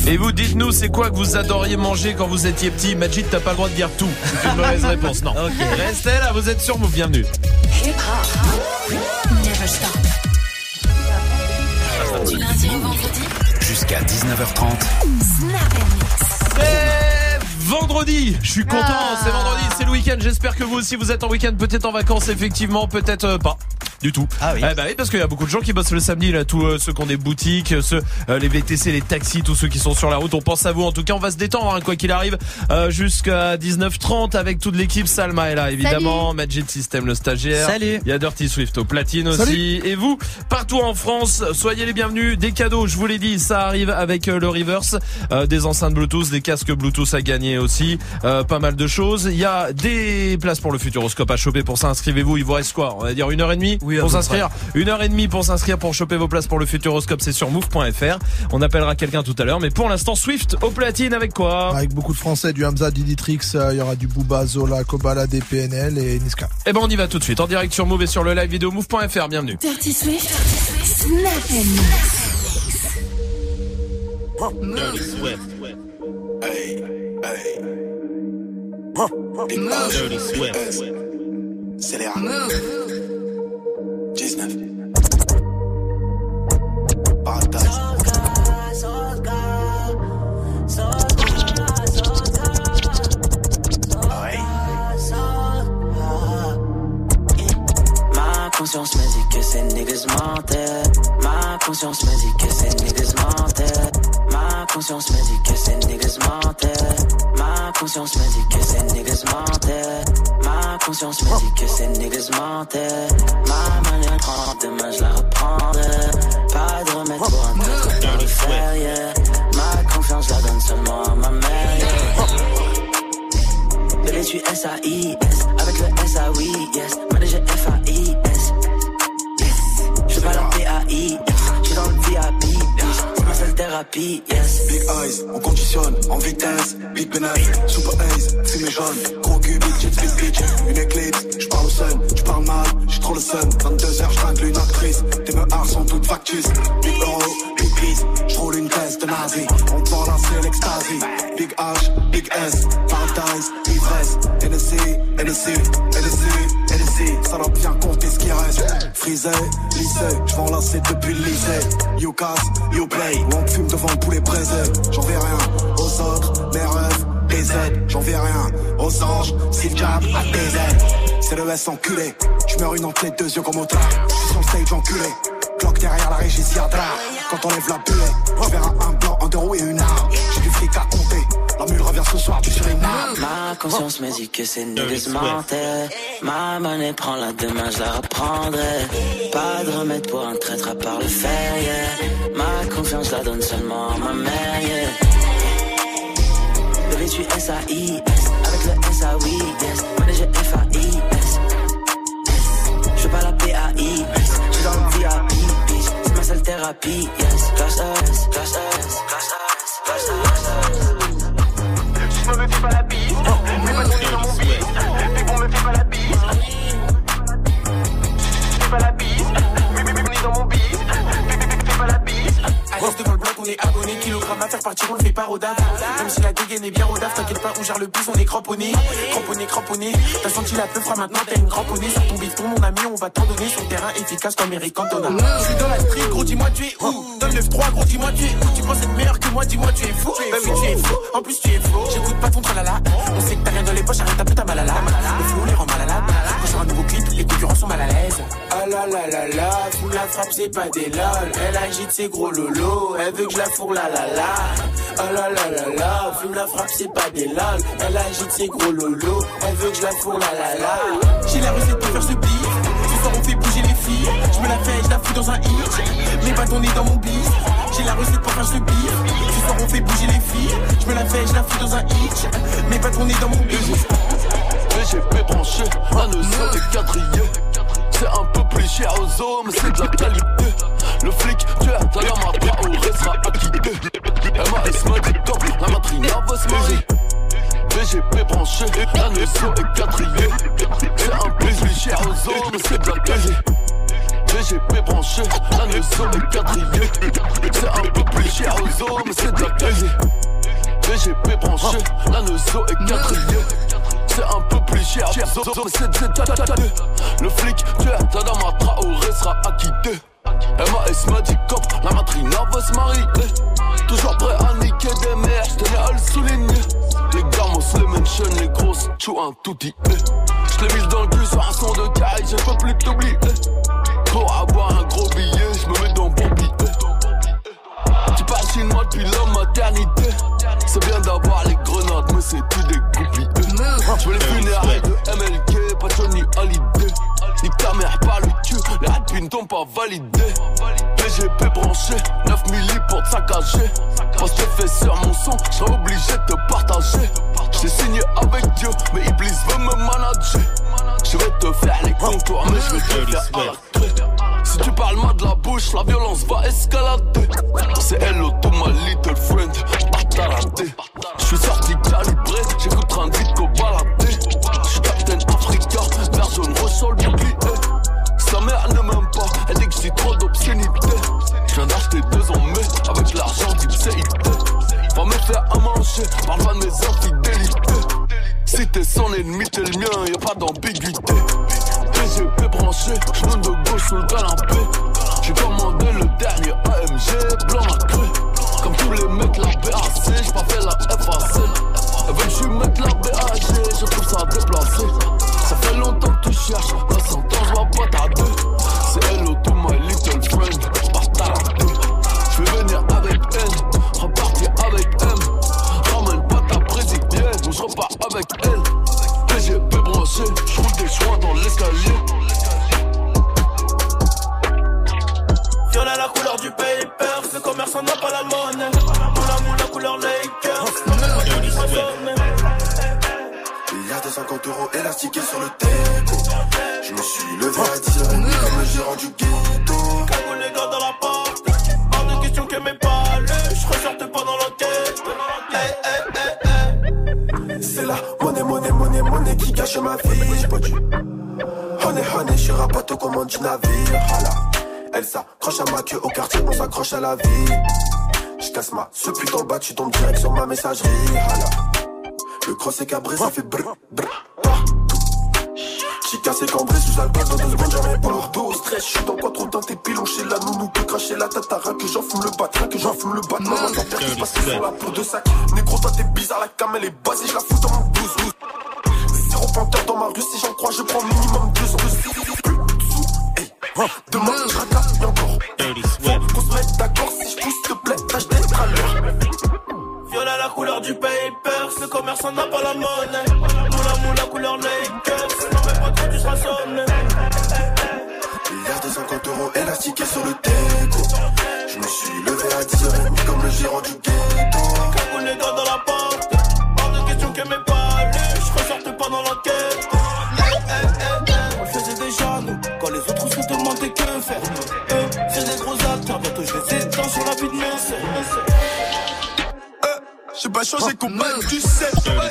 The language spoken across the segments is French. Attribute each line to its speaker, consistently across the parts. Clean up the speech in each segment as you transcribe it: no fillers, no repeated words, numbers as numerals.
Speaker 1: Et vous, dites-nous, c'est quoi que vous adoriez manger quand vous étiez petit? Majid, t'as pas le droit de dire tout. C'est une mauvaise réponse, non.
Speaker 2: Okay.
Speaker 1: Restez là, vous êtes sur Move, bienvenue.
Speaker 3: Never stop. Du lundi au vendredi
Speaker 4: jusqu'à 19h30.
Speaker 3: Snap and Mix.
Speaker 1: C'est vendredi, je suis content, c'est vendredi, c'est le week-end. J'espère que vous aussi vous êtes en week-end, peut-être en vacances, effectivement, peut-être pas. Du tout.
Speaker 2: Ah oui.
Speaker 1: Eh bah oui, parce qu'il y a beaucoup de gens qui bossent le samedi, là, tous ceux qui ont des boutiques, ceux les VTC, les taxis, tous ceux qui sont sur la route. On pense à vous. En tout cas, on va se détendre, hein, quoi qu'il arrive, jusqu'à 19h30 avec toute l'équipe. Salma est là, évidemment. Salut. Magic System, le stagiaire.
Speaker 2: Salut.
Speaker 1: Il y a Dirty Swift au platine aussi.
Speaker 5: Salut.
Speaker 1: Et vous, partout en France, soyez les bienvenus. Des cadeaux, je vous l'ai dit, ça arrive avec le reverse, des enceintes Bluetooth, des casques Bluetooth à gagner aussi, pas mal de choses. Il y a des places pour le Futuroscope à choper. Pour ça, inscrivez-vous. Il vous reste quoi? On va dire 1h30 pour s'inscrire. 1h30 pour s'inscrire pour choper vos places pour le Futuroscope, c'est sur move.fr. On appellera quelqu'un tout à l'heure, mais pour l'instant Swift au platine avec quoi?
Speaker 5: Avec beaucoup de français, du Hamza, Diditrix, il y aura du Booba, Zola, Kobala, DPNL et Niska.
Speaker 1: Eh ben on y va tout de suite, en direct sur Move et sur le live vidéo move.fr, bienvenue.
Speaker 3: Dirty Swift, Snap and Mix.
Speaker 6: Dirty Swift. Hey, hey. Dirty Swift. C'est les 19. Paradise.
Speaker 7: Ma conscience me dit que ces niggas mentaient. Ma conscience me dit que ces niggas mentaient. Ma conscience me dit que ces niggas mentaient. Ma conscience me dit que ces niggas mentaient. Ma conscience me dit que ces niggas mentaient. Ma manière prendre demain je la reprendrai. Pas de remède pour un peu dans le fer, yeah. Ma confiance la donne seulement à ma mère, yeah. Bébé tu S-A-I-S avec le S-A-Oui, yes. Manager F-A-I-S, yes. Je pas la P-A-I, j'suis dans le VIP, yes. C'est ma seule thérapie, yes.
Speaker 6: Big eyes, on conditionne, en vitesse. Big bénéfice, super ace, fumée jaune. Gros cul, bitch, it's big bitch. Une éclipse, j'parle au sun, j'parle mal, j'suis trop le sun. 22h, j'tringle une actrice. Tes meurs sont toutes factus. Big euro, big peace, j'roule une caisse de nazi. On parle à c'est l'extasie. Big H, big S, paradise, ivresse. NSC, NSC, NSC, NSC. Ça doit bien compter ce qui reste. Frisé, lycée, j'v'enlacer depuis le lycée. You casse, you play, ou on fume devant le poulet braisé. J'en vais rien aux autres, mes rêves, des aides. J'en vais rien aux anges, si le jab à des aides. C'est le S enculé, j'meurs une entre les deux yeux comme au train. J'suis sur le stage enculé, cloque derrière la régie Siadra. Quand on lève la buée, j'verrai un blanc, un deux et une arme. J'ai du fric à compter, la mule revient ce soir, tu sur une arme.
Speaker 7: Ma conscience me dit que ces niggas mentaient. Ma monnaie prend la demain, je la reprendrai. Pas de remède pour un traître à part le fer, yeah. Ma confiance la donne seulement à ma mère, yeah. Bébé tu S-A-I-S avec le S-A-Oui, yes. Manager F-A-I-S, yes. Je pas la P-A-I-S, j'suis dans le VIP, bitch. C'est ma seule thérapie, yes. Clash S, clash S, clash S, clash S.
Speaker 8: Je me fais pas la bise, mais pas ton nez dans mon bise. Mais bon, me fais pas la bise. Fais pas la bise, mais ton nez dans mon bise. Fais pas la bise. Reste devant le bloc, on est abonné. Kilogramme à faire partir, on le fait par Rodaf. Même si la dégaine est bien Rodaf, t'inquiète pas, on gère le bus, on est cramponné. Cramponné, cramponné. T'as senti la peufra, maintenant t'as une cramponnée. Sur ton bifton, mon ami, on va t'en donner. Sur le terrain efficace comme Eric Cantona. Je suis dans la street, gros, dis-moi tu es où? Donne 9-3, gros, dis-moi tu es où? Tu penses être meilleur que moi, dis-moi tu es fou. Bah oui, tu es fou, en plus tu es faux. J'écoute pas ton tralala. On sait que t'as rien dans les poches, arrête un peu ta malala. Le flow les rend malades. Quand sur un nouveau clip, les concurrents sont mal à l'aise. Ah la la la la, fume la frappe, c'est pas des lol. Elle agite ses gros lolos, elle veut que je la fourre la la la. Ah la la la la, fume la frappe, c'est pas des lol. Elle agite ses gros lolos, elle veut que je la fourre la la la. J'ai la recette pour faire ce beat. Ce soir on fait bouger les filles. Je me la fais, je la fous dans un hit. Mes bâtons nés dans mon bis. J'ai la recette pour faire ce beat. Ce soir on fait bouger les filles. Je me la fais, je la fous dans un hit. Mes bâtons nés dans mon bis.
Speaker 9: VGP branché, un nœud sur les quadrillés. C'est un peu plus cher aux hommes, c'est de la qualité. Le flic, tu as ta lame à bras, au restera acquitté. MAS m'a dit top, la matrina va se marier. VGP branché, un nœud sur les quadrillés. C'est un peu plus cher aux hommes, c'est de la qualité. VGP branché, un nœud sur les quadrillés. C'est un peu plus cher aux mais c'est de la qualité. VGP branché, la Neuzo est quadrillée. C'est un peu plus cher, mais c'est de le flic, tu es Tadama Traoré sera acquitté. MAS m'a dit cop, la matrina veut se marier. Toujours prêt à niquer des mères, j'tenais à le souligner. Les gamos, les mentions, les grosses, tchou un touti. J'l'ai mis dans le cul sur un son de caille, je peux plus t'oublier. Pour avoir un gros billet, j'me mets dans bon billet. Tu parles chinois depuis la maternité. C'est bien d'avoir les grenades, mais c'est tout des goupilles. J'veux les funérailles de MLK, pas Johnny Hallyday. Nique ta mère par le cul, les rapines t'ont pas validé. PGP branché, 9 milli pour te saccager. Parce que fait sur mon son, j'serais obligé de te partager. J'ai signé avec Dieu, mais Iblis veut me manager. Je vais te faire les contours, mais je vais te faire à la clé. Si tu parles mal de la bouche, la violence va escalader. C'est hello to my little friend, bataradé. J'suis sorti calibré, j'écoute train de vite qu'au baladé. J'suis Captain Africa, vert jaune rouge sur le bouclier. Sa mère ne m'aime pas, elle dit que j'ai trop d'obscénité. J'viens d'acheter 2 ans mais avec l'argent du CIT. Va me faire à manger, parle pas de mes infidélités. Si t'es son ennemi, t'es le mien, y'a pas d'ambiguïté. PGP branché, genou de gauche sous le canapé. J'ai commandé le dernier AMG, blanc à creux. Comme tous les mecs, la BAC, j'ai pas fait la FAC. Elles veulent que je mette la BAG, je trouve ça déplacé. Ça fait longtemps que tu cherches, dans 100 ans j'vois pas ta deux. C'est hello to my little friend, bataradé. J'vais venir avec N, repartir avec M. Ramène pas ta brésilienne, ou j'repars avec elle. PGP branché, j'roule des joints dans l'escalier.
Speaker 8: Violet la couleur du paper, ce commerçant n'a pas la monnaie. Moula moula couleur Lakers,
Speaker 6: il y a 250 € élastiqués sur le déco. Je me suis levé à 10h30 comme le gérant du ghetto.
Speaker 8: Cagoule les gars dans la porte, hors de question que mes palais, je ressorte pas dans l'enquête.
Speaker 6: C'est la monnaie qui gâche ma vie. J'ai pas dû. Honey, je suis rapato commande du navire. Hala. Elle s'accroche à ma queue au quartier, on s'accroche à la vie. J'casse ma ce putain le bas, tu tombes direct sur ma messagerie. Hala. Le cross est cabré, ça fait brr brr partout. J'ai cassé cambré sous alcool dans 2 secondes, jamais pas lourd au stress. J'suis dans quoi trop dans tes pilons chez la nounou peut cracher la tatara. Que j'en fume le bat, que j'en fume le bat. Maman t'en perds qui passe sur la peau de sac. Négro toi t'es bizarre, la cam elle est basée, je la fous dans mon blouse. Zéro panthère dans ma rue, si j'en crois je prends minimum 2 ans. Plus de sous, hey. Demain je racaille encore. Faut qu'on se mette d'accord, si je pousse te plaît, tâche d'être à l'heure.
Speaker 8: Violet la couleur du paper, ce commerçant n'a pas la monnaie. Moula couleur Lakers, non mais pas trop tu seras sonné.
Speaker 6: Il y a 250 € élastiqués sur le déco. Je me suis levé à 10h30 comme le gérant du ghetto.
Speaker 8: Cagoule les gars dans la porte, hors de question que mes palais, je ressorte pas dans l'enquête. On le faisait déjà nous, quand les autres se demandaient que faire. C'est des gros acteurs, bientôt je les étends sur la vie de mes sœurs.
Speaker 6: J'ai pas changé combat, tu sais.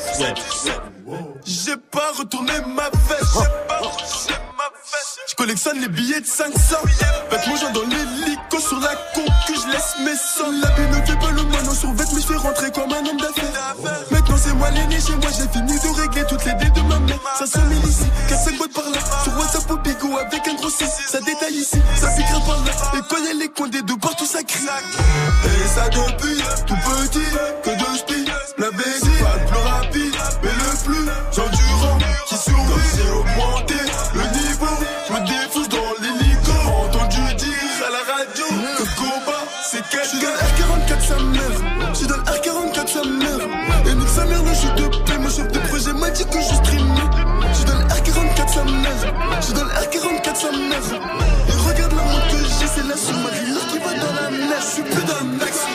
Speaker 6: J'ai pas retourné ma veste. Je collectionne les billets de 500. Avec mon genre dans l'hélico sur la concu, je laisse mes sons. La vie ne fait pas le moineau sur vête, mais je fais rentrer comme un homme d'affaires. Maintenant c'est moi l'aîné chez moi, j'ai fini de régler toutes les dettes de ma mère. 500 000 ici, 4-5 boîtes par là. Sur WhatsApp au bigot avec un gros 6. Ça détaille ici, ça piquera par là. Et quand y'a les coins des deux partout ça crie. Et ça depuis tout petit, que de spi. La baisse, pas le plus rapide, mais le plus endurant qui survit. Comme j'ai augmenté le niveau, je me défonce dans l'hélico. Entendu dire à la radio que combat c'est quelqu'un. J'suis dans le R44 sa mère, j'suis dans le R44 sa mère. Et nique sa mère, là j'suis de paix, mon chef de projet m'a dit que je streamais. J'suis dans le R44 sa mère, j'suis dans le R44 sa mère. Et regarde la montre que j'ai, c'est la sous-marine qui va dans la neige, j'suis plus dans le next.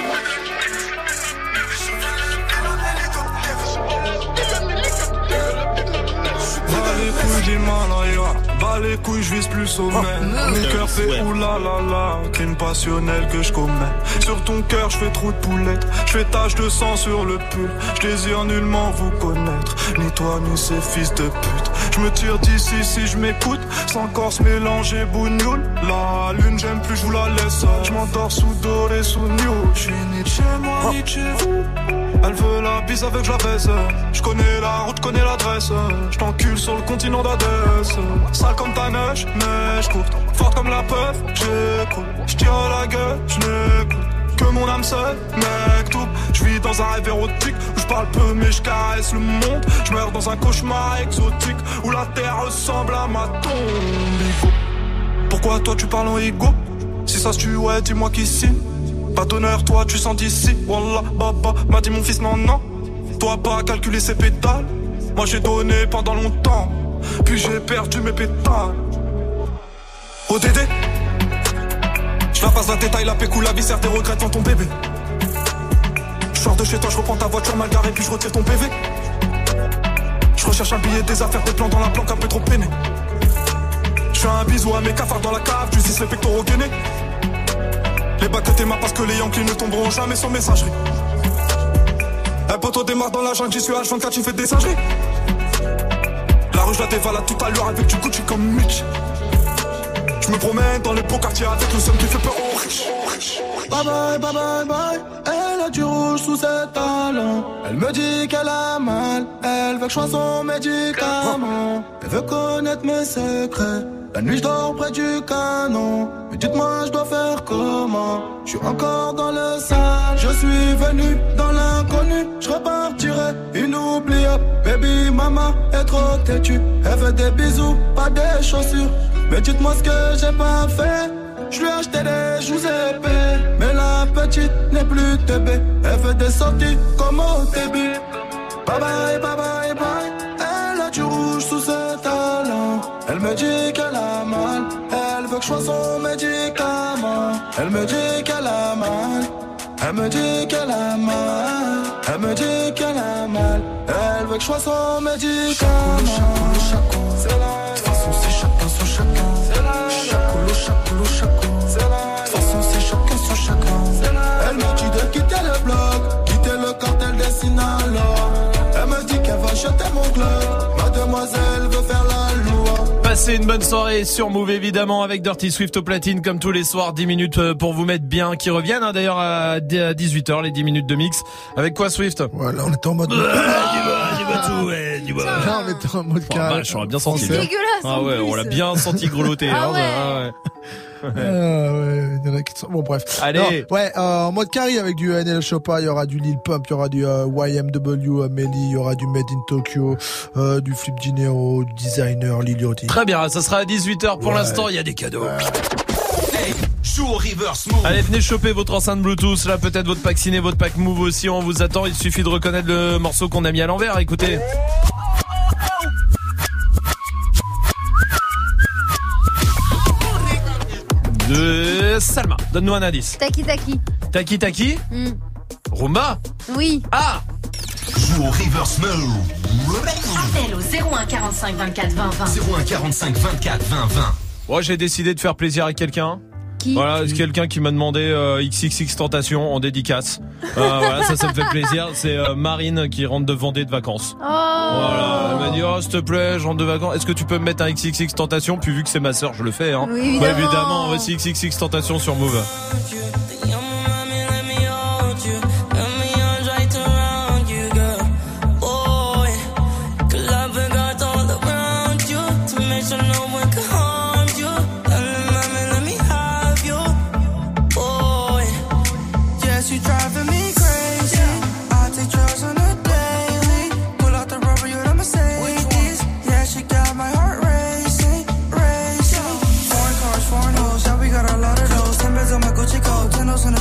Speaker 2: Bas les couilles, je vise plus sommet. Mon cœur fait oulala, crime passionnel que je commets. Sur ton cœur, je fais trop de poulettes. Je fais tache de sang sur le pull. Je désire nullement vous connaître, ni toi ni ces fils de pute. Je me tire d'ici si je m'écoute, sans corse mélanger bougnoule. La lune j'aime plus, je vous la laisse. Je m'endors sous doré, sous new. Je suis ni de chez moi, ni de chez vous. Elle veut la bise avec je la baisse. Je connais la route, connais l'adresse. Je t'encule sur le continent d'Adès. Sale comme ta neige, neige courte. Forte comme la peur, j'écoute. Je tire à la gueule, je n'écoute que mon âme seule, mec tout. Je vis dans un rêve érotique où je parle peu mais je caresse le monde. Je meurs dans un cauchemar exotique où la terre ressemble à ma tombe. Pourquoi toi tu parles en ego? Si ça se tue, ouais, dis-moi qui signe. Pas d'honneur, toi tu sens d'ici. Wallah, baba, m'a dit mon fils, non, non. Toi pas calculer ses pétales. Moi j'ai donné pendant longtemps, puis j'ai perdu mes pétales. ODD, je la passe la détail, la pécou, la viscère, tes regrets devant ton bébé. Je sors de chez toi, je reprends ta voiture mal garée, puis je retire ton PV. Je recherche un billet, des affaires, des plans dans la planque, un peu trop peiné. Je fais un bisou à mes cafards dans la cave, tu zis les pectoraux gainés. Les bacs de tes mains parce que les Yankees ne tomberont jamais sans messagerie. Un poteau démarre dans la jungle, j'y suis H24, tu fais des singeries. La rue je la dévalade tout à l'heure avec du Gucci comme Mitch. Je me promène dans les beaux quartiers avec le seum qui fait peur aux riches.
Speaker 10: Bye bye, bye bye, bye. Elle a du rouge sous ses talons. Elle me dit qu'elle a mal. Elle veut que je sois son médicament. Elle veut connaître mes secrets. La nuit je dors près du canon. Mais dites-moi je dois faire comment? Je suis encore dans le sale. Je suis venu dans l'inconnu. Je repartirai inoubliable. Baby mama est trop têtue. Elle veut des bisous, pas des chaussures. Mais dites-moi ce que j'ai pas fait. Je lui ai acheté des joues épais. Mais la petite n'est plus TB. Elle fait des sorties comme au début. Bye bye, bye bye, bye. Elle a du rouge sous ses talons. Elle me dit qu'elle a mal. Elle veut que je sois son médicament. Elle me dit qu'elle a mal. Elle me dit qu'elle a mal. Elle me dit qu'elle a mal. Elle veut que je sois son médicament. Chaco, c'est la. De toute façon c'est chacun son chacun. C'est la. Chaco. C'est la. De toute façon c'est chacun son chacun. C'est la. Elle me dit de quitter le bloc, quitter le cartel des Sinaloa. Elle me dit qu'elle va jeter mon club. Mademoiselle veut faire la loi.
Speaker 1: Passez une bonne soirée sur Move évidemment avec Dirty Swift au platine comme tous les soirs. 10 minutes pour vous mettre bien, qui reviennent hein, d'ailleurs à 18h, les 10 minutes de mix. Avec quoi Swift?
Speaker 5: Voilà, on était en mode...
Speaker 1: Dis-moi tout, ouais, dis-moi.
Speaker 5: Là, on était en mode carré.
Speaker 1: Je l'aurais bien senti.
Speaker 11: C'est dégueulasse.
Speaker 1: Ah ouais, on l'a bien senti grelotter.
Speaker 11: Ah
Speaker 1: hein,
Speaker 11: ouais.
Speaker 1: Ah ouais.
Speaker 5: Ouais, il y en a qui sont... Bon bref.
Speaker 1: Allez.
Speaker 5: Non, ouais, en mode carré avec du NL Choppa, il y aura du Lil Pump, il y aura du YMW Melly, il y aura du Made in Tokyo, du Flip Dinero, du Designer, Lil Yachty.
Speaker 1: Très bien, ça sera à 18h pour l'instant, il y a des cadeaux.
Speaker 4: Hey, joue au reverse move.
Speaker 1: Allez, venez choper votre enceinte Bluetooth, là peut-être votre pack ciné, votre pack Move aussi, on vous attend, il suffit de reconnaître le morceau qu'on a mis à l'envers, écoutez. De Salma, donne-nous un indice.
Speaker 11: Taki.
Speaker 1: Taki Rumba.
Speaker 11: Oui.
Speaker 1: Ah.
Speaker 4: Joue au reverse move.
Speaker 3: Appel au 01 45 24 20 20.
Speaker 4: 01 45 24 20 20.
Speaker 1: Moi, j'ai décidé de faire plaisir à quelqu'un.
Speaker 11: Qui?
Speaker 1: Voilà, c'est quelqu'un qui m'a demandé XXX Tentation en dédicace. Voilà, ça me fait plaisir. C'est Marine qui rentre de Vendée de vacances.
Speaker 11: Oh.
Speaker 1: Voilà, elle m'a dit s'il te plaît, je rentre de vacances. Est-ce que tu peux me mettre un XXX Tentation? Puis vu que c'est ma sœur, je le fais. Hein.
Speaker 11: Oui, évidemment.
Speaker 1: Bah, évidemment, voici XXX Tentation sur Move.
Speaker 10: On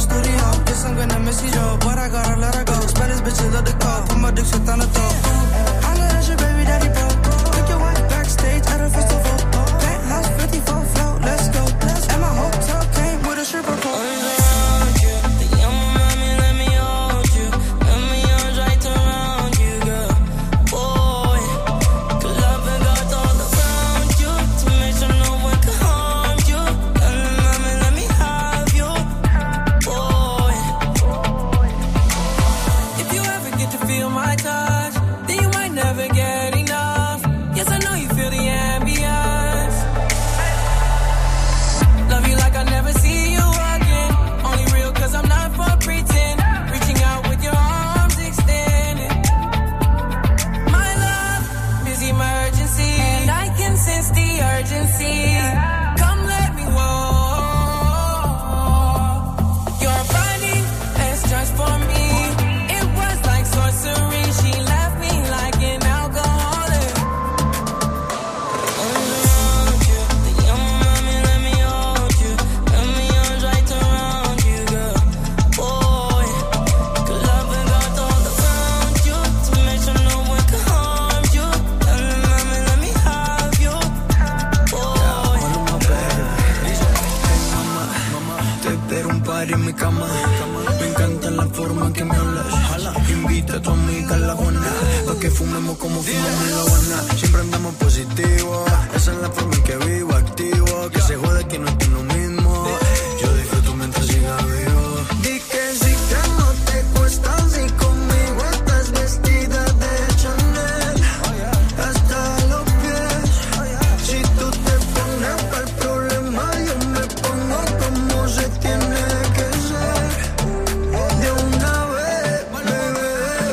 Speaker 10: Me encanta la forma en que me hablas. Invita a tu amiga a la Juana, pa' que fumemos como fumamos la Habana. Siempre andamos positivo, esa es la forma en que vivo, activo. Que se jode que no estoy lo mismo. Yo disfruto mientras siga vivo. Di que sí que no te cuesta, si conmigo estás vestida de Chanel hasta los pies. Si tú te pones pa'l problema, yo me pongo como se tiene que ser. De una vez, bebé.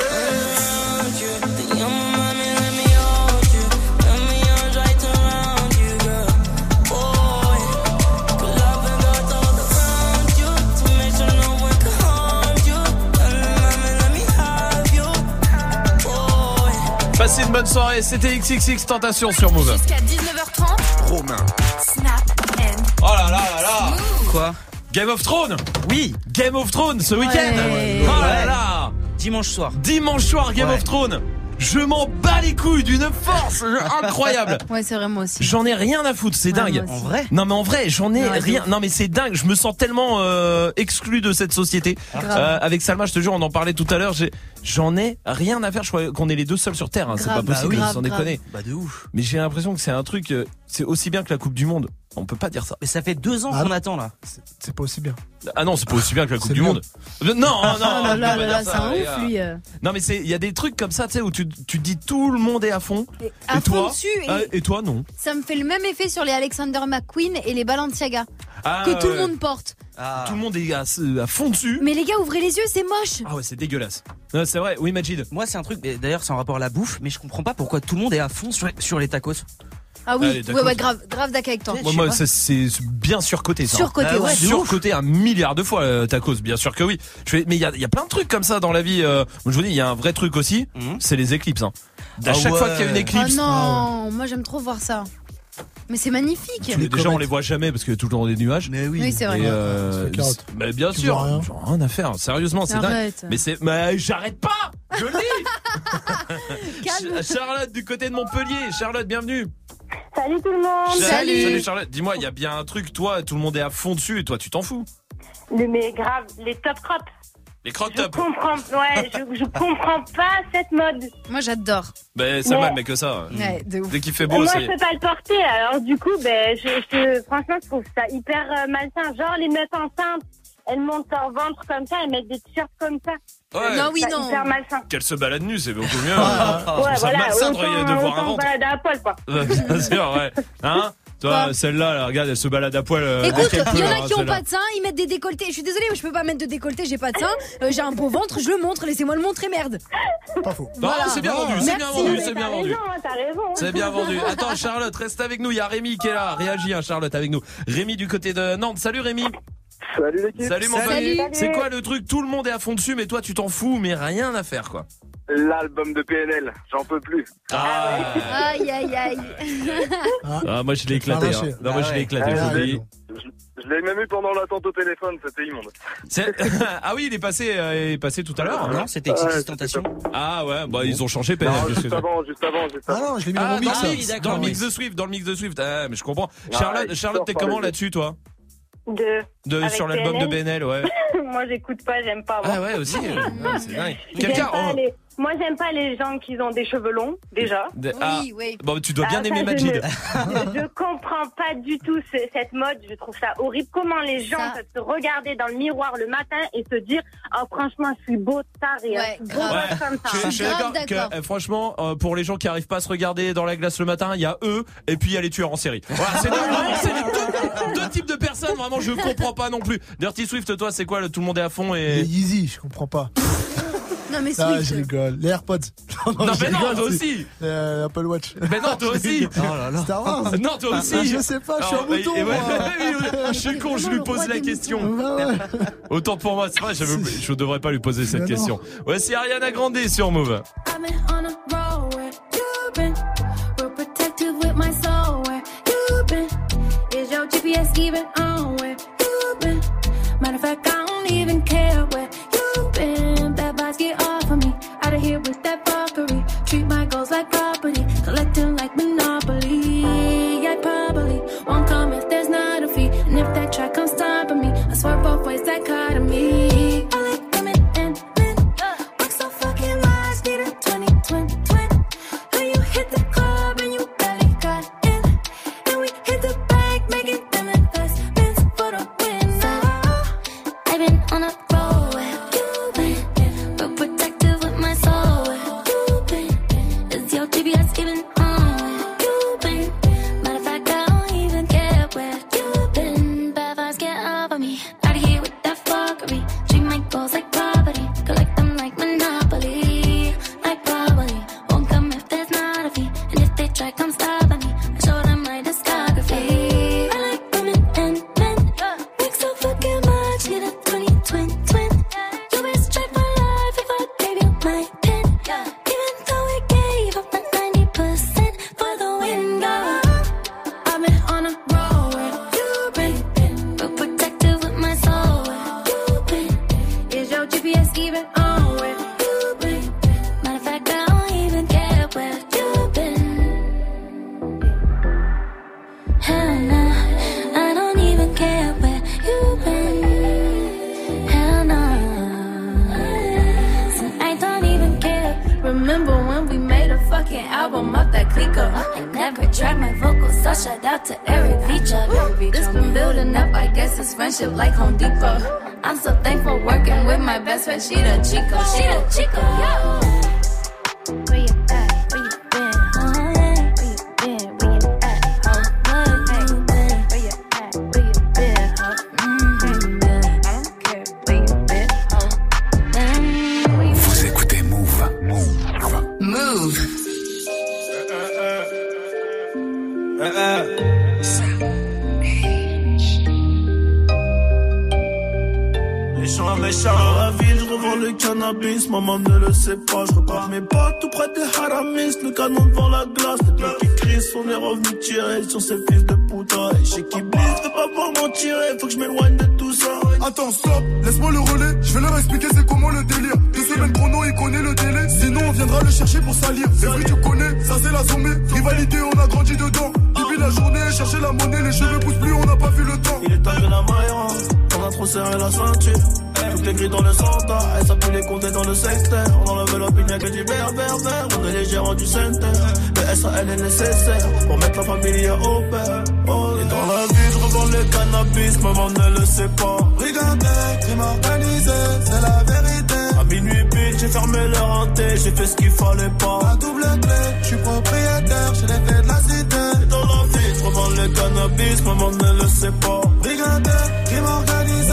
Speaker 7: Te llamo mami, let me hold you. Let me arms right around you, girl. Boy, good love and got all around you to make sure no one can harm you. Mami, let me have you, boy.
Speaker 1: Passez une bonne soirée, c'était XXX Tentation sur Move.
Speaker 3: Jusqu'à 19h30.
Speaker 1: Romain.
Speaker 3: Snap and
Speaker 1: Oh là là là là.
Speaker 11: Quoi?
Speaker 1: Game of Thrones.
Speaker 11: Oui.
Speaker 1: Game of Thrones ce week-end. Oh là là.
Speaker 11: Dimanche soir.
Speaker 1: Dimanche soir, Game of Thrones. Je m'en bats les couilles d'une force incroyable.
Speaker 12: Ouais, c'est vrai, moi aussi.
Speaker 1: J'en ai rien à foutre, c'est
Speaker 12: Ouais,
Speaker 1: dingue.
Speaker 12: moi aussi.
Speaker 11: En vrai?
Speaker 1: Non mais en vrai, j'en ai
Speaker 12: Ouais,
Speaker 1: rien. Non mais c'est dingue, je me sens tellement exclu de cette société. Avec Salma, je te jure, on en parlait tout à l'heure, j'en ai rien à faire. Je crois qu'on est les deux seuls sur terre, hein. C'est pas
Speaker 12: Grave.
Speaker 1: possible,
Speaker 12: Bah oui.
Speaker 1: sans déconner.
Speaker 11: Bah de ouf.
Speaker 1: Mais j'ai l'impression que c'est un truc, c'est aussi bien que la Coupe du Monde. On peut pas dire ça.
Speaker 11: Mais ça fait 2 ans
Speaker 5: Ah
Speaker 11: qu'on
Speaker 5: non.
Speaker 11: attend là.
Speaker 5: C'est pas aussi bien.
Speaker 1: Ah non, c'est pas aussi bien que la Coupe
Speaker 5: C'est
Speaker 1: du
Speaker 5: mieux.
Speaker 1: Monde. Non, non,
Speaker 12: Oh là
Speaker 1: on
Speaker 12: là
Speaker 1: peut pas
Speaker 12: là,
Speaker 1: dire
Speaker 12: c'est
Speaker 1: ça,
Speaker 12: un
Speaker 1: les
Speaker 12: ouf,
Speaker 1: gars.
Speaker 12: lui.
Speaker 1: Non mais il y a des trucs comme ça, tu sais, où tu te dis tout le monde est à fond.
Speaker 12: À
Speaker 1: Et
Speaker 12: fond
Speaker 1: toi
Speaker 12: dessus,
Speaker 1: Et toi non.
Speaker 12: ça me fait le même effet sur les Alexander McQueen et les Balenciaga
Speaker 1: Ah,
Speaker 12: que tout le
Speaker 1: ouais.
Speaker 12: monde porte.
Speaker 11: Ah.
Speaker 1: Tout le monde est à fond dessus.
Speaker 12: Mais les gars, ouvrez les yeux, c'est moche.
Speaker 1: Ah ouais, c'est dégueulasse. Non, c'est vrai. Oui, Majid.
Speaker 11: Moi c'est un truc, mais d'ailleurs c'est en rapport à la bouffe, mais je comprends pas pourquoi tout le monde est à fond sur les tacos.
Speaker 12: Ah oui,
Speaker 1: Allez, d'accord.
Speaker 12: ouais, grave d'accord avec toi.
Speaker 11: Je sais
Speaker 1: Moi,
Speaker 11: pas.
Speaker 1: c'est bien surcoté ça.
Speaker 12: Surcoté,
Speaker 11: Ah
Speaker 12: ouais.
Speaker 11: ouais.
Speaker 1: Surcoté un milliard de fois tacos, bien sûr que oui. Mais il y a plein de trucs comme ça dans la vie. Moi, je vous dis, il y a un vrai truc aussi, c'est les éclipses. Hein. À
Speaker 11: Ah
Speaker 1: chaque
Speaker 11: ouais.
Speaker 1: fois qu'il y a une
Speaker 12: Oh
Speaker 1: éclipse,
Speaker 12: non, moi j'aime trop voir ça. Mais c'est magnifique.
Speaker 1: déjà on les voit jamais parce qu'il y a toujours des nuages.
Speaker 11: Mais
Speaker 12: Oui, c'est vrai.
Speaker 1: Et
Speaker 5: c'est carotte.
Speaker 1: mais bien
Speaker 5: Tu
Speaker 1: sûr,
Speaker 5: vois rien.
Speaker 1: j'en ai rien à faire. Sérieusement, c'est dingue.
Speaker 12: Arrête.
Speaker 1: Mais j'arrête pas. Je le dis.
Speaker 12: Calme.
Speaker 1: Charlotte du côté de Montpellier. Charlotte, bienvenue.
Speaker 13: Salut tout le monde.
Speaker 1: Salut Charlotte. Dis-moi, il y a bien un truc, toi, tout le monde est à fond dessus et toi, tu t'en fous.
Speaker 13: Mais grave, les top crops.
Speaker 1: Les croc
Speaker 13: Je
Speaker 1: top.
Speaker 13: je comprends pas cette mode.
Speaker 12: Moi j'adore.
Speaker 1: Ben ça va, mais que ça.
Speaker 12: Ouais, de ouf.
Speaker 1: Dès qu'il fait beau,
Speaker 13: Moi,
Speaker 1: ça
Speaker 13: je
Speaker 1: y est.
Speaker 13: peux pas le porter. Alors du coup, franchement, je trouve ça hyper malsain. Genre les meufs enceintes, elles montent leur ventre comme ça, elles mettent des t-shirts comme ça.
Speaker 1: Ouais.
Speaker 12: Non, oui,
Speaker 13: C'est
Speaker 12: non.
Speaker 13: hyper malsain.
Speaker 1: Qu'elle se balade nue, c'est beaucoup mieux.
Speaker 13: Ouais,
Speaker 1: ça malsain de voir un
Speaker 13: autant
Speaker 1: ventre.
Speaker 13: balader à poil, quoi.
Speaker 1: Bien sûr, ouais. Hein? Toi,
Speaker 12: Quoi
Speaker 1: celle-là, là, regarde, elle se balade à poil.
Speaker 12: Écoute,
Speaker 1: dès qu'elle
Speaker 12: il y
Speaker 1: peut,
Speaker 12: en a
Speaker 1: hein,
Speaker 12: qui ont
Speaker 1: celle-là.
Speaker 12: pas de seins, ils mettent des décolletés. Je suis désolée, mais je peux pas mettre de décolleté, j'ai pas de seins. J'ai un beau ventre, je le montre, laissez-moi le montrer, merde.
Speaker 5: Pas faux.
Speaker 1: Non,
Speaker 12: Voilà.
Speaker 1: c'est bien vendu, c'est bien
Speaker 12: Merci.
Speaker 1: vendu,
Speaker 13: Mais
Speaker 1: c'est bien
Speaker 13: t'as
Speaker 1: vendu.
Speaker 13: raison, t'as raison.
Speaker 1: C'est bien vendu. Attends, Charlotte, reste avec nous. Il y a Rémi qui est là. Réagis, hein, Charlotte, avec nous. Rémi du côté de Nantes. Salut Rémi.
Speaker 14: Salut l'équipe.
Speaker 1: Salut mon
Speaker 12: Salut.
Speaker 1: pote. C'est quoi le truc? Tout le monde est à fond dessus, mais toi, tu t'en fous, mais rien à faire, quoi.
Speaker 14: L'album de PNL, j'en peux plus.
Speaker 12: Aïe, aïe, aïe.
Speaker 1: Ah, moi, je l'ai éclaté.
Speaker 5: Arraché.
Speaker 1: Hein. Non, moi, je l'ai éclaté.
Speaker 14: Ah,
Speaker 1: je vous le dis.
Speaker 14: Je l'ai même eu pendant l'attente au téléphone, c'était immonde.
Speaker 1: Ah oui, il est passé tout à l'heure.
Speaker 11: Non, c'était XXX Tentation.
Speaker 1: Ah ouais, bah ils ont changé PNL.
Speaker 14: Non,
Speaker 1: qu'est-ce que
Speaker 14: juste
Speaker 1: c'est
Speaker 14: avant, juste avant.
Speaker 5: Ah non, je l'ai mis dans
Speaker 1: Ah,
Speaker 5: mon mix.
Speaker 1: dans le mix,
Speaker 11: d'accord,
Speaker 1: dans le mix
Speaker 11: oui.
Speaker 1: de Swift, dans le mix de Swift. Ah, mais je comprends.
Speaker 14: Ah,
Speaker 1: Charlotte,
Speaker 14: il
Speaker 1: Charlotte,
Speaker 14: sort
Speaker 1: t'es
Speaker 14: par
Speaker 1: comment
Speaker 14: les-
Speaker 1: là-dessus, toi?
Speaker 13: Avec
Speaker 1: Sur l'album de
Speaker 13: PNL.
Speaker 1: BNL, ouais.
Speaker 13: Moi, j'écoute pas, j'aime pas. moi.
Speaker 1: Ah ouais, aussi. Ouais, c'est dingue.
Speaker 13: J'aime
Speaker 1: Quelqu'un.
Speaker 13: pas Moi, j'aime pas les gens qui ont des cheveux longs, déjà.
Speaker 1: Ah,
Speaker 12: Oui, oui.
Speaker 1: bon, tu dois bien
Speaker 13: Ah,
Speaker 1: aimer
Speaker 13: ça,
Speaker 1: Majid.
Speaker 13: Je comprends pas du tout cette mode. Je trouve ça horrible. Comment les gens
Speaker 12: Ça.
Speaker 13: peuvent se regarder dans le miroir le matin et se dire oh, franchement, je suis beau tard et
Speaker 12: Ouais,
Speaker 13: beau
Speaker 12: grave.
Speaker 13: gosse comme ça.
Speaker 1: Je suis
Speaker 12: Grave
Speaker 1: d'accord
Speaker 12: d'accord.
Speaker 1: que franchement, pour les gens qui arrivent pas à se regarder dans la glace le matin, il y a eux et puis il y a les tueurs en série. Voilà, c'est vraiment c'est les deux types de personnes. Vraiment, je comprends pas non plus. Dirty Swift, toi, c'est quoi? Tout le monde est à fond
Speaker 5: Les
Speaker 1: et.
Speaker 5: Yeezy, je comprends pas.
Speaker 12: Non, mais
Speaker 5: Ah,
Speaker 12: Swift.
Speaker 5: je rigole. Les AirPods.
Speaker 1: Non,
Speaker 5: je
Speaker 1: mais non,
Speaker 5: rigole,
Speaker 1: toi
Speaker 5: c'est-
Speaker 1: aussi.
Speaker 5: Apple Watch.
Speaker 1: Mais non, toi aussi.
Speaker 5: Star Wars.
Speaker 1: Non, toi aussi.
Speaker 5: Je sais pas, je suis un
Speaker 1: Alors,
Speaker 5: mouton.
Speaker 1: et ouais,
Speaker 5: moi.
Speaker 1: je suis con, je lui pose la question.
Speaker 5: Ouais, ouais.
Speaker 1: Autant pour moi, c'est vrai, je devrais pas lui poser cette
Speaker 5: Mais non.
Speaker 1: question. Voici Ariana Grande sur Move.
Speaker 3: I've been on a roll where you've been. We're protected with my soul where you've been. Is your GPS even on where you've been? Matter of fact, I don't even care where you've been. Bad vibes get off of me. Out of here with that fuckery. Treat my goals like property. Collecting like Monopoly. I probably won't come if there's not a fee. And if that track comes stopping me, I swear both ways that kind of me. GPS even on where you been. Matter of fact, I don't even care where you been. Hell nah, I don't even care where you been. Hell nah, so I don't even care. Remember when we made a fucking album off that clicker? I never tried my vocals, so shout out to Eric Feature. This been building up, I guess it's friendship like Home Depot. I'm so thankful working with my best friend, she the Chico, yo. Where you at? Where you been? Where you been? Where you at? Where you been? Where you at? Where you been? I don't care where you been.
Speaker 4: Vous écoutez Move.
Speaker 3: Move.
Speaker 2: Méchant dans la ville, je revends le cannabis, maman ne le sait pas, je repars mes potes tout près des haramis, le canon devant la glace, les bleus qui crient, on est revenu tirer sur ces fils de puta, et chez qui blisse, fais pas pour m'en tirer, faut que je m'éloigne de tout ça.
Speaker 10: Attends, stop, laisse-moi le relais, je vais leur expliquer c'est comment le délire. 2 semaines chrono, il connaît le délai, sinon on viendra le chercher pour salir. C'est vrai tu connais, ça c'est la sommée, rivalité on a grandi dedans. Depuis la journée, chercher la monnaie, les cheveux poussent plus, on n'a pas vu le temps.
Speaker 2: Il est temps de la maillera, on a trop serré la ceinture. Toutes les grilles dans le centre, elle s'appuie les compter dans le secteur. On enlève l'opinion que du vert. On est les gérants du center. Le SAL est nécessaire pour mettre la famille au père. Oh, et dans la vie, je revends le cannabis, maman ne le sait pas.
Speaker 10: Brigandais, crime organisé, c'est la vérité.
Speaker 2: À minuit pile, j'ai fermé leur hanté, j'ai fait ce qu'il fallait pas.
Speaker 10: À double clé, je suis propriétaire, j'ai les clés de la cité.
Speaker 2: Et dans la vie, je revends le cannabis, maman ne le sait pas.
Speaker 10: Brigandais, crime organisé.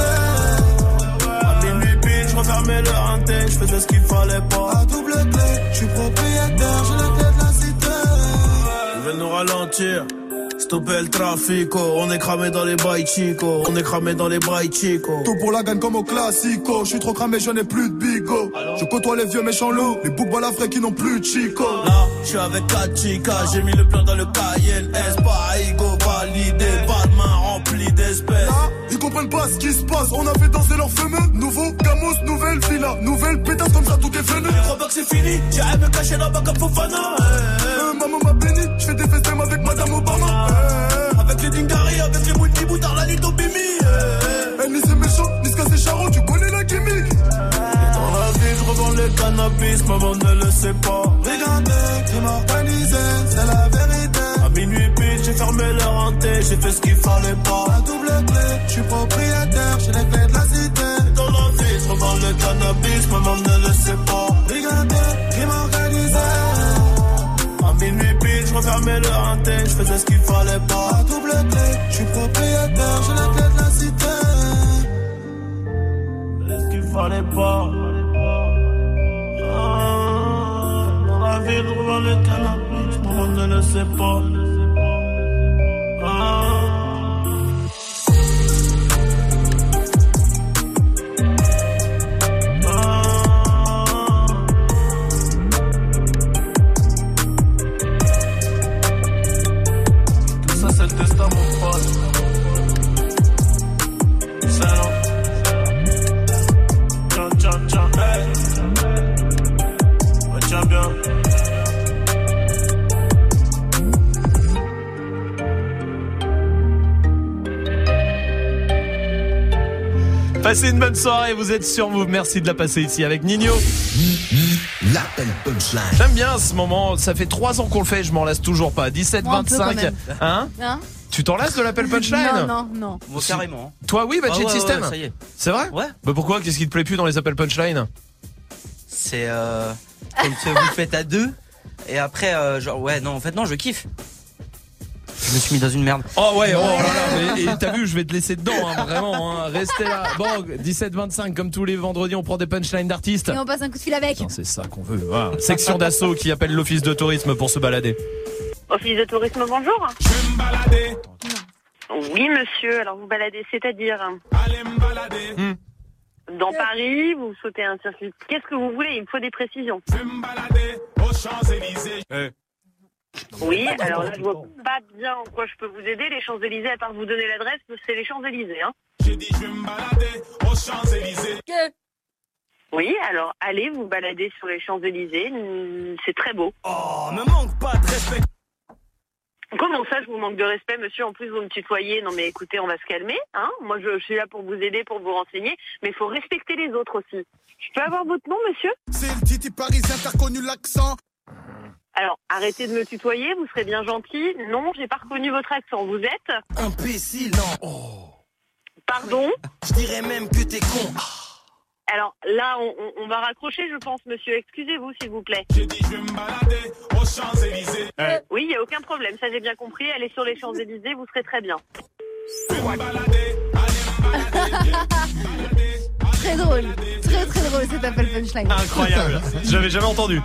Speaker 2: Je refermais le hanté, je faisais ce qu'il fallait pas.
Speaker 10: À double clé, je suis propriétaire, j'ai les clés de la cité.
Speaker 2: Ils veulent nous ralentir, stopper le trafic, on est cramé dans les bails chico, on est cramé dans les bails chico.
Speaker 10: Tout pour la gagne comme au classico, je suis trop cramé, je n'ai plus de bigot. Je côtoie les vieux méchants loups, les boucs balafrés qui n'ont plus de chico.
Speaker 2: Là, je suis avec 4 chicas, j'ai mis le plan dans le cahier, pas ego validé, pas de main remplie d'espèces.
Speaker 10: Là, ils comprennent pas ce qui se passe, on a fait danser leurs fameux. Nouveau Gamos, nouvelle villa, nouvelle pétasse comme ça tout est venu.
Speaker 2: Je crois pas que c'est fini, j'irai me cacher là-bas comme Fofana.
Speaker 10: Maman m'a béni, je fais des festins avec Madame Obama.
Speaker 2: Avec les Dingari, avec les Mouti Boutard, la Lito Bimi.
Speaker 10: Ni c'est méchant, ni ce c'est charron, tu connais la gimmick.
Speaker 2: Et dans la vie, je revends le cannabis, maman ne le sait pas.
Speaker 10: Brigandais, crime organisé, c'est la vérité.
Speaker 2: À minuit pile, j'ai fermé leur hanté, j'ai fait ce qu'il fallait pas.
Speaker 10: À double clé, je suis propriétaire, j'ai les clés de la cité.
Speaker 2: Et dans la vie, je revends le cannabis, maman ne le sait pas.
Speaker 10: Brigandais, crime organisé.
Speaker 2: À minuit pile, je refermais le hanté, je faisais ce qu'il fallait pas.
Speaker 10: À double clé, je suis propriétaire, j'ai les clés de la cité.
Speaker 2: Ce qu'il fallait pas. Dans la ville, je revends le cannabis, maman ne le sait pas.
Speaker 1: Passez une bonne soirée, vous êtes sur Move. Merci de la passer ici avec Nino.
Speaker 4: L'appel punchline.
Speaker 1: J'aime bien ce moment, ça fait 3 ans qu'on le fait, je m'en lasse toujours pas. 17-25. Hein Tu t'en lasses de l'appel punchline?
Speaker 12: Non.
Speaker 11: Bon, carrément.
Speaker 1: Toi oui, Magic System.
Speaker 11: Ouais, ça y est.
Speaker 1: C'est vrai?
Speaker 11: Ouais.
Speaker 1: Bah pourquoi? Qu'est-ce qui te plaît plus dans les appels punchline?
Speaker 11: C'est quand vous le faites à 2 et après genre ouais non en fait non je kiffe. Je me suis mis dans une merde.
Speaker 1: Oh ouais, oh là là, mais t'as vu, je vais te laisser dedans, hein, vraiment, hein, restez là. Bon, 17-25, comme tous les vendredis, on prend des punchlines d'artistes.
Speaker 12: Et on passe un coup de fil avec.
Speaker 1: Non, c'est ça qu'on veut. Voilà. Section d'assaut qui appelle l'office de tourisme pour se balader.
Speaker 13: Office de tourisme, bonjour.
Speaker 14: Je vais me balader.
Speaker 13: Oui, monsieur. Alors, vous baladez, c'est-à-dire
Speaker 14: Allez me balader.
Speaker 13: dans Paris, vous sautez un circuit. Qu'est-ce que vous voulez? Il me faut des précisions.
Speaker 14: Je vais me balader aux Champs-Élysées.
Speaker 13: Oui, alors là, je vois pas bien en quoi je peux vous aider. Les Champs-Élysées, à part vous donner l'adresse, c'est les Champs-Élysées, hein.
Speaker 14: J'ai dit je vais me balader aux Champs-Élysées.
Speaker 15: Oui, alors allez vous balader sur les Champs-Élysées, c'est très beau.
Speaker 14: Oh, me manque pas de respect.
Speaker 15: Comment ça, je vous manque de respect, monsieur? En plus, vous me tutoyez. Non, mais écoutez, on va se calmer, hein. Moi, je suis là pour vous aider, pour vous renseigner, mais il faut respecter les autres aussi. Je peux avoir votre nom, monsieur?
Speaker 10: C'est le Titi parisien, t'as reconnu l'accent?
Speaker 15: Alors, arrêtez de me tutoyer, vous serez bien gentil. Non, j'ai pas reconnu votre accent. Vous êtes?
Speaker 14: Imbécile, non. Oh.
Speaker 15: Pardon?
Speaker 14: Je dirais même que t'es con.
Speaker 15: Alors là, on va raccrocher, je pense, monsieur. Excusez-vous, s'il vous plaît.
Speaker 14: J'ai dit, je vais me balader aux Champs-Élysées.
Speaker 15: Oui, il n'y a aucun problème. Ça, j'ai bien compris. Allez sur les Champs-Élysées, vous serez très bien.
Speaker 14: Je vais me balader, allez me balader.
Speaker 12: Très drôle. Très très drôle cet appel punchline.
Speaker 1: Incroyable. J'avais jamais entendu.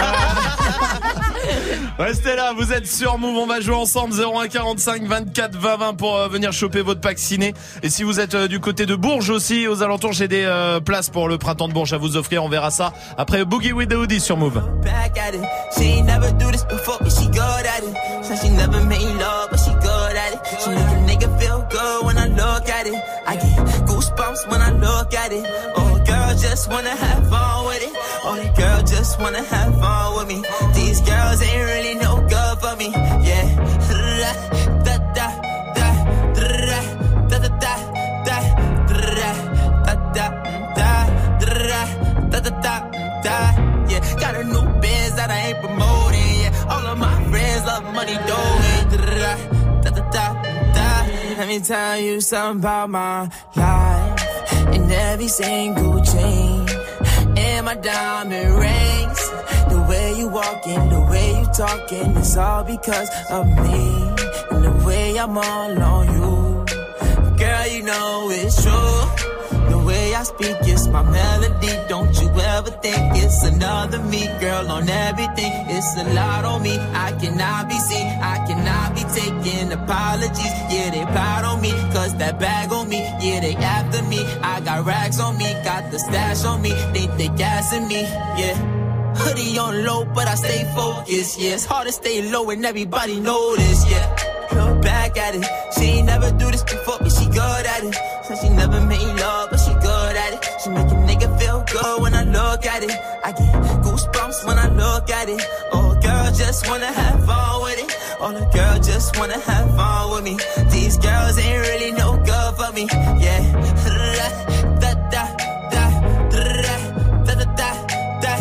Speaker 1: Restez là, vous êtes sur Move, on va jouer ensemble 01 45 24 20 20 pour venir choper votre pack ciné. Et si vous êtes du côté de Bourges aussi, aux alentours, j'ai des places pour le printemps de Bourges à vous offrir, on verra ça après Boogie with the Hoodie sur Move.
Speaker 7: Back at it. She ain't never do this before, but she good at it. Said she never made love, but she good at it. She make a nigga feel good when I look at it. I get goosebumps when I look at it. Oh, girl, just wanna have fun with it. Oh, the girl just wanna have fun with me. These girls ain't really no good for me. Yeah. Da da da da da da da da da da da da da da. Yeah, got a new biz that I ain't promoting. Yeah, all of my friends love money doing. Da da da da. Let me tell you something about my life. In every single chain, in my diamond rings. The way you walking, the way you talking, it's all because of me. And the way I'm all on you, girl, you know it's true. The way I speak, it's my melody. Don't you ever think it's another me, girl, on everything. It's a lot on me. I cannot be seen. I cannot be taking apologies. Yeah, they proud on me, cause that bag on me. Yeah, they after me. I got rags on me, got the stash on me. Think they gassing me, yeah. Hoodie on low, but I stay focused, yeah. It's hard to stay low and everybody know this, yeah. Look back at it. She ain't never do this before, but she good at it. Said she never made love, but she good at it. She make a nigga feel good when I look at it. I get goosebumps when I look at it. Oh, girl, just wanna have fun with it. Oh, the girl just wanna have fun with me. These girls ain't really no good for me, yeah. Da da da da da da da da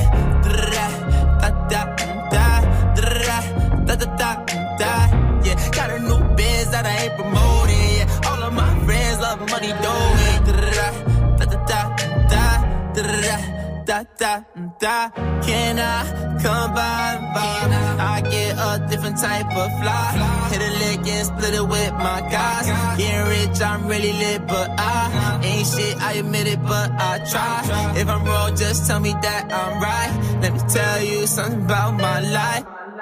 Speaker 7: da da da. Yeah, got a new biz that I ain't promoting. Yeah, all of my friends love money doing. Da da da da da da da. Can I come by? I get a different type of fly. Hit a lick and split it with my guys. Getting rich, I'm really lit, but I ain't shit. I admit it, but I try. If I'm wrong, just tell me that I'm right. Let me tell you something about my life.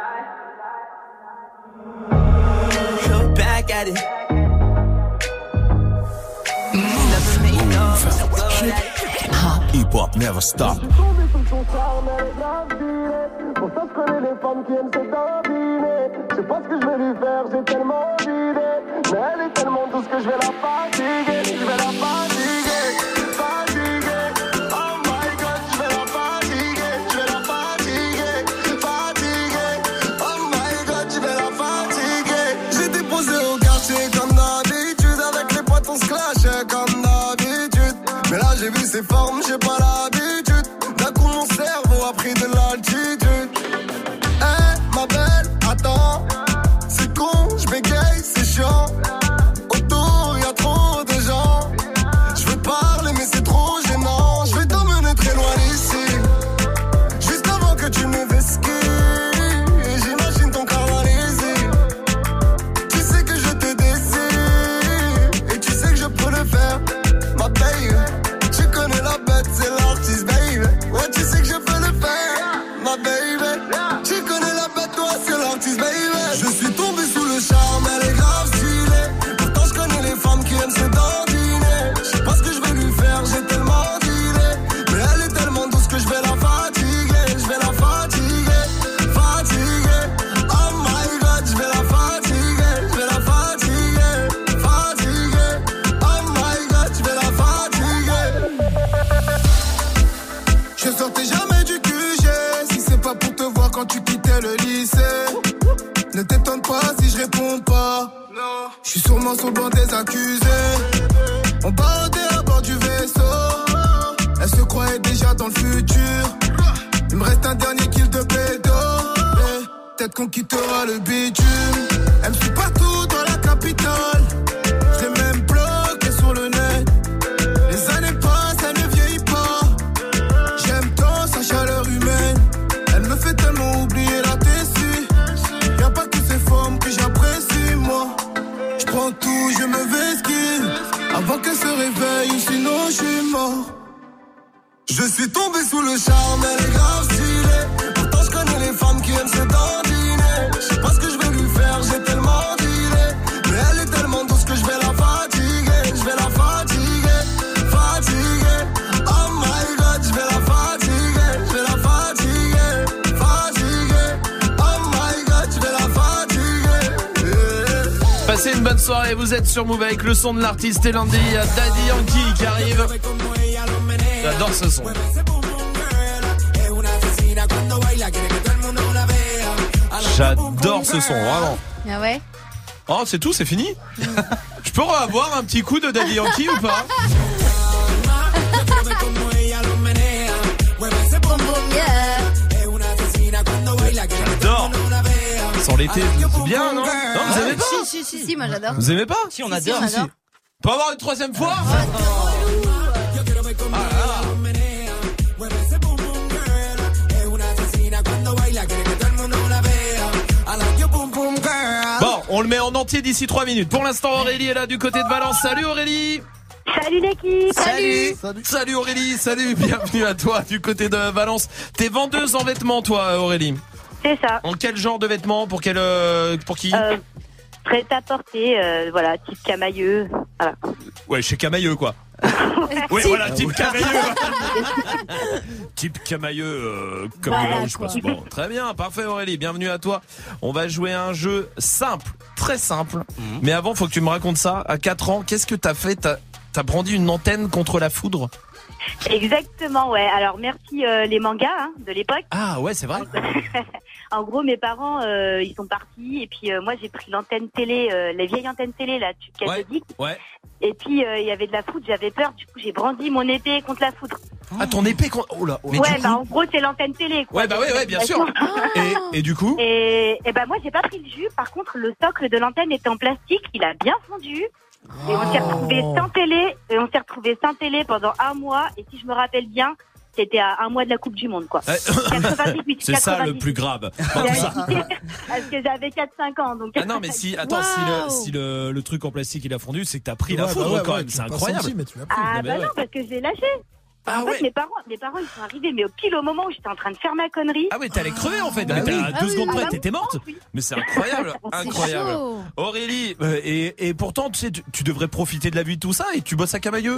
Speaker 7: Look back at it.
Speaker 4: Hip-hop never stop.
Speaker 10: Pour ça, je connais les femmes qui aiment se dominer. Je sais pas ce que je vais lui faire, j'ai tellement d'idées. Mais elle est tellement douce que je vais la fatiguer. Je vais la fatiguer, fatiguer. Oh my god, je vais la fatiguer. Je vais la fatiguer, fatiguer. Oh my god, je vais la fatiguer. J'ai déposé au quartier comme d'habitude. Avec les potes on se clashait comme d'habitude. Mais là j'ai vu ses formes, j'ai pas l'habitude. D'un coup mon cerveau a pris de l'altitude. Ma belle, attends, c'est con, je bégaye, c'est chiant. Autour y'a trop de gens. Je veux parler mais c'est trop gênant. Je vais t'emmener très loin d'ici, juste avant que tu me vesquilles. Et j'imagine ton caralysie. Tu sais que je te désire et tu sais que je peux le faire. Ma baby, tu connais la bête, c'est l'artiste, baby. Ouais, tu sais que je peux le faire, ma baby. Je sortais jamais du QG, si c'est pas pour te voir quand tu quittais le lycée. Ne t'étonne pas si je réponds pas. Je suis sûrement sur le banc des accusés. On barodait à bord du vaisseau. Elle se croyait déjà dans le futur. Il me reste un dernier kill de pédo. Peut-être qu'on quittera le bitume. Elle me suit partout dans la capitale. Je l'ai même bloqué sur le net. Les années passent, elle ne vieillit pas. J'aime tant sa chaleur humaine. Elle me fait tellement oublier la tessie. Y'a pas que ces formes que j'apprécie, moi. Je prends tout, je me vesquille avant qu'elle se réveille ou sinon je suis mort. Je suis tombé sous le charme, elle est grave stylée. Pourtant je connais les femmes qui aiment se dandiner. Je sais pas ce que je vais lui faire, j'ai tellement dealé. Mais elle est tellement douce que je vais la fatiguer. Je vais la fatiguer, fatiguer. Oh my god, je vais la fatiguer. Je vais la fatiguer, fatiguer. Oh my god, je vais la fatiguer.
Speaker 1: Passez une bonne soirée, vous êtes sur Move avec le son de l'artiste Elandi. Il y a Daddy Yankee qui arrive. J'adore ce son. J'adore ce son, vraiment.
Speaker 12: Ah ouais.
Speaker 1: Oh, c'est tout, c'est fini. Je peux avoir un petit coup de Daddy Yankee ou pas? J'adore. Sans l'été, c'est bien, non? Non, vous aimez pas?
Speaker 12: Si, moi j'adore.
Speaker 1: Vous aimez pas?
Speaker 11: Si, on adore.
Speaker 12: Si.
Speaker 1: Peut avoir une troisième fois? Bon, on le met en entier d'ici 3 minutes. Pour l'instant, Aurélie est là du côté de Valence. Salut Aurélie.
Speaker 13: Salut l'équipe.
Speaker 1: Salut Aurélie, salut, bienvenue à toi du côté de Valence. T'es vendeuse en vêtements toi Aurélie?
Speaker 13: C'est ça.
Speaker 1: En quel genre de vêtements? Pour qui?
Speaker 13: Prêt à porter, voilà, type camailleux, voilà.
Speaker 1: Ouais, chez Camailleux quoi. Oui, voilà, type Camailleux. Type Camailleux, comme
Speaker 13: voilà,
Speaker 1: là où je passe. Bon, très bien, parfait Aurélie, bienvenue à toi. On va jouer à un jeu simple, très simple. Mais avant, faut que tu me racontes ça. À 4 ans, qu'est-ce que t'as fait? T'as brandi une antenne contre la foudre?
Speaker 13: Exactement, ouais. Alors merci les mangas de l'époque.
Speaker 1: Ah ouais, c'est vrai.
Speaker 13: En gros, mes parents, ils sont partis et puis moi j'ai pris l'antenne télé, les vieilles antennes télé là, cathodique.
Speaker 1: Ouais.
Speaker 13: Et puis il y avait de la foudre, j'avais peur. Du coup, j'ai brandi mon épée contre la foudre.
Speaker 1: Ah, ton épée contre... Oh là.
Speaker 13: Ouais, bah en gros c'est l'antenne télé. Quoi.
Speaker 1: Ouais, bah ouais, bien sûr. Et du coup?
Speaker 13: Et bah moi j'ai pas pris le jus. Par contre, le socle de l'antenne était en plastique, il a bien fondu. Et on s'est retrouvé sans télé pendant un mois. Et si je me rappelle bien, c'était à un mois de la Coupe du Monde, quoi. 98,
Speaker 1: c'est 98. Ça le plus grave.
Speaker 13: Parce que j'avais 4-5 ans. Donc...
Speaker 1: Ah non, mais si le truc en plastique il a fondu, c'est que t'as pris la foudre quand même. C'est incroyable.
Speaker 13: Ah bah non, parce que je l'ai lâché.
Speaker 1: Ah
Speaker 13: en fait, mes parents, ils sont arrivés, mais pile au moment où j'étais en train de faire ma connerie.
Speaker 1: Ah oui, t'allais crever en fait. Mais à 2 secondes près, t'étais morte. Oui. Mais c'est incroyable, incroyable. Chaud. Aurélie, et pourtant, tu sais, tu devrais profiter de la vie de tout ça et tu bosses à Camailleux.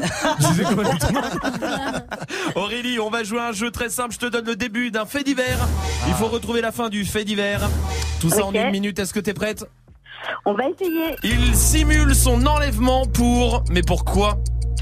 Speaker 1: Aurélie, on va jouer à un jeu très simple. Je te donne le début d'un fait divers. Il faut retrouver la fin du fait divers. Tout ça en 1 minute. Est-ce que t'es prête?
Speaker 13: On va essayer.
Speaker 1: Il simule son enlèvement pour... Mais pourquoi?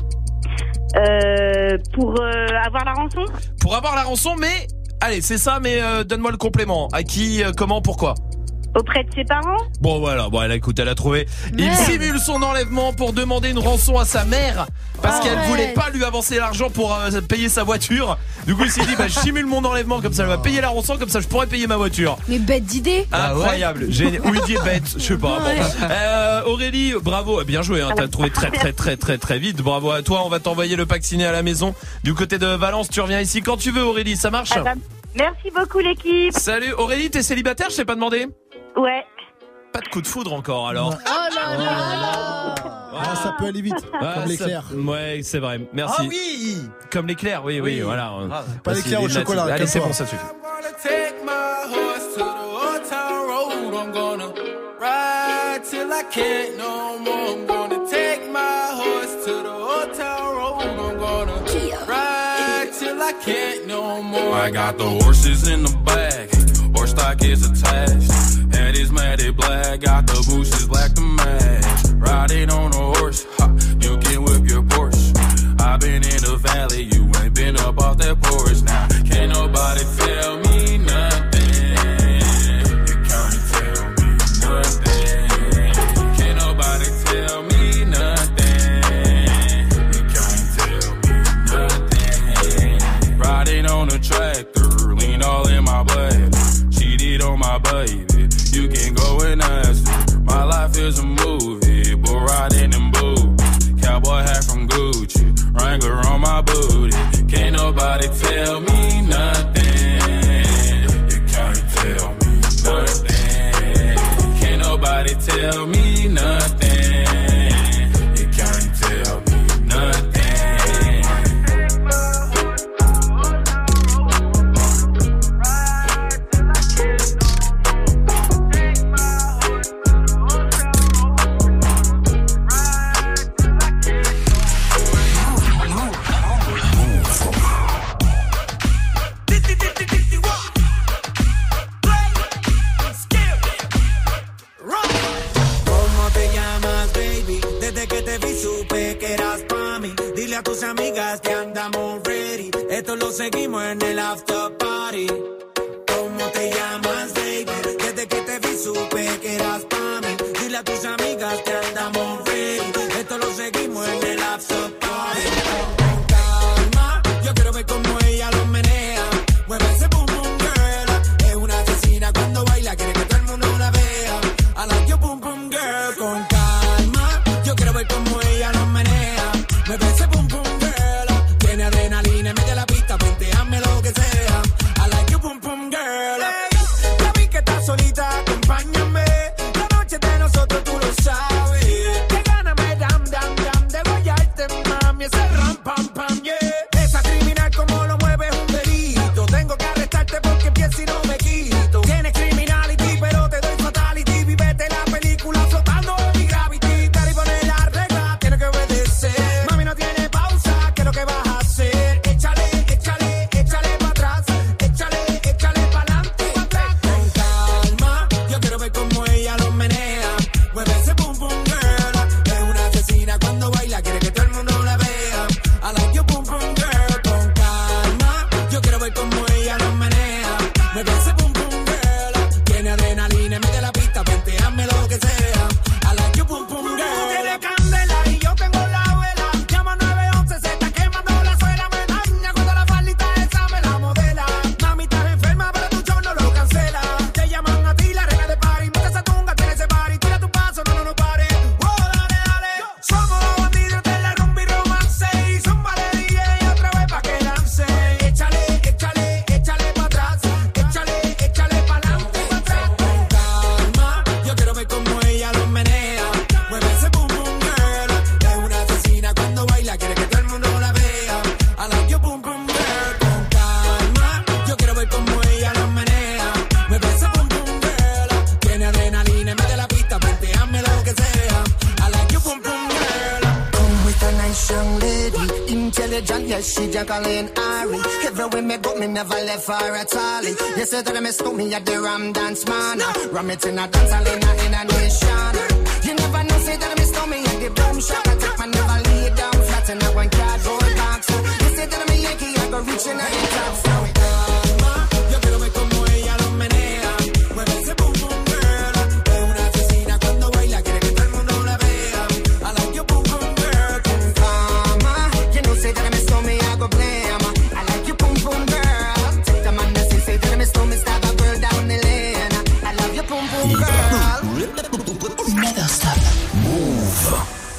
Speaker 13: Pour avoir la rançon.
Speaker 1: Pour avoir la rançon, mais... Allez, c'est ça, mais donne-moi le complément. À qui, comment, pourquoi?
Speaker 13: Auprès de ses parents.
Speaker 1: Bon voilà, écoute, elle a trouvé. Il simule son enlèvement pour demander une rançon à sa mère parce qu'elle voulait pas lui avancer l'argent pour payer sa voiture. Du coup, il s'est dit je simule mon enlèvement comme ça, elle va payer la rançon comme ça, je pourrais payer ma voiture.
Speaker 12: Mais bête d'idée.
Speaker 1: Incroyable. Ou il dit bête, je sais pas. Bon. Aurélie, bravo, bien joué. T'as trouvé très vite. Bravo à toi. On va t'envoyer le pack ciné à la maison du côté de Valence. Tu reviens ici quand tu veux, Aurélie. Ça marche?
Speaker 13: Merci beaucoup l'équipe.
Speaker 1: Salut Aurélie, t'es célibataire? Je t'ai pas demandé.
Speaker 13: Ouais.
Speaker 1: Pas de coup de foudre encore alors.
Speaker 12: Oh là là.
Speaker 5: Ah, ça peut aller vite, comme l'éclair.
Speaker 1: Ouais, c'est vrai. Merci.
Speaker 5: Ah oui.
Speaker 1: Comme l'éclair, oui, voilà.
Speaker 5: Pas l'éclair au chocolat.
Speaker 1: Allez, c'est bon, ça suffit.
Speaker 14: Take my horse to the old town road. I'm gonna ride till I can't no more. I'm gonna take my horse to the old town road. I'm gonna ride till I can't no more. I got the horses in the bag. Horse stock is attached. Head is matted black. Got the bushes black to match. Riding on a horse, ha, you can whip your Porsche. I've been in the valley, you ain't been up off that porch. Now tractor, lean all in my blood. Cheated on my baby, you can go and ask her. My life is a movie, bull riding in boots. Cowboy hat from Gucci, Wrangler on my booty. Can't nobody tell me nothing. You can't tell me nothing. Can't nobody tell me nothing. You can't tell me nothing.
Speaker 16: A tus amigas que andamos ready. Esto lo seguimos en el after party. ¿Cómo te llamas, baby? Desde que te vi supe que eras pa' mí. Dile a tus amigas que andamos ready. Esto lo seguimos en el after party. Con calma, yo quiero ver cómo ella lo menea. Mueve ese boom boom girl. Es una asesina cuando baila, quiere que todo el mundo la vea. I like your boom boom girl. Con calma, yo quiero ver cómo ella lo menea. Mueve ese boom boom girl. Tiene adrenalina en medio de la pista, venteame lo que sea. I like you boom boom girl. Hey, ya vi que estás solita, acompáñame. La noche de nosotros tú lo sabes. Que gana me dam dam dam de guayarte, mami. Ese ram pam pam yeah. Esa criminal como lo mueve es un delito. Tengo que arrestarte porque pienso y no me quito. Tienes criminality pero te doy fatality. Vivete la película flotando en mi gravity. Dale y poner la regla, tienes que obedecer. No tiene pausa, ¿qué es lo que vas a hacer? Échale, échale, échale para atrás. Échale, échale para adelante. Con calma, yo quiero ver cómo ella lo menea. Mueve ese boom boom girl. Es una asesina cuando baila, quiere que todo el mundo la vea. I like your boom boom girl. Con calma, yo quiero ver cómo ella lo menea. Mueve ese boom boom girl. Tiene adrenalina en medio de la pista, venteame lo que sea. I like your boom boom girl. Tiene candela y yo tengo la vela. Llama 911, se está quemando la suela. Me daña cuando la faldita esa me la modela. Mami, estás enferma, pero tu show no lo cancela. Te llaman a ti, la reina de party. Mete esa tunga, tiene ese party. Tira tu paso, no pare. Oh, dale, dale. Somos los bandidos de la rumba y romance. Y zúmbale DJ otra vez pa' que lance. Échale, échale, échale pa' atrás. Échale, échale pa' adelante. Con calma, yo quiero ver cómo ella lo menea. Mueve ese boom boom girl. Es una asesina cuando baila, quiere que todo el mundo la vea. I like your boom boom girl. Con calma, yo quiero ver cómo ella lo menea. Mueve ese boom boom girl. Tiene adrenalina en medio de la pista, venteame lo que sea. I like your boom boom girl.
Speaker 17: Come with a nice young lady, intelligent, yes, she Jacqueline Ari. Everywhere me go, me never left her at all. You say that I miss me at the Ram Dance Man. Ram it in a dance hall in a nation. You never know, say that I miss me at the Boom Shop. I take my never lay down flat in a one cardboard box. You say that I'm a Yankee, I go reaching out the top. So
Speaker 16: Calma, yo quiero ver cómo ella lo menea. Mueve ese boom boom girl. Es una asesina cuando baila, quiere que todo el mundo la vea. I like your boom boom girl.
Speaker 17: Con calma, you know, say that I miss me, I go blame. I like you boom boom girl. Take the man that say that I miss me, stab a girl down the lane. I love your boom boom girl.
Speaker 4: Never stop. Move.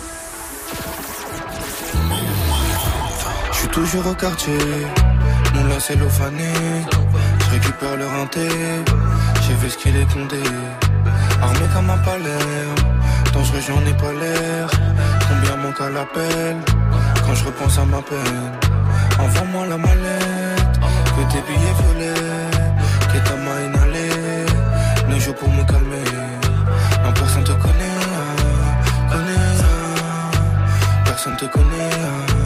Speaker 10: Je suis toujours au quartier, mon lacet l'ophané. Je récupère le renté, j'ai vu ce qu'il est condé. Armé comme un palais, dangereux j'en ai pas l'air. Combien manque à l'appel, quand je repense à ma peine. Envoie-moi la mallette, que tes billets violets, que ta main inhalée. Ne joue pour me calmer, non personne te connaît, personne te connaît.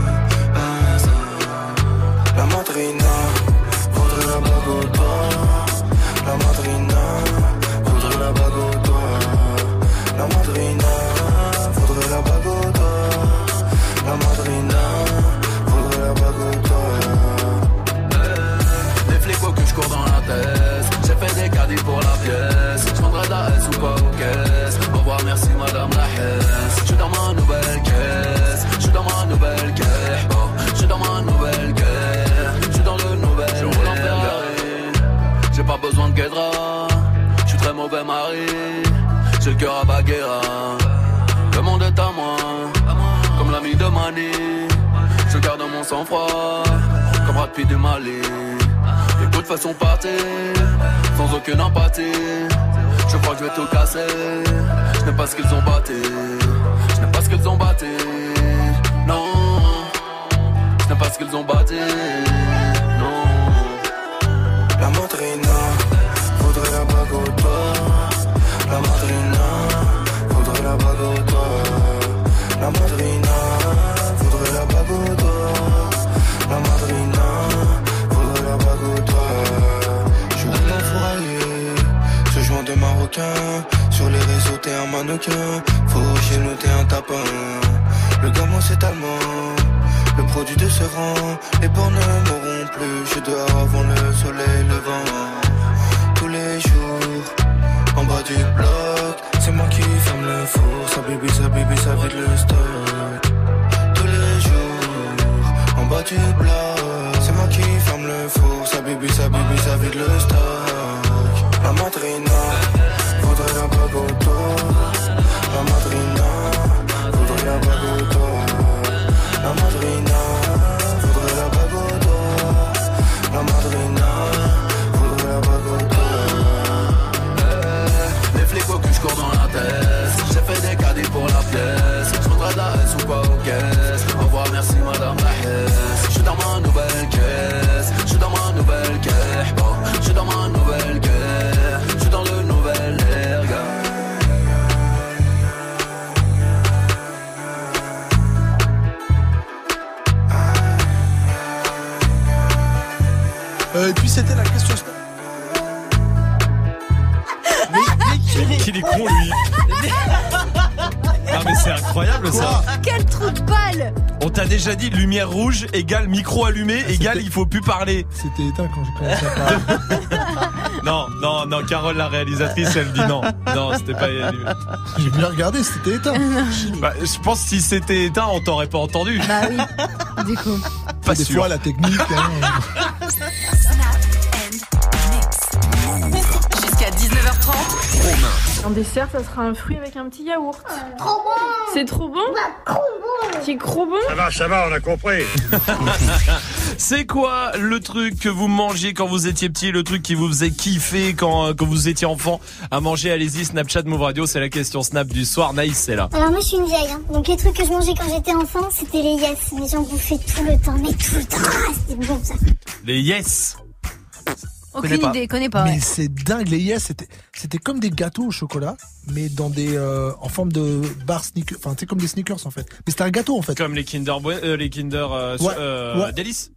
Speaker 10: La madrina voudrait la bague au doigt. La madrina voudrait la bague au doigt. La madrina voudrait la bague au doigt. La madrina voudrait la bague au doigt.
Speaker 9: cœur à Baguera. Le monde est à moi, comme l'ami de Mani. Je garde mon sang-froid, comme Brad Pitt du Mali. Les coups de façon partir, sans aucune empathie. Je crois que je vais tout casser. Je n'aime pas ce qu'ils ont battu. Je n'aime pas ce qu'ils ont battu. Non, je n'aime pas ce qu'ils ont battu. Non.
Speaker 10: La madrina voudrait la bague au doigt. La madrina voudrait la bague au doigt. La madrina voudrait la bague au doigt. La madrina voudrait la bague au doigt. Je suis un fourraillé, ce joint de marocain. Sur les réseaux t'es un mannequin. Faut chez nous t'es un tapin. Le gamin c'est allemand. Le produit de ce rang, les bords ne mourront plus. Je suis dehors avant le soleil levant. Tous les jours, en bas du bloc, c'est moi qui ferme le four. Ça bibi, ça vide le stock. Tous les jours, en bas du bloc, c'est moi qui ferme le four. Ça bibi, ça vide le stock. La madrina voudrait la bague au doigt. La madrina voudrait la bague au doigt. La madrina voudrait la bague au doigt. La madrina voudrait la bague au doigt.
Speaker 9: Les flics au cul, je cours dans la tête. J'ai fait des caddies pour la pièce. Je voudrais de la S ou pas aux caisses. Au revoir, merci madame la Hesse. Je suis dans ma nouvelle caisse. Je suis dans ma nouvelle caisse. Je suis dans ma nouvelle caisse. Je suis dans le nouvel air, gars.
Speaker 5: Et puis c'était la question.
Speaker 1: Mais qu'il est con lui. Non mais c'est incroyable ça.
Speaker 12: Quel trou de balle.
Speaker 1: On t'a déjà dit lumière rouge égale micro allumé égale il faut plus parler.
Speaker 5: C'était éteint quand j'ai commencé à parler.
Speaker 1: Non, Carole la réalisatrice elle dit non. Non, c'était pas allumé.
Speaker 5: J'ai bien regardé, c'était éteint.
Speaker 1: Bah, je pense que si c'était éteint, on t'aurait pas entendu.
Speaker 12: Bah oui. Du coup.
Speaker 1: Pas
Speaker 5: des
Speaker 1: sûr.
Speaker 5: fois la technique.
Speaker 18: Jusqu'à 19h30.
Speaker 19: En dessert, ça sera un fruit avec un petit yaourt.
Speaker 3: Trop bon.
Speaker 19: C'est trop bon?
Speaker 3: Trop bon.
Speaker 19: C'est trop bon?
Speaker 20: Ça va, on a compris.
Speaker 1: C'est quoi le truc que vous mangez quand vous étiez petit, le truc qui vous faisait kiffer quand vous étiez enfant à manger? Allez-y, Snapchat Move Radio, c'est la question Snap du soir. Naïs, c'est là.
Speaker 3: Alors moi je suis une vieille, hein. Donc les trucs que je mangeais quand j'étais enfant, c'était les yes. Mais j'en bouffais tout le temps, mais tout le temps. Ah, c'était bon ça.
Speaker 1: Les yes.
Speaker 12: Aucune idée, connais pas.
Speaker 5: Mais
Speaker 12: Ouais.
Speaker 5: c'est dingue, les yes, c'était comme des gâteaux au chocolat, mais dans des en forme de bar sneakers, enfin c'est comme des sneakers en fait. Mais c'était un gâteau en fait.
Speaker 1: Comme les Kinder
Speaker 5: Ouais.
Speaker 1: Délices.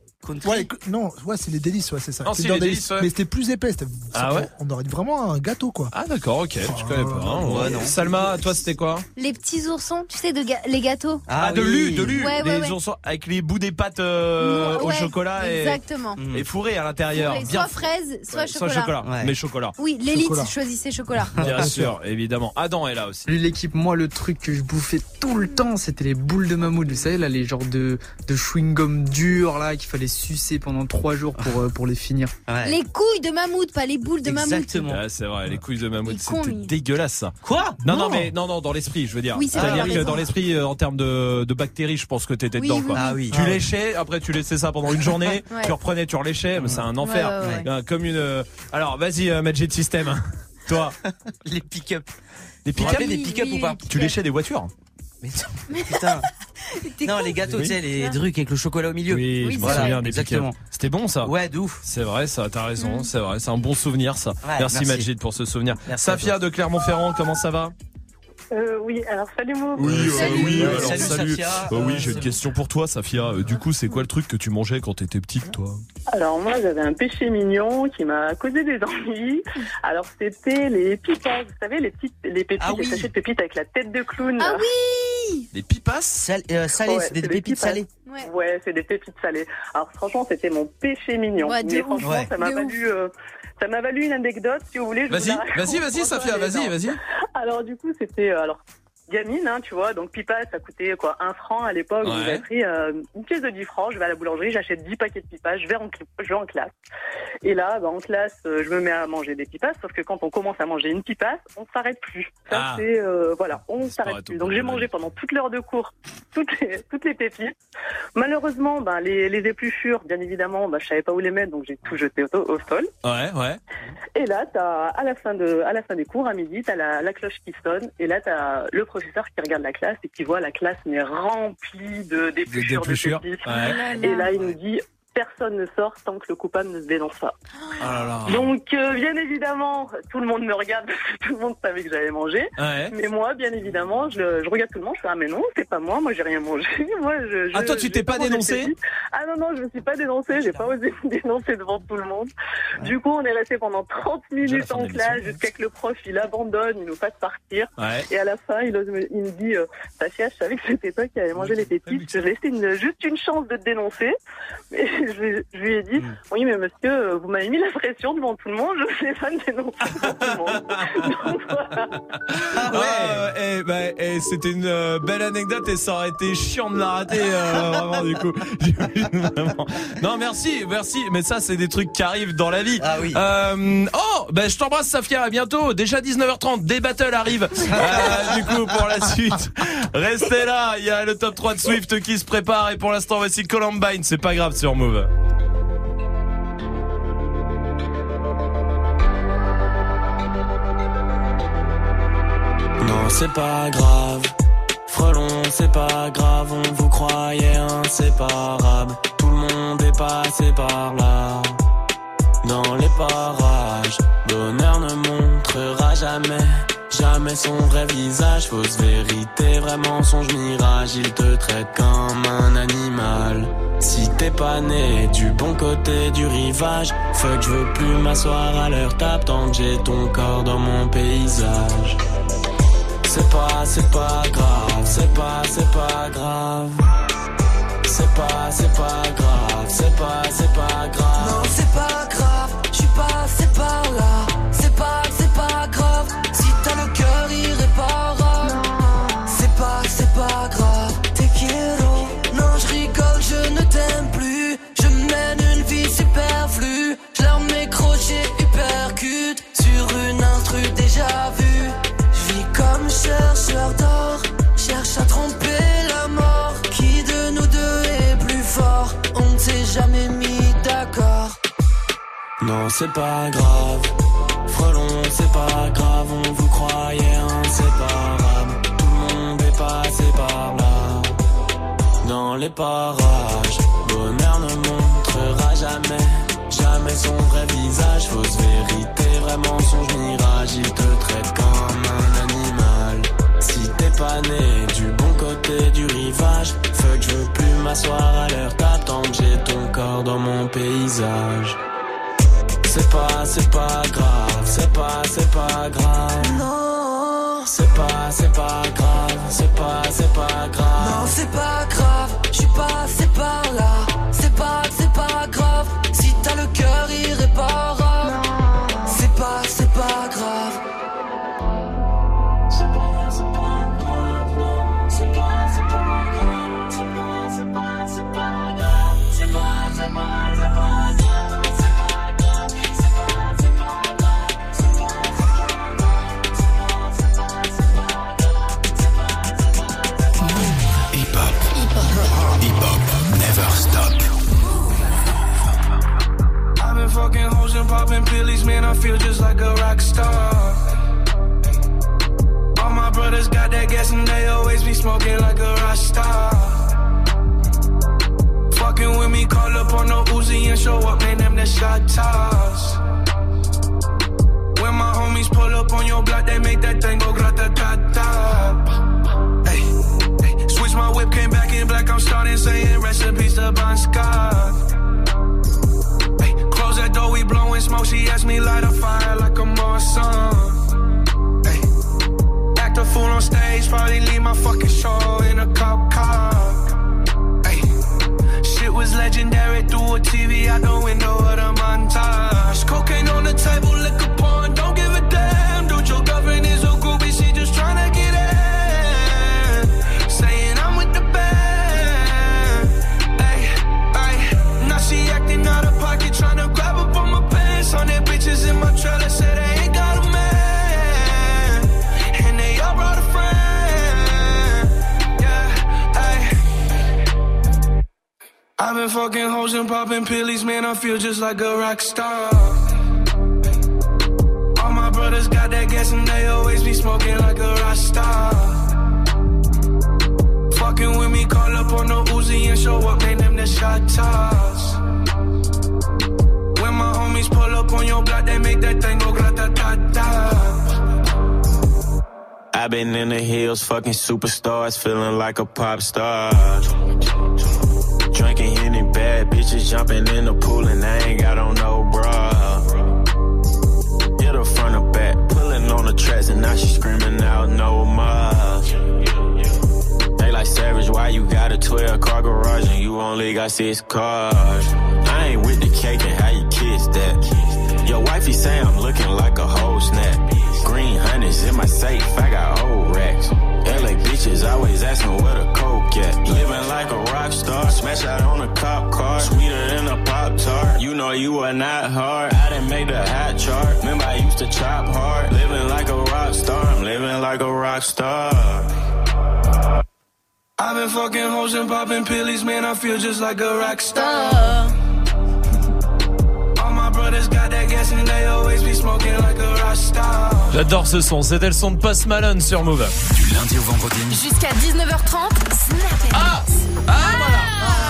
Speaker 5: C'est les délices, ouais, c'est ça.
Speaker 1: Non, si,
Speaker 5: Kinder
Speaker 1: les délices, ouais.
Speaker 5: Mais c'était plus épais.
Speaker 1: Ah ouais.
Speaker 5: On aurait dit vraiment un gâteau quoi.
Speaker 1: Ah d'accord, ok, je connais pas. Hein.
Speaker 11: Ouais, non.
Speaker 1: Salma, toi c'était quoi?
Speaker 12: Les petits oursons, tu sais, les gâteaux.
Speaker 1: De lu.
Speaker 12: Ouais,
Speaker 1: les
Speaker 12: ouais.
Speaker 1: oursons avec les bouts des pâtes au
Speaker 12: Ouais,
Speaker 1: chocolat
Speaker 12: exactement.
Speaker 1: et fourrés à l'intérieur.
Speaker 12: Fourré,
Speaker 1: Bien
Speaker 12: soit fraise, soit chocolat.
Speaker 1: Soit chocolat,
Speaker 11: Ouais.
Speaker 1: mais chocolat.
Speaker 12: Oui, l'élite
Speaker 5: Chocolat.
Speaker 12: choisissait chocolat.
Speaker 1: Bien sûr, évidemment. Adam est là aussi.
Speaker 21: Lui, l'équipe, moi, le truc que je bouffais tout le temps, c'était les boules de mammouth. Vous savez, là, les genres de chewing-gum durs, là, qu'il fallait sucer pendant 3 jours pour les finir.
Speaker 11: Ouais.
Speaker 12: Les couilles de mammouth, pas les boules de mammouth.
Speaker 11: Exactement.
Speaker 1: Ah, c'est vrai, les couilles de mammouth,
Speaker 12: Il est con,
Speaker 1: c'était
Speaker 12: lui.
Speaker 1: dégueulasse ça.
Speaker 11: Quoi?
Speaker 1: Non, dans l'esprit, je veux dire.
Speaker 12: Oui, c'est
Speaker 1: C'est-à-dire
Speaker 12: vrai,
Speaker 1: que
Speaker 12: raison.
Speaker 1: dans l'esprit, en termes de bactéries, je pense que t'étais
Speaker 12: Oui,
Speaker 1: dedans,
Speaker 12: oui,
Speaker 1: quoi.
Speaker 12: oui.
Speaker 11: Ah oui.
Speaker 1: Tu léchais, après tu laissais ça pendant une journée,
Speaker 12: Ouais.
Speaker 1: tu reprenais, tu reléchais, mais c'est un enfer.
Speaker 12: Ouais, ouais.
Speaker 1: Comme une. Alors, vas-y, Magic System. Toi,
Speaker 11: Les pick-up.
Speaker 1: les
Speaker 11: Vous vous
Speaker 1: pick-up,
Speaker 11: rappelez des pick-up ou pas?
Speaker 1: tu léchais des voitures.
Speaker 11: Mais putain. Non, les gâteaux,
Speaker 1: Oui.
Speaker 11: tu sais, les trucs avec le chocolat au milieu.
Speaker 1: Oui,
Speaker 12: Oui,
Speaker 1: je me
Speaker 12: c'est
Speaker 1: souviens
Speaker 12: vrai.
Speaker 1: des
Speaker 11: Exactement.
Speaker 1: pick-up. C'était bon ça.
Speaker 11: Ouais, de ouf.
Speaker 1: C'est vrai, ça, t'as raison, c'est vrai, c'est un bon souvenir ça.
Speaker 11: Ouais,
Speaker 1: merci
Speaker 11: merci.
Speaker 1: Majid pour ce souvenir.
Speaker 11: Merci à
Speaker 1: Safia de Clermont-Ferrand, comment ça va?
Speaker 15: Oui, alors salut Mou.
Speaker 1: Oui,
Speaker 11: Salut, Safia.
Speaker 1: oui, j'ai une question pour toi, Safia. Du coup, c'est quoi le truc que tu mangeais quand t'étais petite, toi?
Speaker 15: Alors moi j'avais un péché mignon qui m'a causé des ennuis. Alors c'était les pipas, vous savez les pépites,
Speaker 11: Ah oui.
Speaker 15: les sachets de pépites avec la tête de clown.
Speaker 12: Ah oui.
Speaker 1: Les pipas?
Speaker 11: Salé,
Speaker 15: Ouais,
Speaker 11: c'est des
Speaker 15: c'est
Speaker 11: pépites
Speaker 15: pipas.
Speaker 11: salées.
Speaker 12: Ouais.
Speaker 15: Ouais, c'est des pépites salées. Alors franchement c'était mon péché mignon.
Speaker 12: Ouais, de
Speaker 15: Mais
Speaker 12: ouf.
Speaker 15: franchement
Speaker 11: Ouais.
Speaker 15: ça m'a
Speaker 12: De
Speaker 15: valu. Ça m'a valu une anecdote si vous voulez. je vous la raconte.
Speaker 1: Vas-y, Safia, vas-y.
Speaker 15: Alors du coup c'était
Speaker 20: gamine, hein, tu vois, donc pipa, ça coûtait quoi, 1 franc à l'époque.
Speaker 1: Ouais.
Speaker 20: Donc j'avais pris une pièce de 10 francs, je vais à la boulangerie, j'achète 10 paquets de pipas, je vais en classe. Et là, en classe, je me mets à manger des pipas, sauf que quand on commence à manger une pipasse, on s'arrête plus. Ça, c'est, voilà, on s'arrête plus. Donc j'ai mangé pendant toute l'heure de cours toutes les pépites. Malheureusement, les épluchures, bien évidemment, je savais pas où les mettre, donc j'ai tout jeté au sol.
Speaker 1: Ouais.
Speaker 20: Et là, à la fin des cours, à midi, t'as la cloche qui sonne, et là, t'as le professeur qui regarde la classe et qui voit la classe mais remplie d'épluchures de pépites.
Speaker 1: Ouais.
Speaker 20: Et là, il nous dit, personne ne sort tant que le coupable ne se dénonce pas.
Speaker 1: Oh là là.
Speaker 20: Donc, bien évidemment, tout le monde me regarde parce que tout le monde savait que j'avais mangé.
Speaker 1: Ouais.
Speaker 20: Mais moi, bien évidemment, je regarde tout le monde, je fais, ah mais non, c'est pas moi j'ai rien mangé. Moi,
Speaker 1: toi, tu t'es pas dénoncé?
Speaker 20: Ah non, je me suis pas dénoncé, j'ai pas osé me dénoncer devant tout le monde. Du coup, on est resté pendant 30 minutes en classe jusqu'à que le prof, il abandonne, il nous fasse partir. Ouais. Et à la fin, il me dit, Safia, je savais que c'était toi qui avais mangé les pépites, je vais laisser juste une chance de te dénoncer. Et je lui ai dit, oui, mais monsieur, vous m'avez mis la pression devant tout le monde, je ne sais pas me dénoncer devant tout le monde. Donc, voilà.
Speaker 1: C'était une belle anecdote et ça aurait été chiant de la rater, vraiment, du coup. Vraiment. Non, merci, mais ça, c'est des trucs qui arrivent dans la vie.
Speaker 11: Ah oui.
Speaker 1: Je t'embrasse, Safia, à bientôt. Déjà 19h30, des battles arrivent, du coup, pour la suite. Restez là, il y a le top 3 de Swift qui se prépare et pour l'instant, voici Columbine, c'est pas grave sur Move.
Speaker 7: Non, c'est pas grave. Frelon, c'est pas grave. On vous croyait inséparables. Tout le monde est passé par là. Dans les parages, bonheur ne montrera jamais son vrai visage. Fausse vérité, vrai mensonge, mirage. Il te traite comme un animal. Si t'es pas né du bon côté du rivage, fuck, je veux plus m'asseoir à leur table tant que j'ai ton corps dans mon paysage. C'est pas grave, c'est pas grave. C'est pas grave, c'est pas grave.
Speaker 22: Non, c'est pas grave, je suis passé par là. C'est pas grave, si t'as le cœur irréparable. C'est pas grave, te quiero. Non, je rigole, je ne t'aime plus. Je mène une vie superflue. Je leur mets crochet, uppercut sur une instru déjà vue. Je vis comme chercheur d'or, cherche à tromper la mort. Qui de nous deux est plus fort? On ne s'est jamais mis d'accord.
Speaker 7: Non, c'est pas grave. Frelon, c'est pas grave. On vous croyait inséparables. Tout le monde est passé par là. Dans les parages, bonheur ne montrera jamais son vrai visage. Fausse vérité, vrai mensonge, mirage. Il te traite comme un animal. Si t'es pas né du bon côté du rivage, fuck, je veux plus m'asseoir à leur table tant que j'ai ton corps dans mon paysage. C'est pas grave, c'est pas grave.
Speaker 22: Non,
Speaker 7: c'est pas grave, c'est pas grave.
Speaker 22: Non, c'est pas grave, je suis passé par là. C'est pas grave, si t'as le cœur irréparable. C'est pas grave.
Speaker 2: Fucking hoes and popping pillies, man, I feel just like a rock star. All my brothers got that gas and they always be smoking like a rock star. Fucking with me, call up on no Uzi and show up, man, them the shot toss. When my homies pull up on your block, they make that thing go grata-ta-ta. Hey, switch my whip, came back in black, I'm starting saying recipes to Bon Scott. That door, we blowing smoke. She asked me light a fire like a Marsan. Hey, act a fool on stage, probably leave my fucking show in a cop car. Hey, shit was legendary through a TV out the window of the montage. Cocaine on the table, liquor porn, don't give a damn. Dude, your girlfriend is a groupie, she just tryna get in.
Speaker 10: been fucking hoes and popping pillies, man, I feel just like a rock star. All my brothers got that gas and they always be smoking like a rock star. Fucking with me, call up on the Uzi and show up, name them the shot toss. When my homies pull up on your block, they make that thing go grata-ta-ta.
Speaker 6: I've been in the hills, fucking superstars, feeling like a pop star. Drinking any bad bitches, jumping in the pool, and I ain't got on no bra. Hit her front or back, pulling on the tracks, and now she screaming out no more. They like Savage, why you got a 12-car garage and you only got 6 cars? I ain't with the cake and how you kiss that. Your wifey say I'm looking like a whole snap. Green honey's in my safe, I got old racks. LA bitches always asking where the coke at. Living like a rock star, smash out on a cop car. Sweeter than a Pop-Tart, you know you are not hard. I done made the hot chart, remember I used to chop hard. Living like a rock star, I'm living like a rock star.
Speaker 10: I've been fucking hoes and popping pillies, man, I feel just like a rock star. All my brothers got that gas and they always be smoking like a rock star.
Speaker 1: J'adore ce son, c'était le son de Post Malone sur Move.
Speaker 4: Du lundi au vendredi.
Speaker 18: Jusqu'à 19h30, Snap.
Speaker 1: Voilà.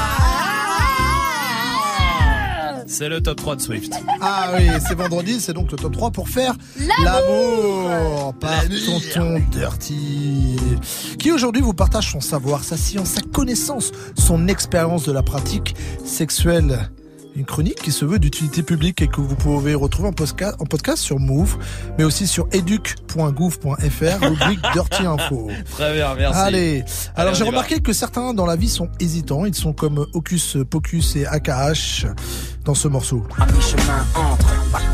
Speaker 1: C'est le top 3 de Swift.
Speaker 5: Ah oui, c'est vendredi, c'est donc le top 3 pour faire l'amour par Tonton Dirty, qui aujourd'hui vous partage son savoir, sa science, sa connaissance, son expérience de la pratique sexuelle. Une chronique qui se veut d'utilité publique et que vous pouvez retrouver en podcast sur Move, mais aussi sur educ.gouv.fr, rubrique Dirty Info.
Speaker 1: Très bien, merci.
Speaker 5: Allez, alors j'ai remarqué que certains dans la vie sont hésitants. Ils sont comme Hocus Pocus et AKH dans ce morceau.
Speaker 17: À mi-chemin entre.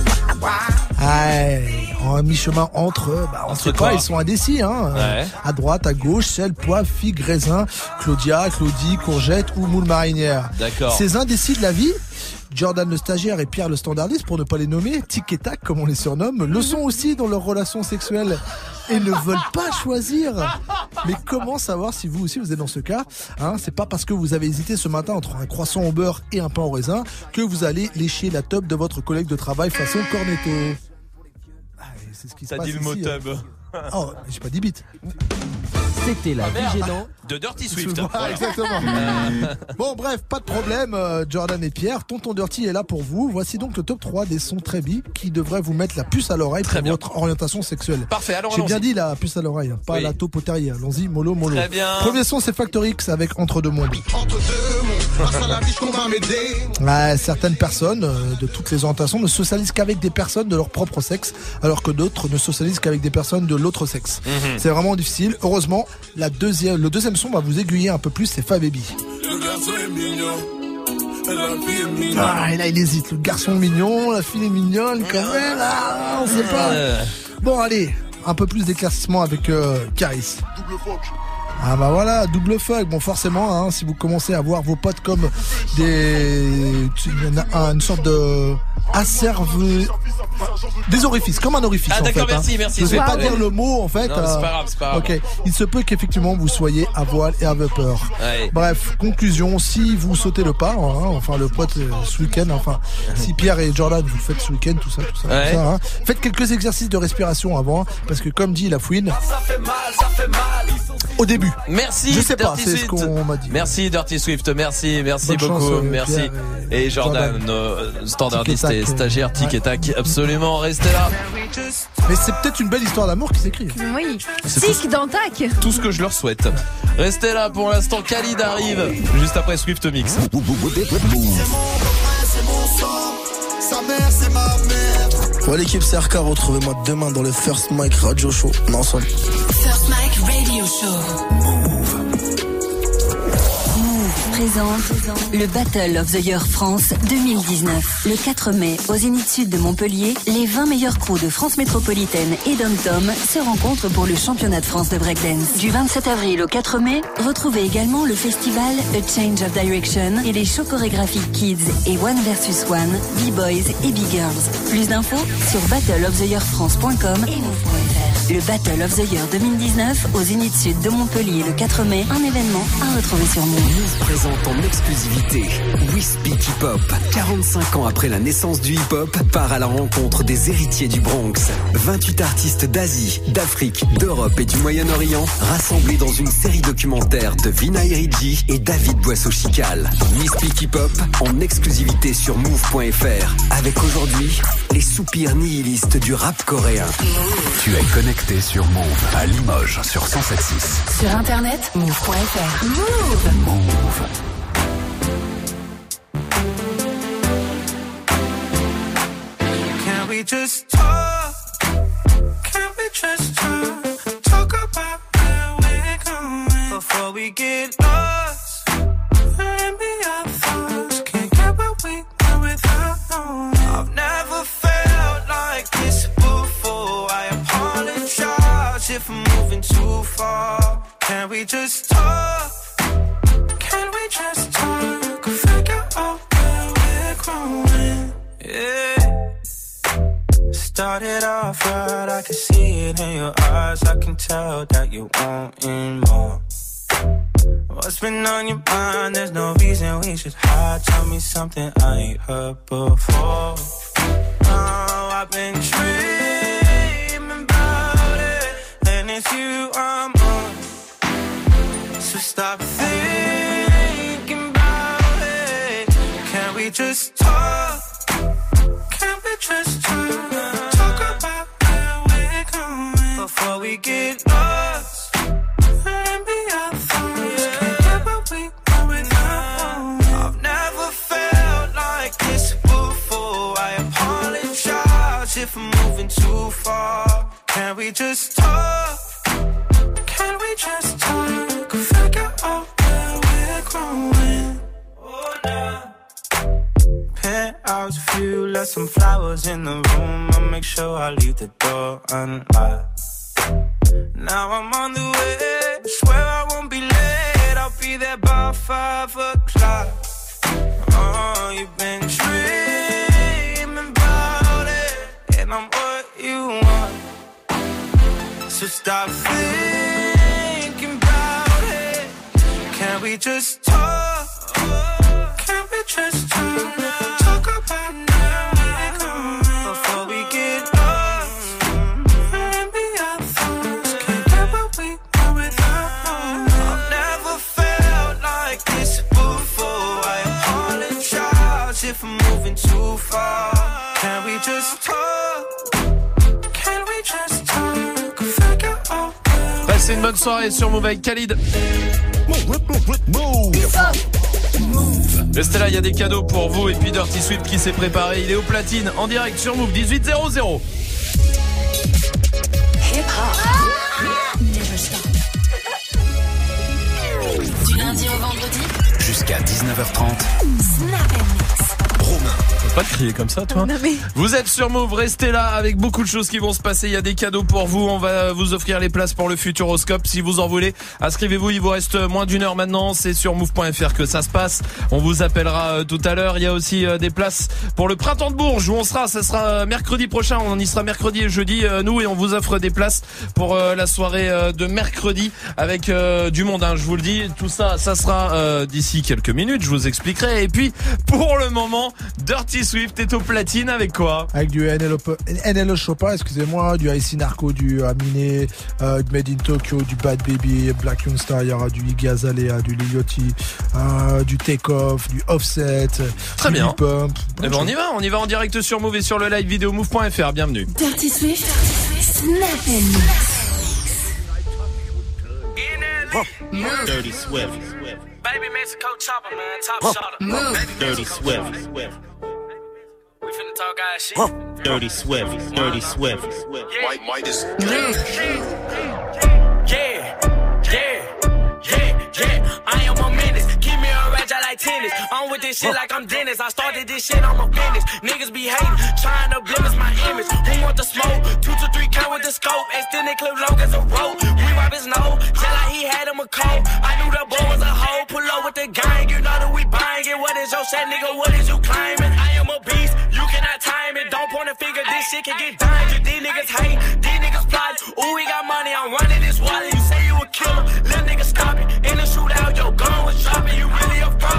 Speaker 5: En mi-chemin entre, on sait pas, ils sont indécis, hein.
Speaker 1: Ouais.
Speaker 5: À droite, à gauche, sel, poivre, figue, raisin, Claudia, Claudie, courgette ou moule marinière.
Speaker 1: D'accord.
Speaker 5: Ces indécis de la vie, Jordan le stagiaire et Pierre le standardiste, pour ne pas les nommer, tic et tac comme on les surnomme, le sont aussi dans leurs relations sexuelles et ne veulent pas choisir. Mais comment savoir si vous aussi vous êtes dans ce cas, hein? C'est pas parce que vous avez hésité ce matin entre un croissant au beurre et un pain au raisin que vous allez lécher la teub de votre collègue de travail façon cornetto. C'est ce qui se passe ici.
Speaker 1: T'as dit le mot tub.
Speaker 5: Oh, j'ai pas dit bite.
Speaker 8: C'était la vie gênante
Speaker 1: de Dirty Swift.
Speaker 5: Voilà. Exactement. Bon, bref, pas de problème. Jordan et Pierre, Tonton Dirty est là pour vous. Voici donc le top 3 des sons très bi qui devraient vous mettre la puce à l'oreille pour votre orientation sexuelle.
Speaker 1: Parfait, alors
Speaker 5: j'ai bien dit la puce à l'oreille, pas la taupe au terrier. Allons-y, mollo.
Speaker 1: Très bien.
Speaker 5: Premier son, c'est Factor X avec Entre deux mondes.
Speaker 10: Entre deux mondes, face à la vie, qu'on va m'aider.
Speaker 5: Certaines personnes de toutes les orientations ne socialisent qu'avec des personnes de leur propre sexe, alors que d'autres ne socialisent qu'avec des personnes de l'autre sexe. C'est vraiment difficile. Heureusement, le deuxième son va vous aiguiller un peu plus, c'est Fa Baby.
Speaker 10: Le garçon est mignon, et la fille est mignonne.
Speaker 5: Et là il hésite, le garçon mignon, la fille est mignonne quand même, on sait pas. Bon allez, un peu plus d'éclaircissement avec Caris.
Speaker 10: Double fuck.
Speaker 5: Ah bah voilà, double fuck. Bon forcément, hein, si vous commencez à voir vos potes comme une sorte de des orifices, comme un orifice en fait.
Speaker 1: D'accord, merci.
Speaker 5: Je sais pas dire le mot en fait.
Speaker 1: Non, c'est pas grave.
Speaker 5: Ok, il se peut qu'effectivement vous soyez à voile et à vapeur.
Speaker 1: Ouais.
Speaker 5: Bref, conclusion, si vous sautez le pas, enfin le pote ce week-end, si Pierre et Jordan vous le faites ce week-end, tout ça, faites quelques exercices de respiration avant, parce que comme dit la fouine,
Speaker 10: ça fait mal.
Speaker 5: Au début.
Speaker 1: Merci.
Speaker 5: Je sais pas,
Speaker 1: Dirty
Speaker 5: c'est
Speaker 1: Swift.
Speaker 5: Ce qu'on m'a dit.
Speaker 1: Merci Dirty Swift, merci
Speaker 5: Bonne
Speaker 1: beaucoup,
Speaker 5: chance,
Speaker 1: merci.
Speaker 5: Pierre
Speaker 1: Et Jordan, standardiste et stagiaire, tic et tac, absolument, restez là.
Speaker 5: Mais c'est peut-être une belle histoire d'amour qui s'écrit.
Speaker 12: Oui.
Speaker 1: C'est
Speaker 12: Tic dans tac.
Speaker 1: Tout ce que je leur souhaite. Restez là pour l'instant, Khalid arrive juste après Swift Mix.
Speaker 10: C'est mon sang, sa mère c'est ma mère.
Speaker 23: Ouais l'équipe c'est RK, retrouvez-moi demain dans le First Mike Radio Show. Non, ensemble.
Speaker 18: First Mike Radio Show. Présente le Battle of the Year France 2019. Le 4 mai, au Zénith Sud de Montpellier, les 20 meilleurs crews de France métropolitaine et Dom-Tom se rencontrent pour le championnat de France de breakdance. Du 27 avril au 4 mai, retrouvez également le festival A Change of Direction et les shows chorégraphiques Kids et One vs One, B-Boys et B-Girls. Plus d'infos sur battleoftheyearfrance.com et move.fr. Le Battle of the Year 2019 au Zénith Sud de Montpellier le 4 mai, un événement à retrouver sur Move.
Speaker 8: Présente
Speaker 13: présente en exclusivité We Speak Hip Hop. 45 ans après la naissance du hip-hop, part à la rencontre des héritiers du Bronx. 28 artistes d'Asie, d'Afrique, d'Europe et du Moyen-Orient rassemblés dans une série documentaire de Vina Iridji et David Boisseau-Chical. We Speak Hip Hop en exclusivité sur Move.fr. Avec aujourd'hui les soupirs nihilistes du rap coréen.
Speaker 4: Tu es connecté sur Move à Limoges sur 107.6.
Speaker 18: Sur internet, move.fr. Move.
Speaker 4: Move.
Speaker 2: Can we just talk? Can we just talk about where we're going before we get lost? Let me our thoughts. Can't get what we want without knowing. I've never felt like this before. I apologize if I'm moving too far. Can we just talk? Can we just talk? Figure out where we're growing. Yeah. Started off right, I can see it in your eyes. I can tell that you wanting more. What's been on your mind? There's no reason we should hide. Tell me something I ain't heard before. Oh, I've been dreaming about it, and it's you I'm on. So stop thinking about it. Can we just talk? Can we just talk? Talk about where we're going before we get lost. And be our thoughts. Can't get what we want without. I've never felt like this before. I apologize if I'm moving too far. Can we just talk? Can we just talk? Figure out where we're growing. Oh, no. Penthouse view, left some flowers in the room. I'll make sure I leave the door unlocked. Now I'm on the way, swear I won't be late. I'll be there by 5 o'clock. Oh, you've been dreaming about it, and I'm what you want. So stop thinking about it. Can we just talk? Can we just talk? Talk about where we're going before we get lost. And be our thoughts. Can't get what we want without. I've never felt like this before. I apologize if I'm moving too far. Can we just talk? Can we just talk? Figure out.
Speaker 1: Passez une bonne soirée sur Move avec Khalid. Restez là, il y a des cadeaux pour vous. Et puis Dirty Swift qui s'est préparé, il est au platine en direct sur Move 1800.
Speaker 18: Du lundi au vendredi
Speaker 4: jusqu'à 19h30.
Speaker 18: Snap and Mix.
Speaker 4: Romain.
Speaker 1: Pas de crier comme ça, toi.
Speaker 12: Non, mais...
Speaker 1: Vous êtes sur Move, restez là avec beaucoup de choses qui vont se passer. Il y a des cadeaux pour vous. On va vous offrir les places pour le Futuroscope si vous en voulez. Inscrivez-vous, il vous reste moins d'une heure maintenant. C'est sur move.fr que ça se passe. On vous appellera tout à l'heure. Il y a aussi des places pour le Printemps de Bourges où on sera. Ça sera mercredi prochain. On y sera mercredi et jeudi, nous, et on vous offre des places pour la soirée de mercredi avec du monde, hein, je vous le dis. Tout ça, ça sera d'ici quelques minutes. Je vous expliquerai. Et puis, pour le moment, Dirty Swift est au platine avec quoi?
Speaker 5: Avec du NLO Chopin, excusez-moi, du IC Narco, du Aminé, du Made in Tokyo, du Bad Baby, Black Youngstar, il y aura du Iggy Azalea, du Lil Yachty, du Take Off, du Offset,
Speaker 1: très
Speaker 5: du
Speaker 1: bien.
Speaker 5: Pump.
Speaker 1: Eh ben on y va en direct sur Move et sur le live vidéo move.fr. Bienvenue.
Speaker 18: Dirty Swift, Snap and Mix.
Speaker 14: Dirty Swift. Baby Mexico chopper, man, top shotter. Dirty Swift. We finna talk guys shit. Dirty Swift. Dirty Swift. Midas. Yeah. I am a menace. Keep me a ratchet like tennis. I'm with this shit like I'm Dennis. I started this shit, I'm a business. Niggas be hating, trying to blemish my image. Who want the smoke? 2 to 3 count with the scope. Extended clip long as a rope. We wipe his nose, just like he had him a cold. I knew the boy was a hoe. Pull up with the gang, you know that we buying it. What is your shit, nigga? What is you claiming? I am a beast, you cannot time it. Don't point a finger, this shit can get dangerous. These niggas hate, these niggas plot. Ooh, we got money, I'm running this wallet. You say you a killer, little nigga stop it. In the shootout, your gun was dropping. You really a fraud.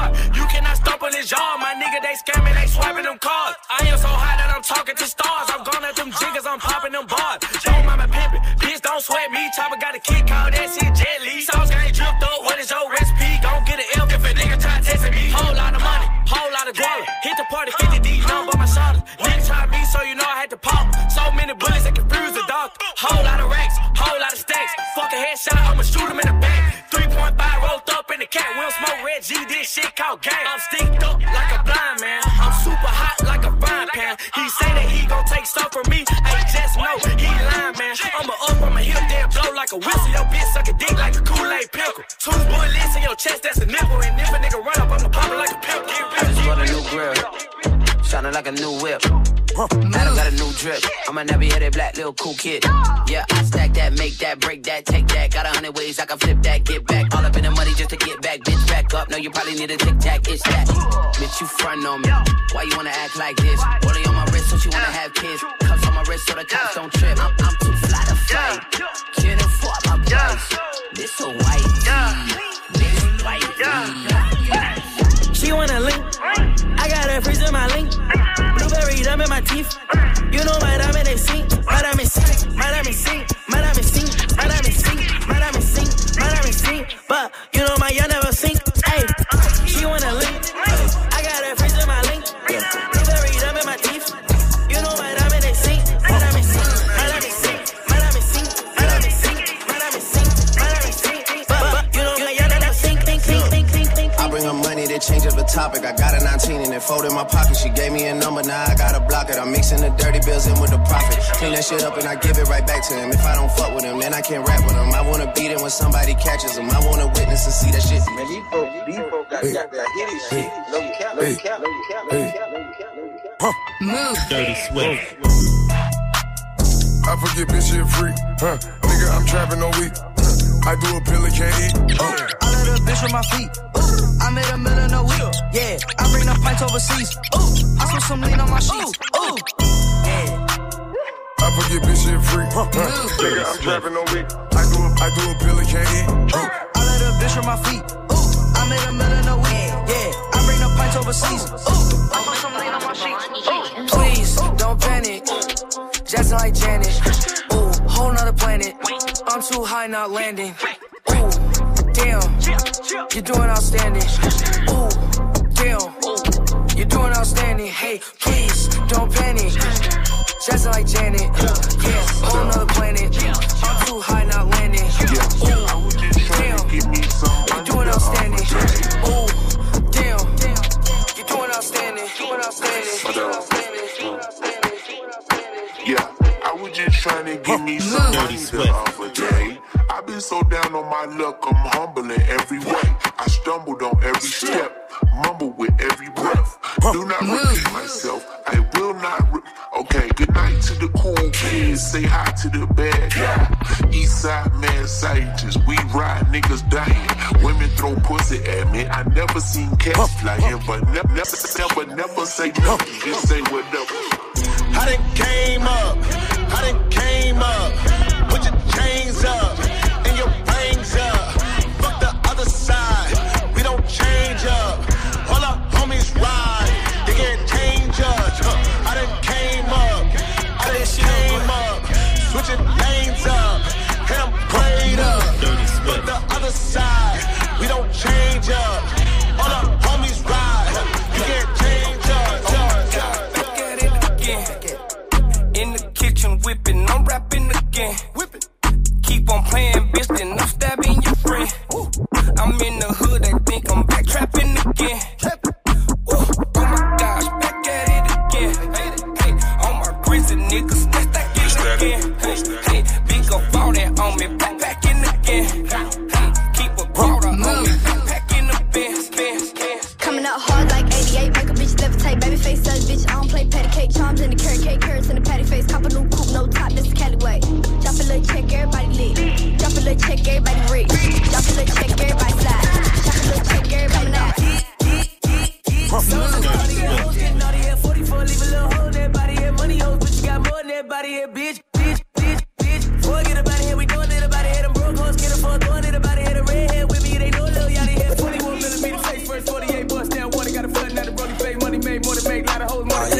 Speaker 14: them cards. I am so high that I'm talking to stars. I'm gone at them jiggers, I'm popping them bars. Don't mind my pimpin', bitch, don't sweat me. Chopper got a kick, call that shit Jet Li. Sauce gang dripped up, what is your recipe? Gon' get an L if a nigga try testing me. Whole lot of money, whole lot of guala. Hit the party, 50 D, none but my shoulders. Nigga try me, so you know I had to pop. So many bullets that confuse the doctor. Whole lot of racks, whole lot of stacks. Fuck a headshot, I'ma shoot him in the back. 3.5 rolled up in the cat. We don't smoke Red G, this shit called gang. I'm sticked up like a blind man. I'm super hot like a frying pan. He say that he gon' take stuff from me. I just know he lying, man. I'ma up on my hip, then blow like a whistle. Your bitch suck a dick like a Kool-Aid pickle. 2 bullets in your chest, that's a nipple. And if a nigga run up, I'ma pop it like a pimple.
Speaker 9: I just bought a new grill, shining like a new whip. Adam got a new drip. I'm a nappy-headed black little cool kid. Yeah, I stack that, make that, break that, take that. Got 100 ways I can flip that, get back. All up in the money just to get back, bitch, back up. No, you probably need a tic-tac, it's that. Bitch, you front on me. Why you wanna act like this? Rolling on my wrist, so she wanna have kids. Cuffs on my wrist so the cops don't trip. I'm too fly to fight. Can't afford my price. This a white this white
Speaker 14: She wanna link. I got her freezing my link. Blueberry dumb in my teeth. You know my diamond they sink. My diamond sink. My diamond sink. My diamond sink. My diamond sink. My diamond sink. My diamond sink. But you know my young never sink. Hey, she wanna link. I got her freezing my link. Blueberry dumb in my teeth. You know my diamond they sink. My diamond sink. My diamond sink. My diamond sink. My diamond sink. My diamond sink. My diamond sink. But you know my young never sink.
Speaker 23: I bring her money to change up the topic. I got a 19 and it folded in my pocket. She gave me a number, now I gotta block it. I'm mixing the dirty bills in with the profit. Clean that shit up and I give it right back to him. If I don't fuck with him, then I can't rap with him. I wanna beat him when somebody catches him. I wanna witness and see that shit. Man, these folks got that hitty shit. No cap, no cap, no cap, no cap, no cap.
Speaker 14: Move.
Speaker 16: Dirty Swift. I forget bitch shit free. Nigga, I'm trapping all week. I do a pill and can't eat.
Speaker 19: I let a bitch on my feet. I made $1 million a week. Yeah, I bring the pints overseas. I spent some lean on my sheets. Yeah.
Speaker 16: I forget bitch shit free. Nigga, I'm trapping all week. I do a pill and can't eat.
Speaker 19: I let a bitch on my feet. I made $1 million a week. Yeah, I bring the pints overseas. I spent some lean on my sheets. Please, don't panic. Jackson like Janet. Ooh, whole nother planet. I'm too high, not landing. Ooh, damn, you're doing outstanding. Ooh, damn, you're doing outstanding. Hey, please, don't panic. Jackson like Janet. Yeah, whole nother planet. I'm too high, not landing. Ooh, damn, you're doing outstanding. Ooh, damn, you're doing outstanding.
Speaker 16: Yeah, I was just trying to give me some money the other day. I've been so down on my luck, I'm humble in every way. I stumbled on every step, mumble with every breath. Do not repeat myself, I will not okay, good night to the cool kids, say hi to the bad guy. Eastside mad scientists, we ride niggas dying. Women throw pussy at me, I never seen cats flying. But never say nothing, just say whatever.
Speaker 24: I done came up, put your chains up, and your rings up, fuck the other side, we don't change up, all our homies ride, they can't change us, I done came up, switching lanes up, and I'm prayed up, fuck the other side, we don't change up, all our homies ride, you can't change us.
Speaker 22: Look at it again. In the kitchen whipping, I'm rapping again. Keep on playing, bitch, then I'm stabbing your friend. I'm in the hood, I think I'm back trapping again. Oh my gosh, back at it again. Hey, on my grizzly niggas, that's that again. Hey, big up all that on me, backpacking again. Hey, keep a quarter on me, backpacking the Benz.
Speaker 3: Coming out hard like 88, make a bitch levitate, baby face such bitch. I don't play patty cake, charms in the carrot cake, carrots in the patty face. Cop a new coupe, no top, this is Cali way. Drop a little check, everybody lit. Drop a little check, everybody rich. Drop a little check, everybody slide. Drop a little check, everybody out.
Speaker 22: Getting out of here, 44, leave a little hole in that body here. Money hoes, but you got more than that body here, bitch. Boy, get up out of here, we doing it about it. Them broke hoes, get up for throwing it about it. The redhead with me, they know Lil Yachty here. 21 millimeter face, first 48 bust down water. Got a flood, now the brody face. Money made, more than make, lot of hoes, money.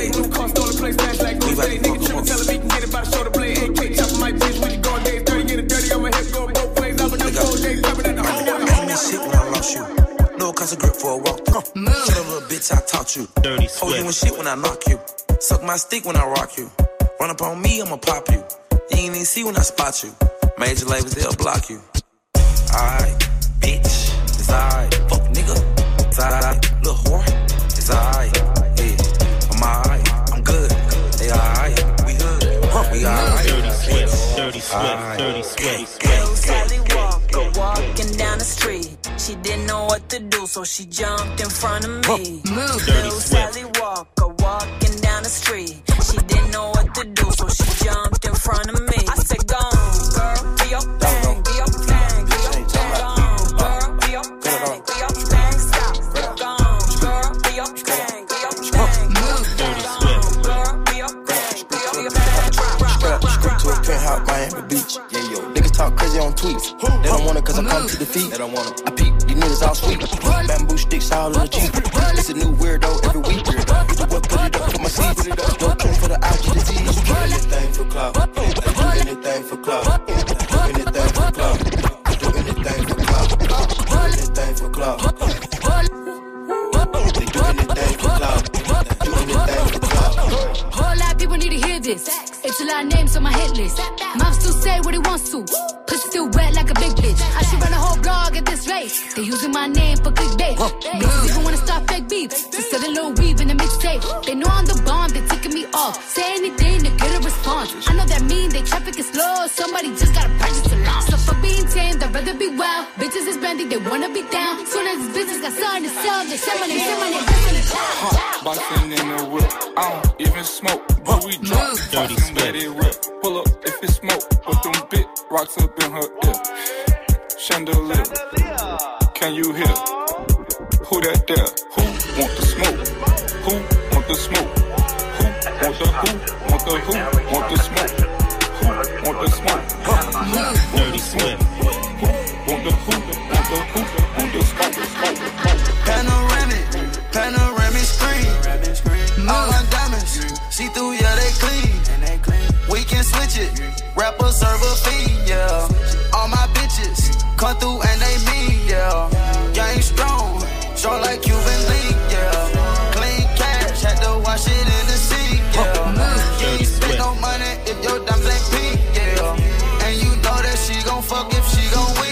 Speaker 19: box you. Hold you and shit when I knock you. Suck my stick when I rock you. Run up on me, I'ma pop you. You ain't even see when I spot you. Major labels, they'll block you. Alright, bitch, it's alright. Fuck nigga, it's alright. Little whore, it's alright. Yeah, I'm alright, I'm good. They alright, we good. We alright.
Speaker 14: Dirty sweat, dirty sweat.
Speaker 22: Little Sally Walker walking down the street. She didn't know what to do, so she jumped in front of me. Little Sally Walker walking down the street. She didn't know what to do, so she jumped in front of me. I said, go on, girl, be your thing, be your thing, be your thing. Go on, girl, be your thing, be your thing. Stop, go on, girl, be your thing, be your thing.
Speaker 14: Dirty sweat.
Speaker 22: Girl, be your thing, be your thing.
Speaker 23: Straight to a penthouse, Miami Beach. Yeah, yo. Niggas talk crazy on tweets. They don't want it cause I come to defeat. They don't want it. I peep, these niggas all sweet. Bamboo sticks all in the Jeep. It's a new weirdo every week. Get the work, put it up for my seeds. No care for the algae disease. Do anything for clout. Do anything for clout. Do anything for clout. Do anything for clout. Do anything for clout. They do anything for clout. Do anything for clout.
Speaker 11: Whole lot of people need to hear this. It's a lot of names on my hit list. Mom still say what he wants to. Pussy still wet like a big bitch. I should run a whole blog at this rate. They using my name for clickbait. Bitches even wanna start fake beef. Just sell a little weave in the mixtape. They know I'm the bomb, they ticking me off. Say anything to get a response. I know that mean they traffic is slow. Somebody just gotta purchase a launch. So for being tamed, I'd rather be wild. Bitches is brandy, they wanna be down. Soon as this business got something to sell, they say my name, say my name, say my name.
Speaker 2: Boxing in the whip, I don't even smoke, but we drop.
Speaker 14: Dirty
Speaker 2: Let it rip, pull up if it's smoke. Put them big rocks up in her ear. Chandelier, can you hear? Who that there? Who want the smoke? Who want the smoke? Who want the who? Want the who? Want the smoke? Who want the smoke?
Speaker 14: Dirty sweat.
Speaker 2: Who want the who? Want the who? Want the smoke?
Speaker 23: Panoramic screen. All my diamonds, see through, yeah, they clean. We can switch it, rapper serve a fee, yeah. All my bitches come through and they mean, yeah. Gang strong, strong like Cuban League, yeah. Clean cash, had to wash it in the sink, yeah. You ain't spend no money if your damn black pink, yeah. And you know that she gon' fuck if she gon' win.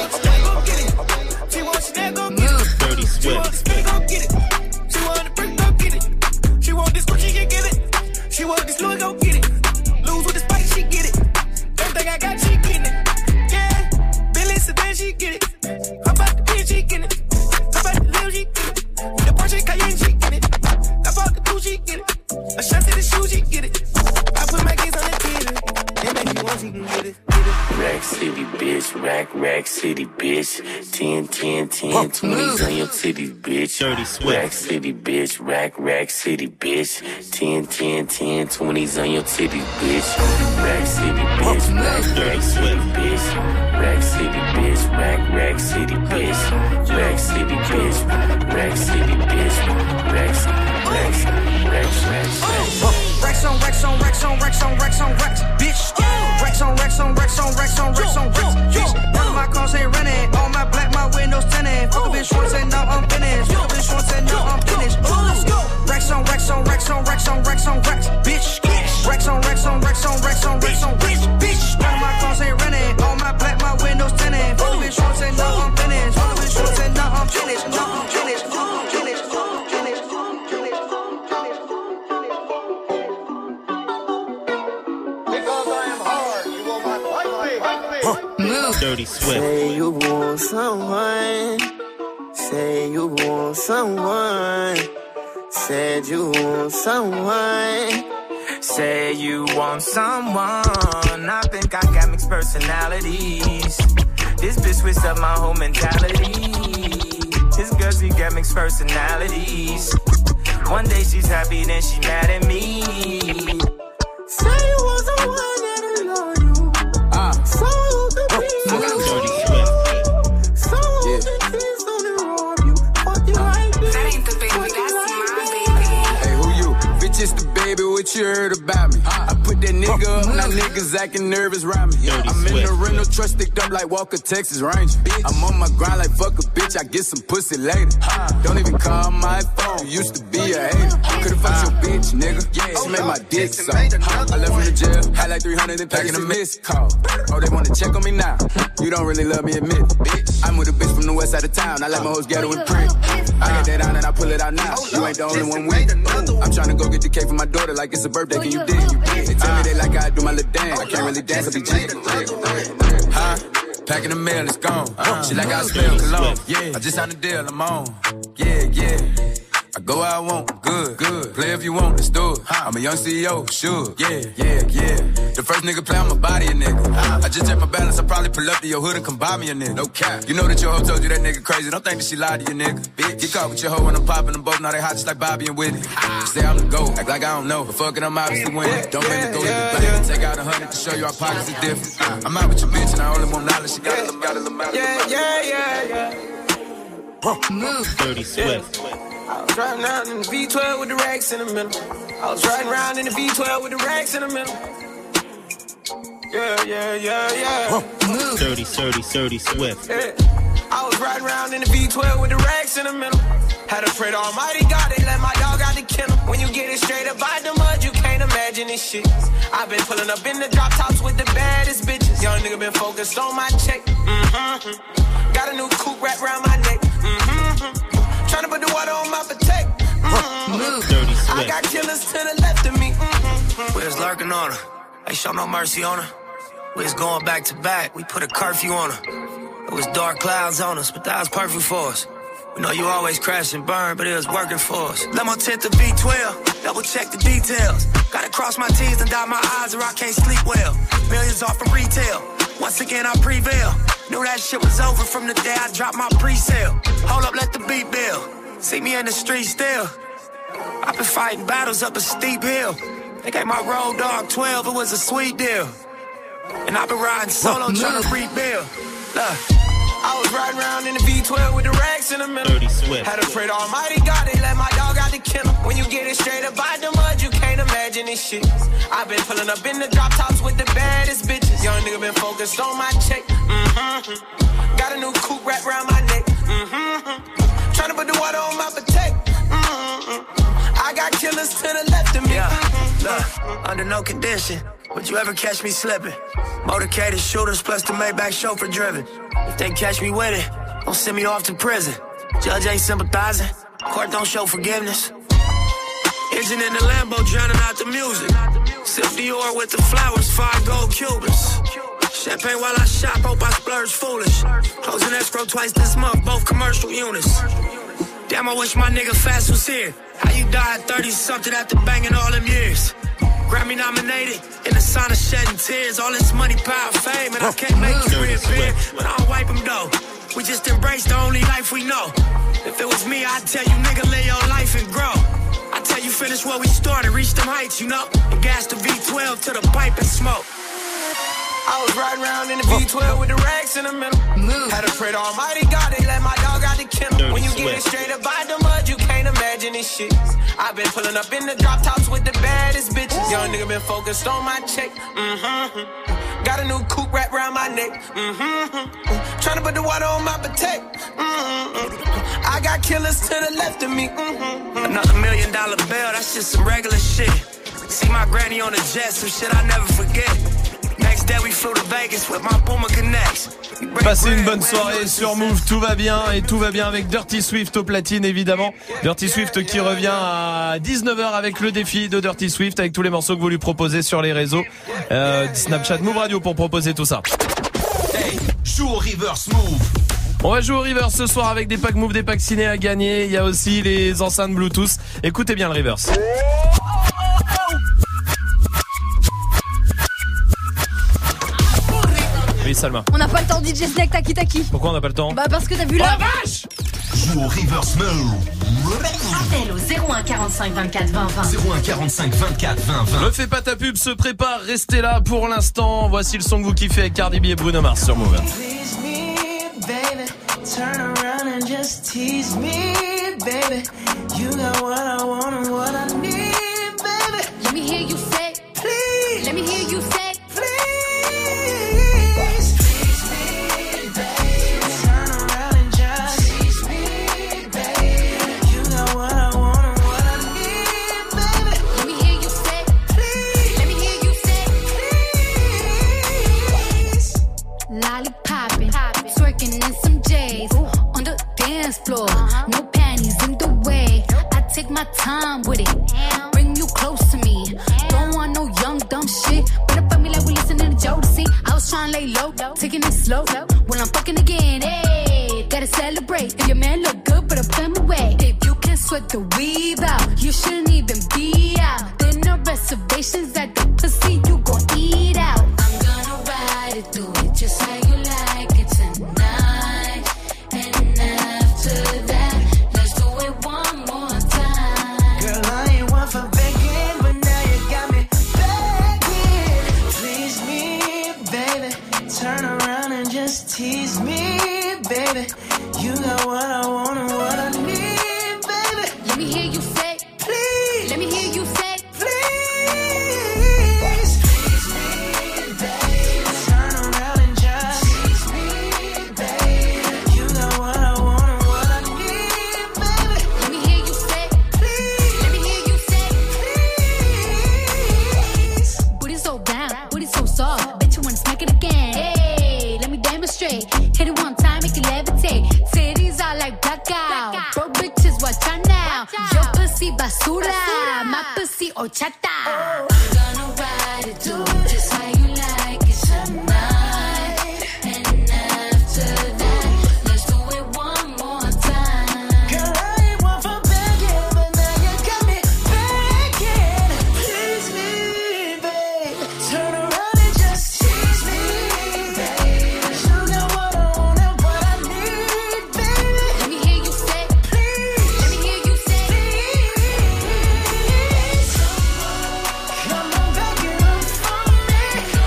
Speaker 2: She wants to go get it.
Speaker 14: Dirty sweat.
Speaker 2: She gon' get it. She want the brick, go get it. She want this Gucci, she get it. She want this Louis, go get it. Lose with the spike, she get it. Everything I got, she getting it. Yeah, Billy Sedan, she get it. How about the bitch, she get it. How about the Lil, she get it. The Porsche Cayenne, she get it. I bought the two, she get it. A shot to the shoe, she get it. I put my kids on the theater. And make you want, she can get it.
Speaker 6: Rack City, bitch. Rack City, bitch. 10, 20s on your titties, bitch.
Speaker 14: Dirty sweat.
Speaker 6: Rack City, bitch. Rack City, bitch. 10, 20s on your titties, bitch. Rack City, bitch. Rack City, bitch. Rack City, bitch. Rack City, bitch. Rack City, bitch. Rack City, bitch. Racks.
Speaker 22: Racks on racks on racks on racks on racks on racks, bitch. Racks on racks on racks on racks on racks on racks, bitch. None of my cars ain't renting. All my black, my windows tinted. Fuck a bitch short, say now I'm finished. Fuck a bitch short, say now I'm finished. Racks on racks on racks on racks on racks on racks, bitch. Racks on racks on racks on racks on racks on racks, bitch. None of my cars ain't renting. All my black, my windows tinted. Fuck a bitch short, say now I'm finished. Fuck a bitch short, say now I'm finished. Now I'm finished. Now I'm finished.
Speaker 14: Dirty sweat.
Speaker 23: Say you want someone. Say you want someone. Said you want someone.
Speaker 19: Say you want someone. I think I got mixed personalities. This bitch switched up my whole mentality. This girl, she got mixed personalities. One day she's happy, then she mad at me.
Speaker 23: Say you want someone that'll love you. So the peace.
Speaker 14: Dirty sweat.
Speaker 23: So the peace on the rob you. Fuck you like this.
Speaker 22: That ain't the baby, that's my baby.
Speaker 23: Hey, who you? Bitch, it's the baby with
Speaker 7: what you heard about me. I put that nigga up, now niggas acting nervous around me. I'm in the rental truck sticked up like Walker, Texas Ranger. I'm on my grind like fuck a bitch, I get some pussy later. Don't even call my phone, you used to be a hater. Could've fucked your bitch, nigga. She made my dick so. I left from the jail, had like 300 and packing a missed call. Oh, they wanna check on me now. You don't really love me, admit it, bitch. I'm with a bitch from the west side of town, I like my hoes ghetto and print. I got that on and I pull it out now. You ain't the only one with it. I'm tryna go get the cake for my daughter like it's a birthday, can you dig? They tell me they like I do my little dance. I can't really dance, I be jigging. Packing the mail, it's gone. She like I smell cologne. Yeah, I just signed a deal, I'm on. Yeah. I go where I want, good. Play if you want, let's do it. I'm a young CEO, sure. Yeah. The first nigga play on my body, a nigga. I just check my balance, I probably pull up to your hood and come buy me a nigga. No cap. You know that your hoe told you that nigga crazy. Don't think that she lied to you, nigga. Bitch, get caught with your hoe when I'm popping them both. Now they hot just like Bobby and Whitney. Say I'm the GOAT, act like I don't know. But fuck it, I'm obviously winning. Don't make me go hit the bank. Take out 100 to show you our pockets are different. I'm out with your bitch and I only want knowledge. She got a little mouth. Yeah.
Speaker 15: Move. Dirty Swift.
Speaker 19: I was riding around in the V12 with the racks in the middle. I was riding around in the V12 with the racks in the middle. Yeah.
Speaker 15: Move. Dirty Swift.
Speaker 19: Yeah. I was riding around in the V12 with the racks in the middle. Had to pray to Almighty God, they let my dog out the kennel. When you get it straight up by the mud, you can't imagine this shit. I've been pulling up in the drop tops with the baddest bitches. Young nigga been focused on my check. Got a new coupe wrapped around my neck. Tryna put the water on my potato. I got killers to the left of me.
Speaker 22: We was lurking on her. Ain't show no mercy on her. We was going back to back. We put a curfew on her. It was dark clouds on us, but that was perfect for us. We know you always crash and burn, but it was working for us. Let my tent to V12, double check the details. Gotta cross my T's and dot my I's or I can't sleep well. Millions off of retail. Once again I prevail. Knew that shit was over from the day I dropped my pre-sale. Hold up, let the beat build. See me in the street still. I've been fighting battles up a steep hill. They gave my road dog 12, it was a sweet deal. And I've been riding solo trying to rebuild. Look, I was riding around in the V12 with the racks in the middle. Had to pray to Almighty God, they let my dog out the kennel. When you get it straight up by the mud, you can't imagine this shit. I've been pulling up in the drop tops with the baddest bitches. Young nigga been focused on my check. Got a new coupe wrapped around my neck. Tryna put the water on my potato. I got killers to the left of me. Look, under no condition would you ever catch me slipping. Motorcaded shooters plus the Maybach chauffeur driven. If they catch me with it, don't send me off to prison. Judge ain't sympathizing, court don't show forgiveness. Engine in the Lambo drowning out the music. Sip Dior with the flowers, 5 gold Cubans. Champagne while I shop, hope I splurge foolish. Closing escrow twice this month, both commercial units. Damn, I wish my nigga Fast was here. How you died 30-something after banging all them years? Grammy nominated, in the sauna shedding tears. All this money, power, fame, and I can't make you reappear. But I don't wipe them though. We just embrace the only life we know. If it was me, I'd tell you, nigga, live your life and grow. I tell you, finish where we started, reach them heights, you know. And gas the V12 to the pipe and smoke.
Speaker 19: I was riding around in the V12 with the racks in the middle. Had to pray to Almighty God, they let my dog out the kennel. When you get it straight up by the mud, you can't imagine this shit. I've been pulling up in the drop tops with the baddest bitches. Young nigga been focused on my check. Got a new coupe wrapped around my neck. Tryna put the water on my potato. I got killers to the left of me.
Speaker 22: Another $1 million bill, that's just some regular shit. See my granny on the jet, some shit I never forget. Next day we flew to Vegas with my Puma Connects.
Speaker 1: Passez une bonne soirée sur Move, tout va bien et tout va bien avec Dirty Swift au platine évidemment. Dirty Swift qui revient à 19h avec le défi de Dirty Swift avec tous les morceaux que vous lui proposez sur les réseaux. Snapchat Move Radio pour proposer tout ça.
Speaker 20: Hey, joue au reverse Move.
Speaker 1: On va jouer au reverse ce soir avec des packs Move, des packs ciné à gagner. Il y a aussi les enceintes Bluetooth. Écoutez bien le reverse. Oui, Salma.
Speaker 12: On n'a pas le temps, DJ Snake, taki taki.
Speaker 1: Pourquoi on n'a pas le temps?
Speaker 12: Bah parce que t'as vu là.
Speaker 20: Oh la vache! Joue au reverse Move.
Speaker 21: Appel au 01 45 24 20 20.
Speaker 20: 01 45 24 20 20.
Speaker 1: Ne fais pas ta pub, se prépare, restez là pour l'instant. Voici le son que vous kiffez avec Cardi B et Bruno Mars sur Move.
Speaker 25: Please me, baby. Turn around and just tease me, baby. You got what I want and what I need, baby.
Speaker 11: Let me hear time with it. Bring you close to me. Don't want no young dumb shit. Wanna fuck me like we listening to Jodeci. I was trying to lay low, taking it slow. When I'm fucking again, hey, gotta celebrate. If your man look good, but I put him away. If you can sweat the weave out, you shouldn't even be out. There no reservations at the pussy, you gon' eat out. I'm gonna ride it, do it just how you like it tonight. And after that, let's do it one more time.
Speaker 25: Girl, I ain't one for begging, but now you got me begging. Please me, baby. Turn around and just tease me, baby. You got what I want and what I need, baby.
Speaker 11: Let me hear you say,
Speaker 25: please.
Speaker 11: Let me hear you say,
Speaker 25: please. Please me, baby. Turn around and just tease me, baby. You got what I want and what I need, baby.
Speaker 11: Let me hear you say,
Speaker 25: please.
Speaker 11: Let me hear you say,
Speaker 25: please.
Speaker 11: booty so down, booty so soft. Bet you wanna smack it again. Hey, let me demonstrate. Hit it one time, make it levitate. Titties are like blackout. Bro, bitches, watch out now. Your pussy basura, my pussy horchata. I'm gonna ride it, do it just how you like it tonight. And after that, let's do it one more time.
Speaker 25: Girl, I ain't one for begging, but now you got me begging. Please me, babe. Turn around and just tease me, babe. You got what I want and what I need, baby.
Speaker 11: Let me hear you say,
Speaker 25: please.
Speaker 11: Let me hear you say,
Speaker 25: please. Come on back and up for me.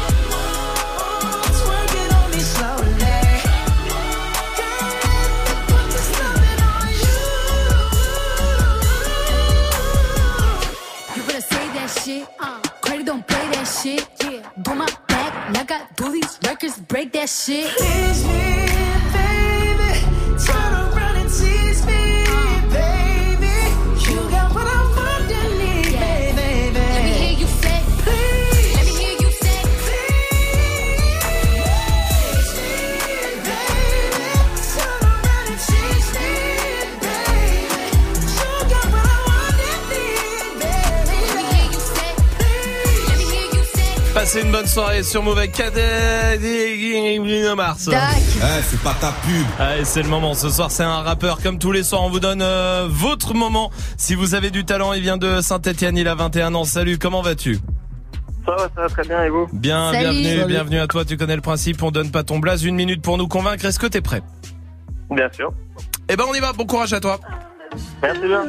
Speaker 25: Twerk it on me slowly. Girl, let me put this loving on you.
Speaker 11: You better say that shit. Credit don't play that shit. Do my back like I do these records, break that shit.
Speaker 25: Tease me, baby. Turn around and tease me, baby. You got what I want and need, baby.
Speaker 11: Let me hear you say,
Speaker 25: please.
Speaker 11: Let me hear you say,
Speaker 25: please, baby. Turn around and tease me, baby. You got what I want and need, baby.
Speaker 11: Let me hear you say, Let me hear you say.
Speaker 1: Passez une bonne soirée sur Move avec Mars.
Speaker 20: C'est pas ta pub.
Speaker 1: Allez, c'est le moment. Ce soir, c'est un rappeur. Comme tous les soirs, on vous donne votre moment. Si vous avez du talent, il vient de Saint-Etienne, il a 21 ans. Salut, comment vas-tu?
Speaker 4: Ça va très bien, et vous?
Speaker 1: Bien,
Speaker 4: Salut.
Speaker 1: bienvenue à toi. Tu connais le principe, on donne pas ton blaze. 1 minute pour nous convaincre. Est-ce que t'es prêt?
Speaker 4: Bien sûr.
Speaker 1: Eh ben, on y va. Bon courage à toi.
Speaker 4: Merci bien.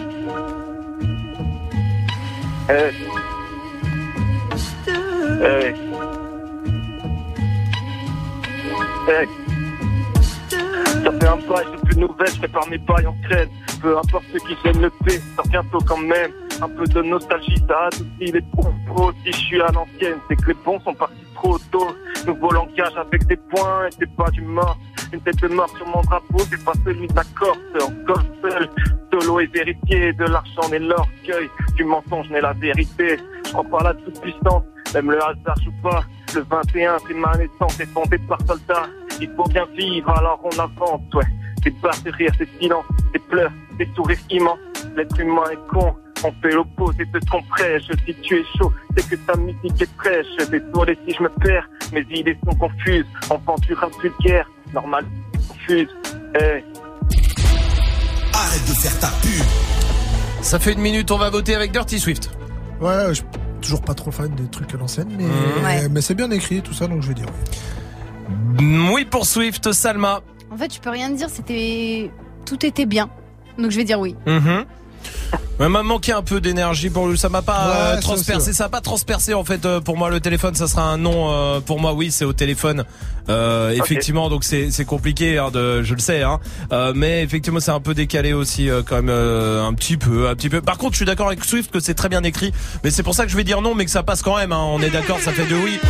Speaker 4: Ça fait un bail, j'ai plus de nouvelles, je prépare mes bails en crête. Peu importe ceux qui gênent le P, ça bientôt quand même. Un peu de nostalgie, ça adoucit les propos. Si je suis à l'ancienne, c'est que les bons sont partis trop tôt. Nouveau langage avec des points, et c'est pas du mort. Une tête de mort sur mon drapeau, c'est pas celui de la Corse. Encore seul, solo et vérité, de l'argent et l'orgueil. Du mensonge n'est la vérité. Je crois pas à la toute puissance, même le hasard joue pas. Le 21, c'est ma naissance, c'est fondé par soldats. Il faut bien vivre, alors on avance, ouais. Des barres de rire, des silences, des pleurs, des sourires immenses. L'être humain est con, on fait l'opposé de ce qu'on prêche. Si tu es chaud, c'est que ta musique est fraîche. Désolé si je me perds, mes idées sont confuses. Enfant du rap vulgaire, normal, confuse. Hey.
Speaker 20: Arrête de faire ta pub.
Speaker 1: Ça fait 1 minute, on va voter avec Dirty Swift.
Speaker 5: Ouais, je suis toujours pas trop fan des trucs à l'ancienne, mais c'est bien écrit tout ça, donc je vais dire oui.
Speaker 1: Oui pour Swift, Salma.
Speaker 12: En fait, tu peux rien dire, tout était bien. Donc je vais dire oui.
Speaker 1: Ouais, m'a manqué un peu d'énergie pour lui, ça m'a pas transpercé, ça a pas transpercé en fait pour moi le téléphone, ça sera un non pour moi. Oui, c'est au téléphone. Effectivement, donc c'est compliqué je le sais mais effectivement c'est un peu décalé aussi quand même un petit peu. Par contre, je suis d'accord avec Swift que c'est très bien écrit, mais c'est pour ça que je vais dire non, mais que ça passe quand même on est d'accord, ça fait 2 oui.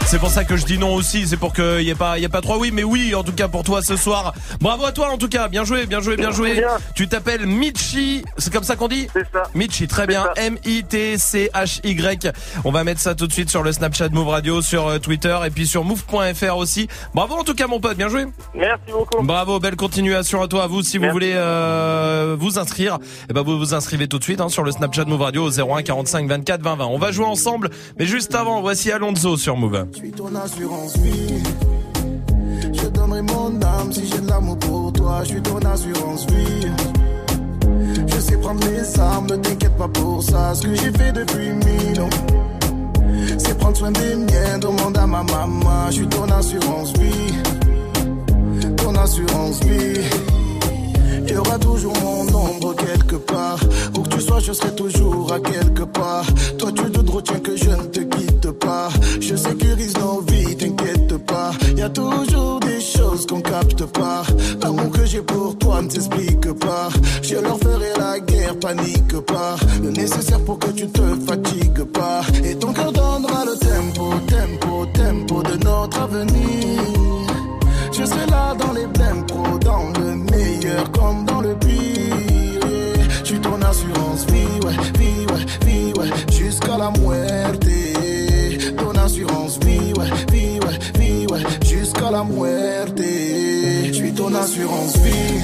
Speaker 1: C'est pour ça que je dis non aussi. C'est pour qu'il y ait pas 3 oui, mais oui. En tout cas pour toi ce soir. Bravo à toi en tout cas. Bien joué. Tu t'appelles Mitchy. C'est comme ça qu'on dit ?
Speaker 4: C'est ça.
Speaker 1: Mitchy, très bien. M-I-T-C-H-Y. On va mettre ça tout de suite sur le Snapchat Move Radio, sur Twitter et puis sur move.fr aussi. Bravo en tout cas mon pote, bien joué.
Speaker 4: Merci beaucoup.
Speaker 1: Bravo, belle continuation à toi. À vous, si vous voulez vous inscrire, vous vous inscrivez tout de suite sur le Snapchat Move Radio au 01 45 24 20 20. On va jouer ensemble, mais juste avant, voici Alonso sur Move.
Speaker 2: Je suis ton assurance vie. Je donnerai mon âme si j'ai de l'amour pour toi. Je suis ton assurance vie. Je sais prendre les armes, ne t'inquiète pas pour ça. Ce que j'ai fait depuis 1000 ans, c'est prendre soin des miens. Demande à ma maman. Je suis ton assurance vie. Ton assurance vie. Il y aura toujours mon ombre quelque part. Où que tu sois, je serai toujours à quelque part. Toi, tu te retiens que je ne te quitte pas. Je sécurise nos vies, t'inquiète pas. Y a toujours des choses qu'on capte pas. L'amour que j'ai pour toi ne s'explique pas. Je leur ferai la guerre, panique pas. Le nécessaire pour que tu te fatigues pas. Et ton cœur donnera le tempo, tempo, tempo de notre avenir. Je serai là dans les blèmes pro, dans le meilleur comme dans le pire. Je suis ton assurance vie, ouais, vie, ouais, vie, ouais, jusqu'à la muerte. Ton assurance vie, ouais, vie, ouais, vie, ouais, jusqu'à la muerte. Je suis ton assurance vie.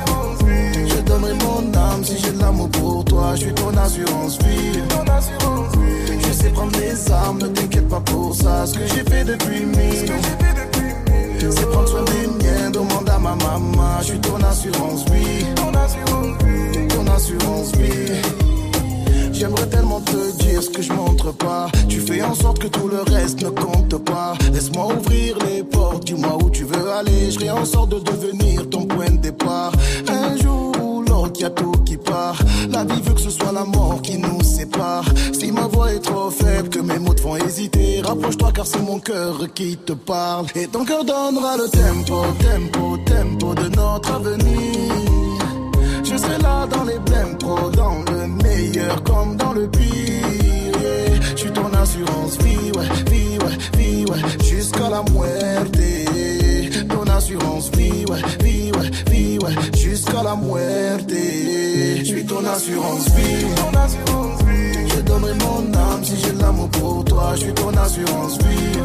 Speaker 2: Je donnerai mon âme si j'ai de l'amour pour toi. Je suis ton assurance vie. Je sais prendre les armes, ne t'inquiète pas pour ça. Ce que j'ai fait depuis 1000 ans, c'est prendre soin des miens, demande à ma maman. Je suis ton assurance vie. Ton assurance vie. J'aimerais tellement te dire ce que je montre pas. Tu fais en sorte que tout le reste ne compte pas. Laisse-moi ouvrir les portes, dis-moi où tu veux aller. Je ferai en sorte de devenir ton point de départ. Un jour ou l'autre, y'a tout qui part. La vie veut que ce soit la mort qui nous sépare. Si ma voix est trop faible, que mes mots te font hésiter, rapproche-toi car c'est mon cœur qui te parle. Et ton cœur donnera le tempo, tempo, tempo de notre avenir. Je serai là dans les blèmes pro, dans le meilleur comme dans le pire. Je suis ton assurance vie, ouais, vie, ouais, vie, ouais, jusqu'à la muerte. Ton assurance vie, ouais, vie, ouais, vie, ouais, jusqu'à la muerte. Je suis ton assurance vie. Je donnerai mon âme si j'ai de l'amour pour toi. Je suis ton assurance vie.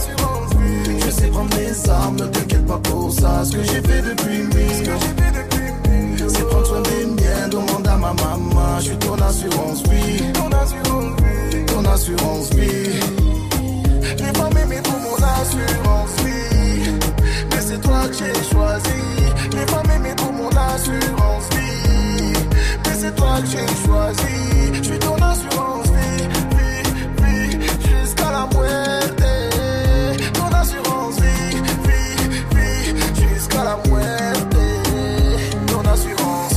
Speaker 2: Je sais prendre les armes, ne t'inquiète pas pour ça. Ce que j'ai fait depuis 1000 ans, c'est prendre soin des miens, demande à ma maman. Je suis ton assurance vie. Ton assurance vie. J'ai pas m'aimé pour mon assurance vie, mais c'est toi que j'ai choisi. J'ai pas m'aimé pour mon assurance vie, mais c'est toi que j'ai choisi. Je suis ton assurance vie, vie, vie, jusqu'à la muerte. Ton assurance vie, vie, vie, jusqu'à la muerte. Ton assurance,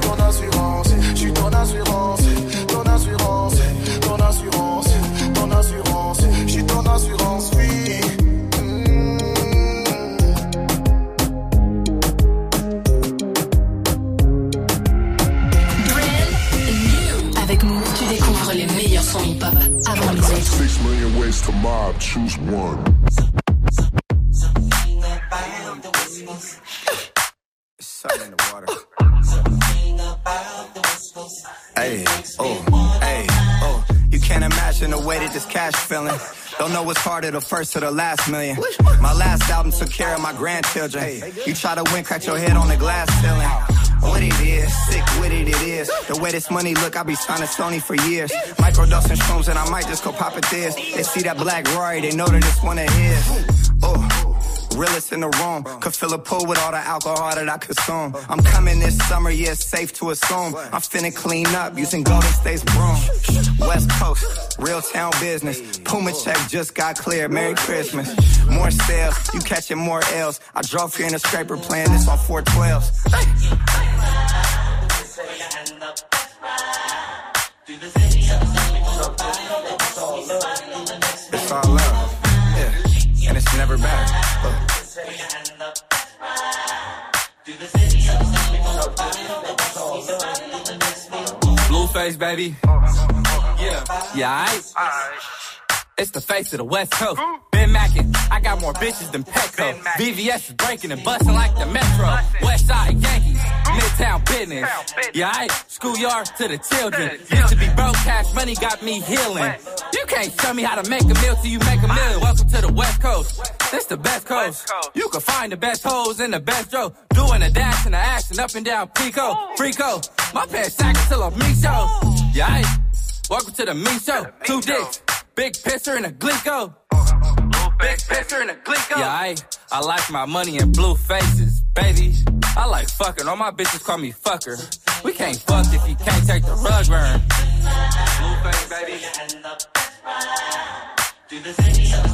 Speaker 2: je suis ton assurance, ton assurance, ton assurance, ton assurance, je suis ton assurance vie.
Speaker 21: Avec Move, tu découvres les meilleurs sons hip-hop avant les autres.
Speaker 16: 6 million ways to mob, choose one.
Speaker 23: Something in the water. Hey, oh. You can't imagine the way that this cash feeling. Don't know what's harder, the first or the last million. My last album took care of my grandchildren. You try to win, crack your head on the glass ceiling. What it is, sick with it is. The way this money look, I be signing Sony for years. Microdosing shrooms and I might just go pop it this. They see that black Rory, they know that it's one of his. Oh. Realest in the room, could fill a pool with all the alcohol that I consume. I'm coming this summer, yeah, it's safe to assume. I'm finna clean up using Golden State's broom. West Coast, real town business. Puma check just got cleared, Merry Christmas. More sales, you catching more L's. I drove here in a scraper playing this on 412s. It's all love, yeah, and it's never bad.
Speaker 8: Blueface, baby. Yeah, aight. It's the face of the West Coast. Been
Speaker 7: Ben Mackin. I got more bitches than Petco. VVS is breaking and busting like the Metro. Westside Yankees, Midtown business. Yeah, I schoolyard to the children. Used to be broke, cash money got me healing. You can't tell me how to make a meal till you make a million. Welcome to the West Coast. This the best coast. You can find the best hoes in the best row. Doing a dash and a action up and down Pico. Frico. My pants sack till I'm me show. Yeah, I welcome to the me show. 2 dicks. Big pisser and a Glico. Big pisser and a Glico. Yeah, I like my money in blue faces, baby. I like fucking. All my bitches call me fucker. We can't fuck if you can't take the rug burn. Blue face, baby. Do the city of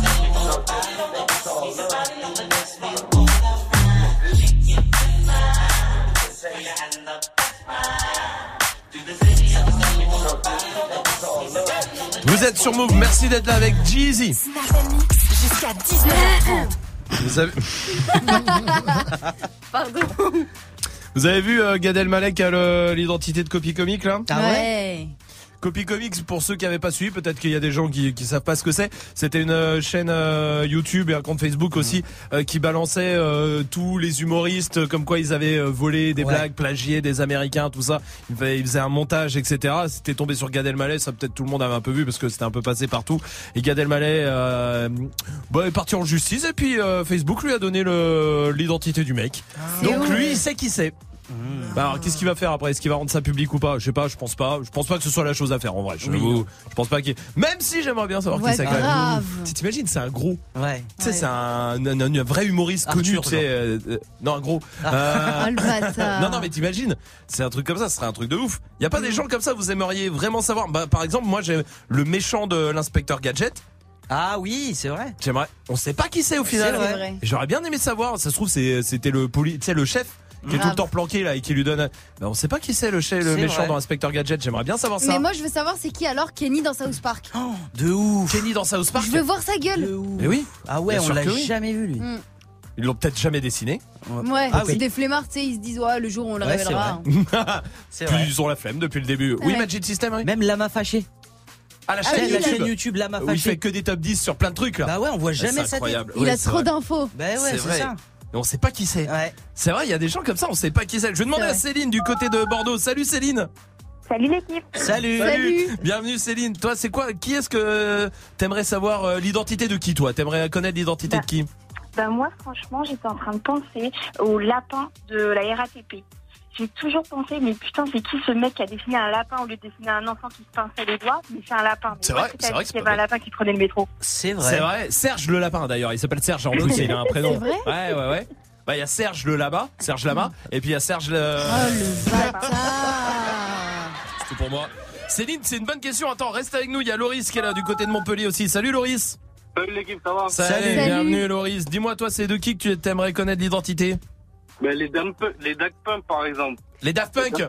Speaker 1: Vous êtes sur Move, merci d'être là avec Jeezy.
Speaker 12: Jusqu'à 19h30.
Speaker 1: Vous avez...
Speaker 12: Pardon.
Speaker 1: Vous avez vu Gad Elmaleh qui a l'identité de Copy Comics là?
Speaker 12: Ah ouais.
Speaker 1: Copy Comics, pour ceux qui n'avaient pas suivi, peut-être qu'il y a des gens qui savent pas ce que c'est. C'était une chaîne YouTube et un compte Facebook aussi qui balançait tous les humoristes comme quoi ils avaient volé des blagues, plagié des Américains, tout ça. Ils faisaient un montage, etc. C'était tombé sur Gad Elmaleh, ça peut-être tout le monde avait un peu vu parce que c'était un peu passé partout. Et Gad Elmaleh est parti en justice et puis Facebook lui a donné l'identité du mec. Donc lui, il sait qui c'est. Bah alors qu'est-ce qu'il va faire après? Est-ce qu'il va rendre ça public ou pas? Je sais pas, je pense pas que ce soit la chose à faire en vrai. Je pense pas qu'il... Même si j'aimerais bien savoir qui c'est quand même. T'imagines, c'est un gros. Ouais. Tu sais, c'est un vrai humoriste connu, tu sais. Non, un gros. Non, mais t'imagines, c'est un truc comme ça, ce serait un truc de ouf. Y a pas des gens comme ça, vous aimeriez vraiment savoir? Bah par exemple, moi j'ai le méchant de l'inspecteur Gadget.
Speaker 9: Ah oui, c'est vrai.
Speaker 1: J'aimerais. On sait pas qui c'est au final.
Speaker 9: C'est vrai.
Speaker 1: J'aurais bien aimé savoir. Ça se trouve c'était le chef. Qui est tout le temps planqué là et qui lui donne. Ben, on sait pas qui c'est le méchant dans Inspector Gadget. J'aimerais bien savoir ça.
Speaker 12: Mais moi je veux savoir c'est qui alors Kenny dans South Park.
Speaker 9: Oh, de ouf.
Speaker 1: Kenny dans South Park.
Speaker 12: Je veux voir sa gueule.
Speaker 1: Mais oui.
Speaker 9: Ah ouais, on l'a jamais vu lui.
Speaker 1: Ils l'ont peut-être jamais dessiné.
Speaker 12: Ouais. C'est des flemmards, tu sais, ils se disent le jour où on le révélera.
Speaker 1: C'est vrai. Ils ont la flemme depuis le début. Oui, Magic System. Oui.
Speaker 9: Même Lama Fâché.
Speaker 1: Ah, la chaîne YouTube Lama Fâché. Où il fait que des top 10 sur plein de trucs là.
Speaker 9: Bah ouais, on voit jamais ça.
Speaker 12: Il a trop d'infos.
Speaker 9: Bah ouais, c'est ça.
Speaker 1: Et on sait pas qui c'est. Ouais. C'est vrai, il y a des gens comme ça, on sait pas qui c'est. Je vais demander à Céline du côté de Bordeaux. Salut Céline.
Speaker 10: Salut l'équipe.
Speaker 1: Salut. Bienvenue Céline. Toi, c'est quoi? Qui est-ce que t'aimerais savoir l'identité de qui toi? T'aimerais connaître l'identité de qui?
Speaker 10: Bah moi, franchement, j'étais en train de penser au lapin de la RATP. J'ai toujours pensé, mais putain, c'est qui ce mec qui a dessiné un lapin au lieu de dessiner un enfant qui se pinçait les doigts? Mais c'est un lapin.
Speaker 1: C'est vrai qu'il
Speaker 10: y avait un lapin qui prenait le métro.
Speaker 9: C'est vrai.
Speaker 1: Serge le lapin d'ailleurs. Il s'appelle Serge en plus. Il a un prénom.
Speaker 12: C'est vrai?
Speaker 1: Ouais. Bah il y a Serge le Lama, et puis il y a Serge le.
Speaker 12: Oh le bâtard.
Speaker 1: C'était pour moi. Céline, c'est une bonne question. Attends, reste avec nous. Il y a Loris qui est là du côté de Montpellier aussi. Salut Loris.
Speaker 4: Salut l'équipe, ça va?
Speaker 1: Salut. Bienvenue Loris. Dis-moi toi, c'est de qui que tu t'aimerais connaître l'identité?
Speaker 4: Mais les Daft Punk par exemple.
Speaker 1: Les Daft Punk.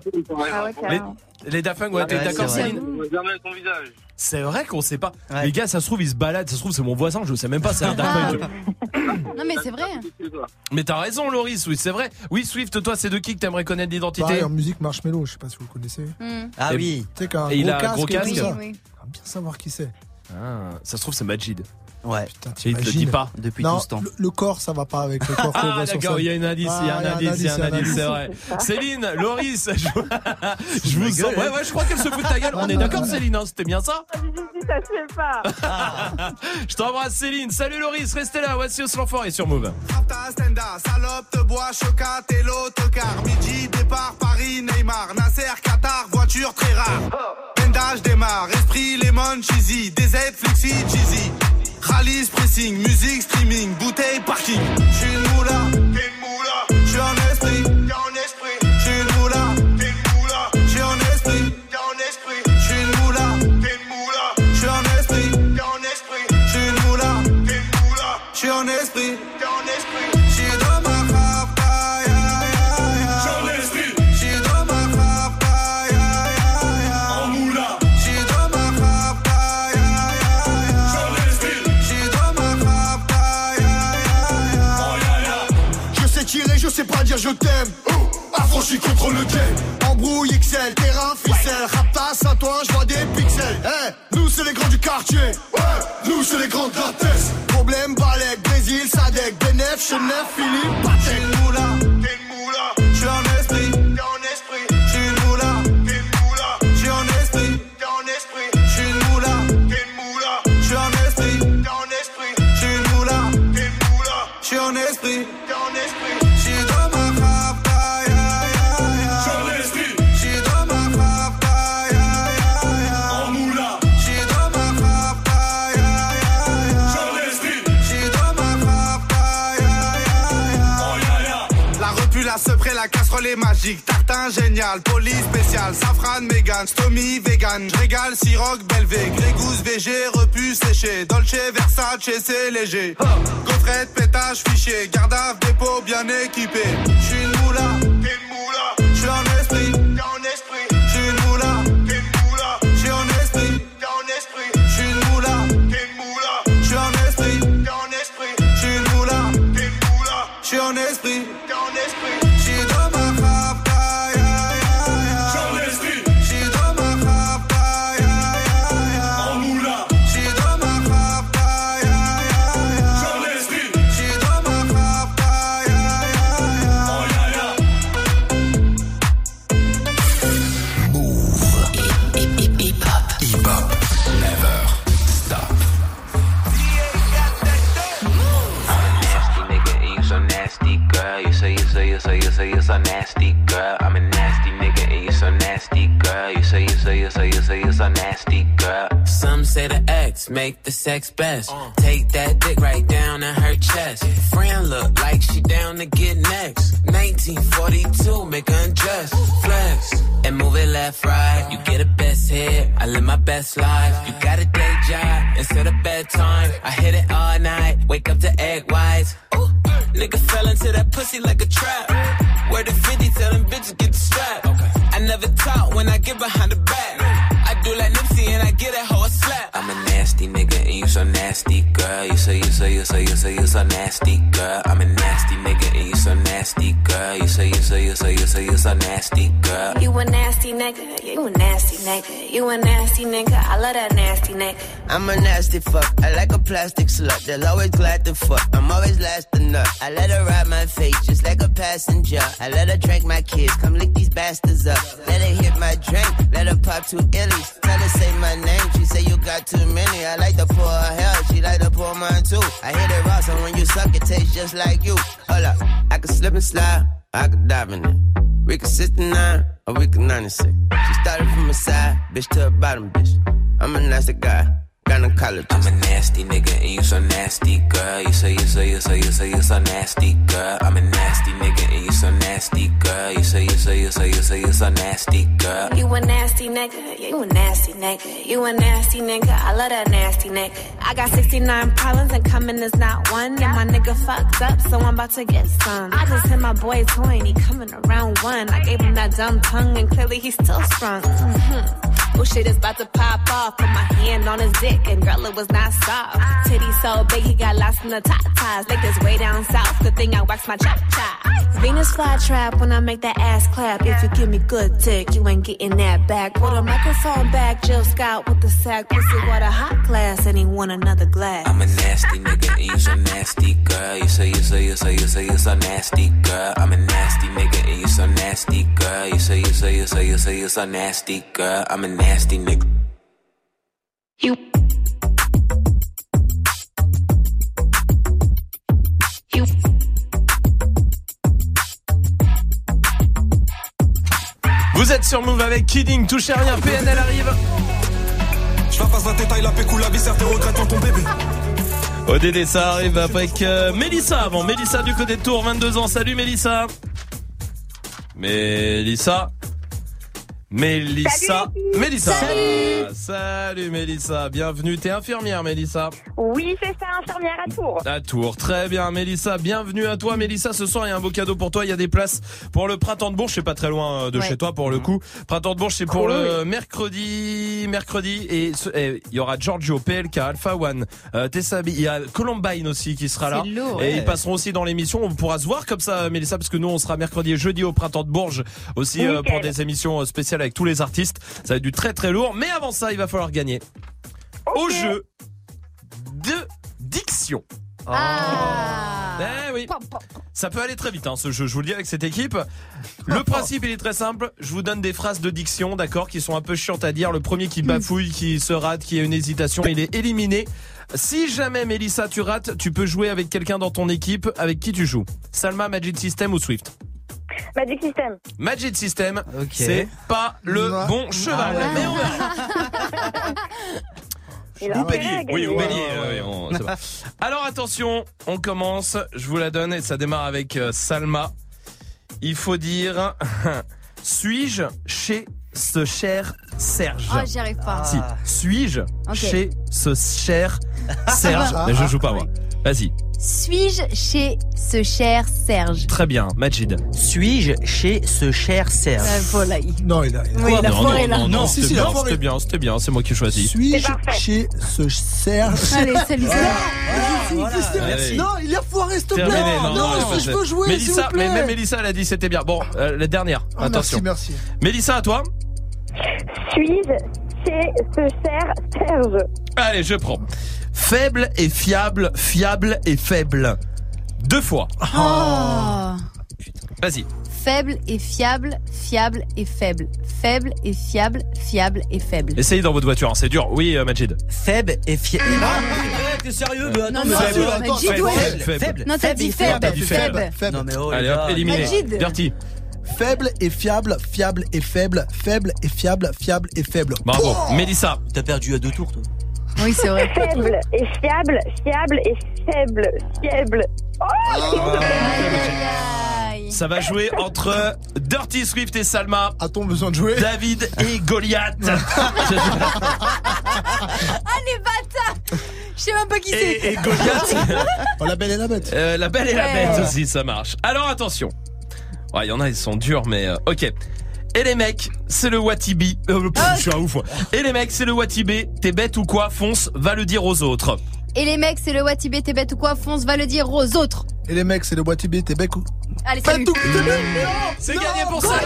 Speaker 1: Les Daft Punk, ouais, t'es d'accord Céline?
Speaker 4: On voit jamais son visage.
Speaker 1: C'est vrai qu'on sait pas. Les gars, ça se trouve, ils se baladent. Ça se trouve, c'est mon voisin, je sais même pas, c'est un Daft Punk.
Speaker 12: Non, mais c'est vrai.
Speaker 1: Mais t'as raison, Loris, oui, c'est vrai. Oui, Swift, toi, c'est de qui que t'aimerais connaître l'identité?
Speaker 5: Pareil, en musique Marshmello, je sais pas si vous le connaissez.
Speaker 9: Ah oui.
Speaker 5: Tu sais qu'un
Speaker 1: il a un
Speaker 5: gros
Speaker 1: casque.
Speaker 5: Oui.
Speaker 12: Oui.
Speaker 5: Bien savoir qui c'est.
Speaker 1: Ah, ça se trouve, c'est Majid.
Speaker 9: Ouais.
Speaker 5: Putain,
Speaker 1: il te le dit pas
Speaker 9: depuis tout ce temps.
Speaker 5: Le corps, ça va pas avec le corps.
Speaker 1: Ah d'accord, il y a un indice, c'est vrai. Céline, Loris, je vous sens. Ouais, je crois qu'elle se fout de ta gueule. On est d'accord, Céline, hein, c'était bien ça?
Speaker 10: Ça se fait pas.
Speaker 1: Je t'embrasse, Céline. Salut Loris, restez là. Voici Os l'enfoiré sur Move.
Speaker 2: Salope, te bois, chocat et l'autocar. Midi, départ, Paris, Neymar, Nasser, Qatar, voiture très rare. Pendage démarre, esprit, lemon, cheesy, DZ, flexi, cheesy. Rallye, pressing, musique, streaming, bouteille, parking. J'suis une moula, t'es une moula. J'suis en esprit, t'es en esprit. J'suis une moula, t'es une moula. J'suis en esprit, t'es en esprit. J'suis une moula, t'es une moula. J'suis en esprit, t'es en esprit. J'suis une moula, t'es une moula. J'suis en esprit, t'es en esprit. J'suis dans ma rap, j'suis en esprit. J'suis dans ma rap, en moula. J'suis dans ma rap, j'suis en esprit. Je sais tirer, je sais pas dire je t'aime. À
Speaker 3: gros, j'suis contre le game. Embrouille XL, terrain, ficelle. Raptas à toi, j'vois des pixels. Nous c'est les grands du quartier. Ouais, nous c'est les grands de la tête. Problème, Balek, Brésil, Sadek, Benef, Chenef, Philippe, Patek. T'es une moula, j'suis en esprit, t'es en esprit. J'suis une moula, t'es une moula, j'suis en esprit, t'es en esprit. J'suis une moula, t'es une moula, j'suis en esprit, t'es en esprit. J'suis une moula, t'es une moula, j'suis en esprit, t'es en esprit. J'suis dans ma rapta, ya ya ya. J'suis en esprit. J'suis dans ma rapta, ya ya ya. En moula. J'suis dans ma rapta, ya ya ya. J'suis en esprit. J'suis dans ma rapta, ya ya ya. Oh ya ya. La repu, la sepré, la casserole est magique. Tartin génial, police spécial, safran, mégan, stomy, vegan. J'régale, siroc, belvé, grégousse, VG, repu, séché. Dolce, Versace, c'est léger. Gaufrette, pétage, fichier, garde-à, dépôt bien équipé. J'suis une moula, t'es une moula. J'suis en esprit, t'es en esprit. J'suis une moula, t'es une moula. J'suis en esprit, t'es en esprit. J'suis une moula, t'es une moula. J'suis en esprit, t'es en esprit. J'suis une moula, t'es une moula. J'suis en esprit, t'es en esprit. J'suis dans ma rapta, ya ya ya. J'suis en esprit. J'suis dans ma rapta, ya ya ya. En moula. J'suis dans ma rapta, ya ya ya. J'suis en esprit. J'suis dans ma rapta, ya ya ya. Oh ya ya.
Speaker 20: Hip-hop, never stop.
Speaker 6: You say you're so nasty, girl. I'm a nasty nigga and you so nasty, girl. You say you're so nasty, girl. Some say the X make the sex best. Take that dick right down in her chest. Friend look like she down to get next. 1942, make her undress. Flex and move it left, right. You get a best hit, I live my best life. You got a day job instead of bedtime. I hit it all night, wake up to egg whites. Ooh. Nigga fell into that pussy like a trap. Where the 50, tell them bitches get the strap. I never talk when I get behind the back. I do like Nipsey and I get that hoe a slap. I'm a nasty nigga and you so nasty, girl. You say you're so nasty, girl. I'm a nasty nigga and you so nasty, girl. You say you're so nasty, girl.
Speaker 13: You a nasty nigga, you a nasty nigga. You a nasty nigga, I love that nasty nigga.
Speaker 23: I'm a nasty fuck, I like a plastic slut. They'll always glad to fuck, I'm always last to nut. I let her ride my face just like a passenger. I let her drink my kids, come lick these bastards up. Let her hit my drink, let her pop 2 illies. Tell her say my name, she say you got too many. I like to pour her hair, she like to pour mine too. I hit it raw, so when you suck it tastes just like you. Hold up, I can slip and slide, I can dive in it. We can 69 or we can 96. She started from the side, bitch to the bottom, bitch. I'm a nasty guy. Gynecologist.
Speaker 6: I'm a nasty nigga and you so nasty, girl. You say you're so nasty, girl. I'm a nasty nigga and you so nasty, girl. You say you're so nasty, girl.
Speaker 13: You a nasty nigga, you a nasty nigga. You a nasty nigga, I love that nasty nigga. I got 69 problems and coming is not one. And my nigga fucked up, so I'm about to get some. I just hit my boy toy and he coming around 1. I gave him that dumb tongue and clearly he's still sprung. Oh shit is about to pop off. Put my hand on his dick and girl it was not soft. Titty so big he got lost in the top ties. Like this way down south, good thing I waxed my cha-cha. Venus flytrap when I make that ass clap. If you give me good dick, you ain't getting that back. Put a microphone back, Jill Scott with the sack. Pussy water hot glass and he want another glass.
Speaker 6: I'm a nasty nigga and you so nasty, girl. You say you're so nasty, girl. I'm a nasty nigga and you so nasty, girl. You say you're so nasty, girl. I'm a nasty nigga.
Speaker 13: You
Speaker 1: Vous êtes sur Move avec Kidding, touchez rien, PNL arrive.
Speaker 2: Je la passe la tête, la pécou, la viscère, tes regrets dans ton bébé.
Speaker 1: ODD, ça arrive avec Mélissa avant. Mélissa du côté de Tours, 22 ans. Salut Mélissa. Mélissa. Mélissa. Mélissa.
Speaker 10: Salut.
Speaker 1: Salut Mélissa, bienvenue. T'es infirmière Mélissa?
Speaker 10: Oui, c'est ça, infirmière à Tours.
Speaker 1: À Tours, très bien Mélissa, bienvenue à toi Mélissa. Ce soir il y a un beau cadeau pour toi, il y a des places pour le Printemps de Bourges, c'est pas très loin de chez toi pour le coup. Printemps de Bourges c'est pour le mercredi et il y aura Giorgio, PLK, Alpha One, Tessabi, il y a Columbine aussi qui sera là.
Speaker 12: Lourd,
Speaker 1: et ils passeront aussi dans l'émission, on pourra se voir comme ça Mélissa, parce que nous on sera mercredi et jeudi au Printemps de Bourges aussi pour des émissions spéciales avec tous les artistes. Ça va être du très très lourd, mais avant ça il va falloir gagner au jeu de diction. Eh oui. Ça peut aller très vite ce jeu, je vous le dis avec cette équipe. Le principe il est très simple, je vous donne des phrases de diction, d'accord, qui sont un peu chiantes à dire. Le premier qui bafouille, qui se rate, qui a une hésitation, il est éliminé. Si jamais Mélissa tu rates, tu peux jouer avec quelqu'un dans ton équipe. Avec qui tu joues? Salma, Magic System ou Swift?
Speaker 10: Magic System.
Speaker 1: Magic System, c'est pas le bon cheval. Mais on verra. Ou bélier, oui, ou bélier. C'est bon. Alors attention, on commence, je vous la donne et ça démarre avec Salma. Il faut dire, suis-je chez ce cher Serge?
Speaker 12: Oh, j'y arrive pas.
Speaker 1: Si, suis-je chez ce cher Serge? Mais je joue pas moi. Vas-y.
Speaker 12: Suis-je chez ce cher Serge?
Speaker 1: Très bien, Majid.
Speaker 9: Suis-je chez ce cher Serge?
Speaker 5: Non, il a.
Speaker 12: Oui, la forêt là.
Speaker 1: Non, c'était bien, c'est moi qui ai choisi.
Speaker 5: Suis-je chez ce Serge?
Speaker 12: Allez, salut.
Speaker 5: Merci. Non, il a foiré, s'il te plaît.
Speaker 1: Terminé,
Speaker 5: Non, je veux jouer,
Speaker 1: Mélissa,
Speaker 5: s'il vous plaît.
Speaker 1: mais même Mélissa, elle a dit c'était bien. Bon, la dernière. Attention.
Speaker 5: Merci.
Speaker 1: Mélissa, à toi.
Speaker 10: Suis-je chez ce cher Serge?
Speaker 1: Allez, je prends. Faible et fiable, fiable et faible. 2 fois. Vas-y.
Speaker 12: Faible et fiable, fiable et faible. Faible et fiable, fiable et faible.
Speaker 1: Essayez dans votre voiture, c'est dur. Oui, Majid.
Speaker 9: Faible et fiable. T'es sérieux? Mais attends,
Speaker 1: Faible.
Speaker 12: Non, t'as dit faible.
Speaker 5: Faible.
Speaker 9: Non, mais oh,
Speaker 1: allez hop, éliminé.
Speaker 12: Majid.
Speaker 1: Dirty.
Speaker 5: Faible et fiable, fiable et faible. Faible et fiable, fiable et faible.
Speaker 1: Bravo. Mélissa.
Speaker 9: T'as perdu à 2 tours, toi.
Speaker 12: Oui, c'est vrai.
Speaker 10: Faible et fiable, fiable et faible. Fiable.
Speaker 1: Ça va jouer entre Dirty Swift et Salma.
Speaker 5: A-t-on besoin de jouer?
Speaker 1: David et Goliath.
Speaker 12: Ah, les bâtards! Je sais même pas qui c'est.
Speaker 1: Et Goliath.
Speaker 5: Oh, la Belle et la Bête.
Speaker 1: La Belle et la Bête aussi, ça marche. Alors attention. Ouais, il y en a, ils sont durs, mais ok. Et les mecs, c'est le Watibi. Je suis un ouf. Et les mecs, c'est le Watibé. T'es bête ou quoi? Fonce, va le dire aux autres.
Speaker 12: Et les mecs, c'est le Watibé, t'es bête ou quoi? Fonce, va le dire aux autres.
Speaker 5: Et les mecs, c'est le Watibé, t'es bec ou.
Speaker 12: Allez, salut.
Speaker 1: C'est gagné pour ça.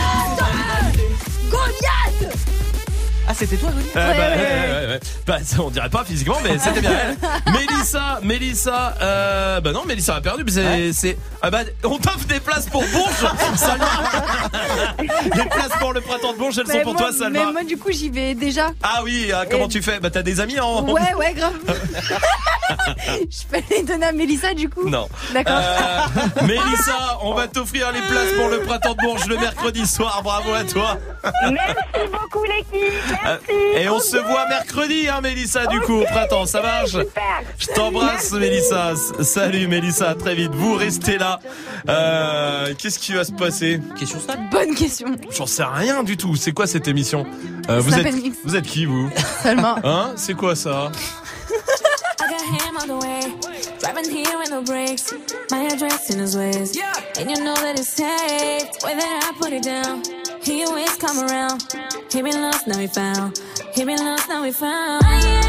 Speaker 12: Goliath!
Speaker 9: Ah, c'était toi, Goliath?
Speaker 1: Ouais. Bah, on dirait pas physiquement, mais c'était bien elle. Mélissa, bah non, Mélissa a perdu, mais c'est, bah, on t'offre des places pour Bourges, Salma. Les places pour le Printemps de Bourges, elles sont pour toi, Salma.
Speaker 12: Mais moi, du coup, j'y vais déjà.
Speaker 1: Ah oui, comment tu fais? Bah, t'as des amis en.
Speaker 12: Ouais, grave. Je peux les donner à Mélissa, du coup?
Speaker 1: Non.
Speaker 12: D'accord.
Speaker 1: Mélissa, on va t'offrir les places pour le Printemps de Bourges le mercredi soir. Bravo à toi.
Speaker 10: Merci beaucoup, l'équipe. Merci.
Speaker 1: Et on se voit mercredi, Mélissa, du coup, au printemps, ça marche?
Speaker 10: Super.
Speaker 1: Je t'embrasse, Mélissa. Salut, Mélissa, à très vite. Vous restez là. Qu'est-ce qui va se passer?
Speaker 9: Question ça?
Speaker 12: Bonne question.
Speaker 1: J'en sais rien du tout. C'est quoi cette émission? Vous êtes qui, vous?
Speaker 12: Salma.
Speaker 1: Hein? C'est quoi ça?
Speaker 13: I got him on the way, driving here with no brakes. My address in his ways, and you know that it's safe. Whether I put it down, he always come around. He been lost, now he found. He been lost, now we found.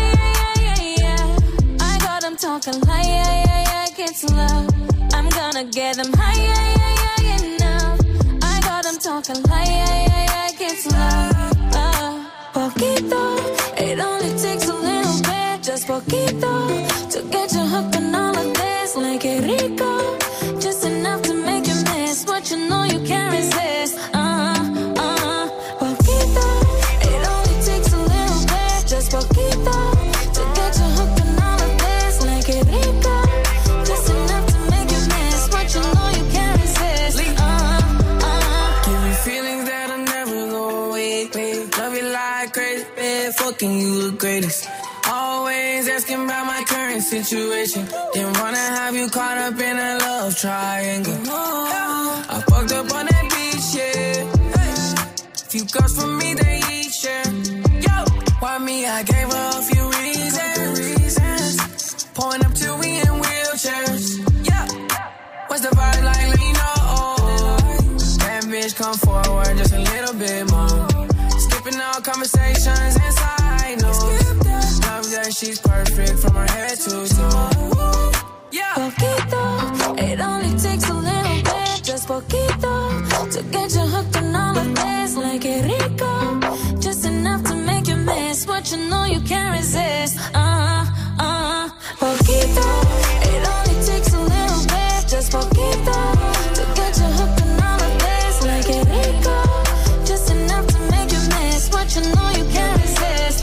Speaker 13: I got him talking like, get to love. I'm gonna get them high, enough. I got him talking like, get to love. Poquito, it only takes a little bit, just poquito, to get you hooked on all of this. Like it rico, just enough to make you miss what you know you can't resist. Poquito, it only takes a little bit, just poquito, to get you hooked on all of this. Like it rico, just enough to make you miss what you know you can't resist.
Speaker 22: Give me feelings that I never go away. Love you like crazy, man, fucking you the greatest. Always asking about my current situation. Didn't wanna have you caught up in a love triangle. I fucked up on that beach, yeah.
Speaker 19: Few girls for me, they each share. Yo, why me? I gave her a few reasons. Pulling up till we in wheelchairs. Yeah, what's the vibe like? Let me know. That bitch come forward just a little bit more. Skipping all conversations inside notes. Love that she's perfect from her head to toe. Yeah.
Speaker 25: Poquito, it only takes a little bit, just poquito, to get you hooked on all of this. Like it rico, just enough to make you miss what you know you can't resist. Poquito, it only takes a little bit, just poquito, to get you hooked on all of this. Like it rico, just enough to make you miss what you know you can't resist.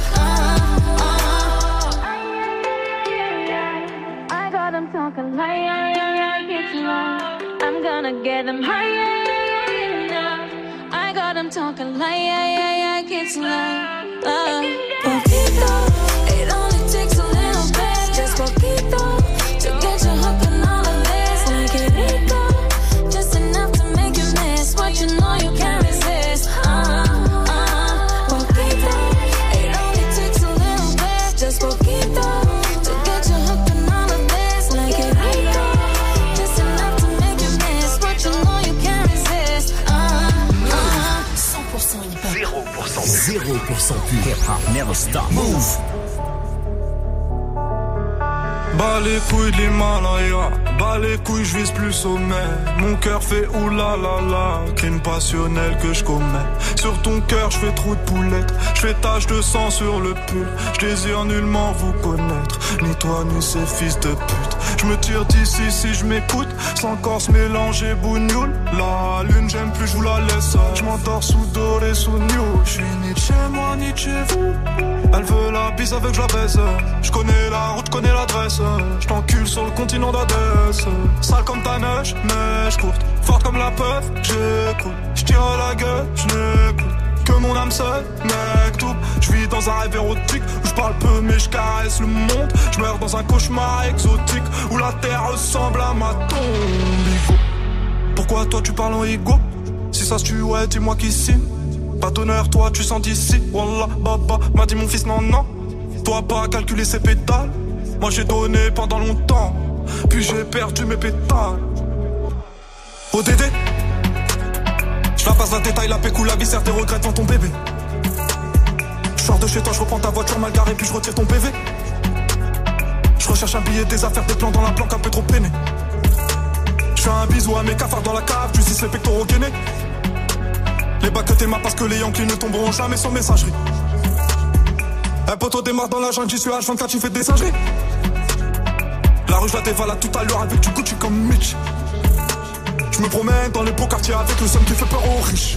Speaker 25: I got them talking like, get you on. I'm gonna get them high, I got them talking like, get you on. Poquito, it only takes a little bit, just poquito, to get you hooked on all of this. Like it rico, just enough to make you miss what you know you can't resist. Poquito, it only takes a little bit, just poquito, to get you hooked on all of this. Like it rico, just enough to make you miss what you know you can't resist.
Speaker 21: 100% hip-hop. 0% pur hip-hop. Never stop. Move.
Speaker 2: Bas les couilles de l'Himalaya, bas les couilles, je vise plus sommet. Mon cœur fait oulalala, crime passionnel que je commets. Sur ton cœur, je fais trou de poulette, je fais tache de sang sur le pull. Je désire nullement vous connaître, ni toi ni ces fils de pute. Je me tire d'ici si je m'écoute, sans corps mélanger bougnoule. La lune, j'aime plus, je vous la laisse. Je m'endors sous doré, sous new. Je suis ni de chez moi, ni de chez vous. Elle veut la bise avec je la baisse. Je connais la route, connais l'adresse. Je t'encule sur le continent d'Adès. Sale comme ta neige, neige courte. Forte comme la peur, j'écoute. Je tire à la gueule, je n'écoute que mon âme seule, mec tout. Je vis dans un rêve érotique où je parle peu mais je caresse le monde. Je meurs dans un cauchemar exotique où la terre ressemble à ma tombe. Igo. Pourquoi toi tu parles en ego? Si ça se tue, ouais, dis-moi qui signe. Pas d'honneur, toi tu sens d'ici. Wallah, baba, m'a dit mon fils, non, non. Toi pas calculer ses pétales. Moi j'ai donné pendant longtemps, puis j'ai perdu mes pétales. ODD, je la passe la détail, la pécou, la viscère, tes regrets devant ton bébé. Je sors de chez toi, je reprends ta voiture mal garée, puis je retire ton PV. Je recherche un billet, des affaires, des plans dans la planque, un peu trop peiné. Je fais un bisou à mes cafards dans la cave, tu sais les pectoraux gainés. Les bacs que t'aimas parce que les Yankees ne tomberont jamais sans messagerie. Un poteau démarre dans la jungle, j'y suis H24, j'y fais des singeries. La rue je la dévalade tout à l'heure avec du Gucci comme Mitch. Je me promène dans les beaux quartiers avec le somme qui fait peur aux riches.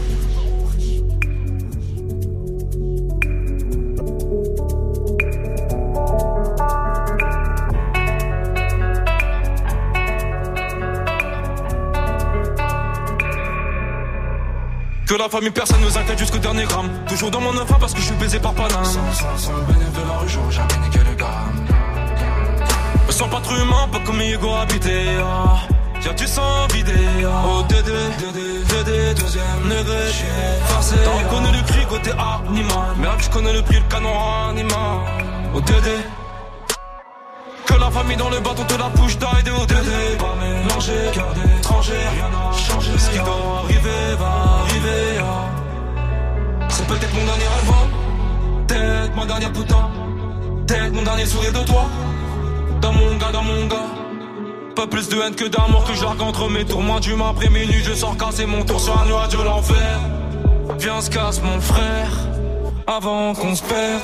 Speaker 2: Que la famille personne nous inquiète jusqu'au dernier gramme. Toujours dans mon enfant parce que je suis baisé par Paname. Sans le bénéfice de la rue, j'aurais jamais niqué le gamme. Me sens pas trop humain, pas comme Hugo habité. Y'a du sang vidé. Oh Dédé, deuxième degré. Forcé. T'as reconnu le cri côté animal. Merde, je connais le prix, le canon animal. Oh Dédé. Que la famille dans le bateau te la push d'aide de ODD. Pas mélangé, cœur d'étranger, rien n'a changé. Ce qui doit arriver va arriver. C'est peut-être mon dernier rêve, peut-être ma dernière putain, peut-être mon dernier sourire de toi. Dans mon gars. Pas plus de haine que d'amour que j'argue entre mes tours. Moins d'humain après minuit, je sors casser mon tour sur un nuage de l'enfer. Viens, se casse mon frère, avant qu'on se perde.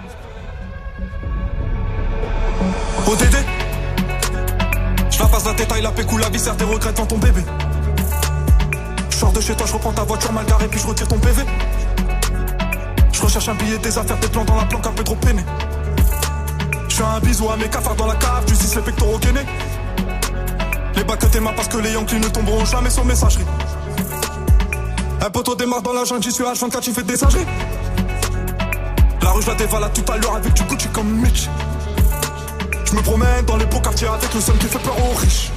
Speaker 2: ODD, je la passe la détail, la pécou, la viscère, tes regrets devant ton bébé. Je sors de chez toi, je reprends ta voiture mal garée, puis je retire ton PV. Je recherche un billet, des affaires, des plans dans la planque, un peu trop peiné. Je fais un bisou à mes cafards dans la cave, tu sais les pectoraux gainés. Les bacs que t'aimas parce que les Yankees ne tomberont jamais sur messagerie. Un poteau démarre dans la jungle, j'y suis H24, j'y fais des singeries. La rue je la dévalade tout à l'heure avec du Gucci comme Mitch. Je me promène dans les beaux quartiers avec le somme qui fait peur aux riches.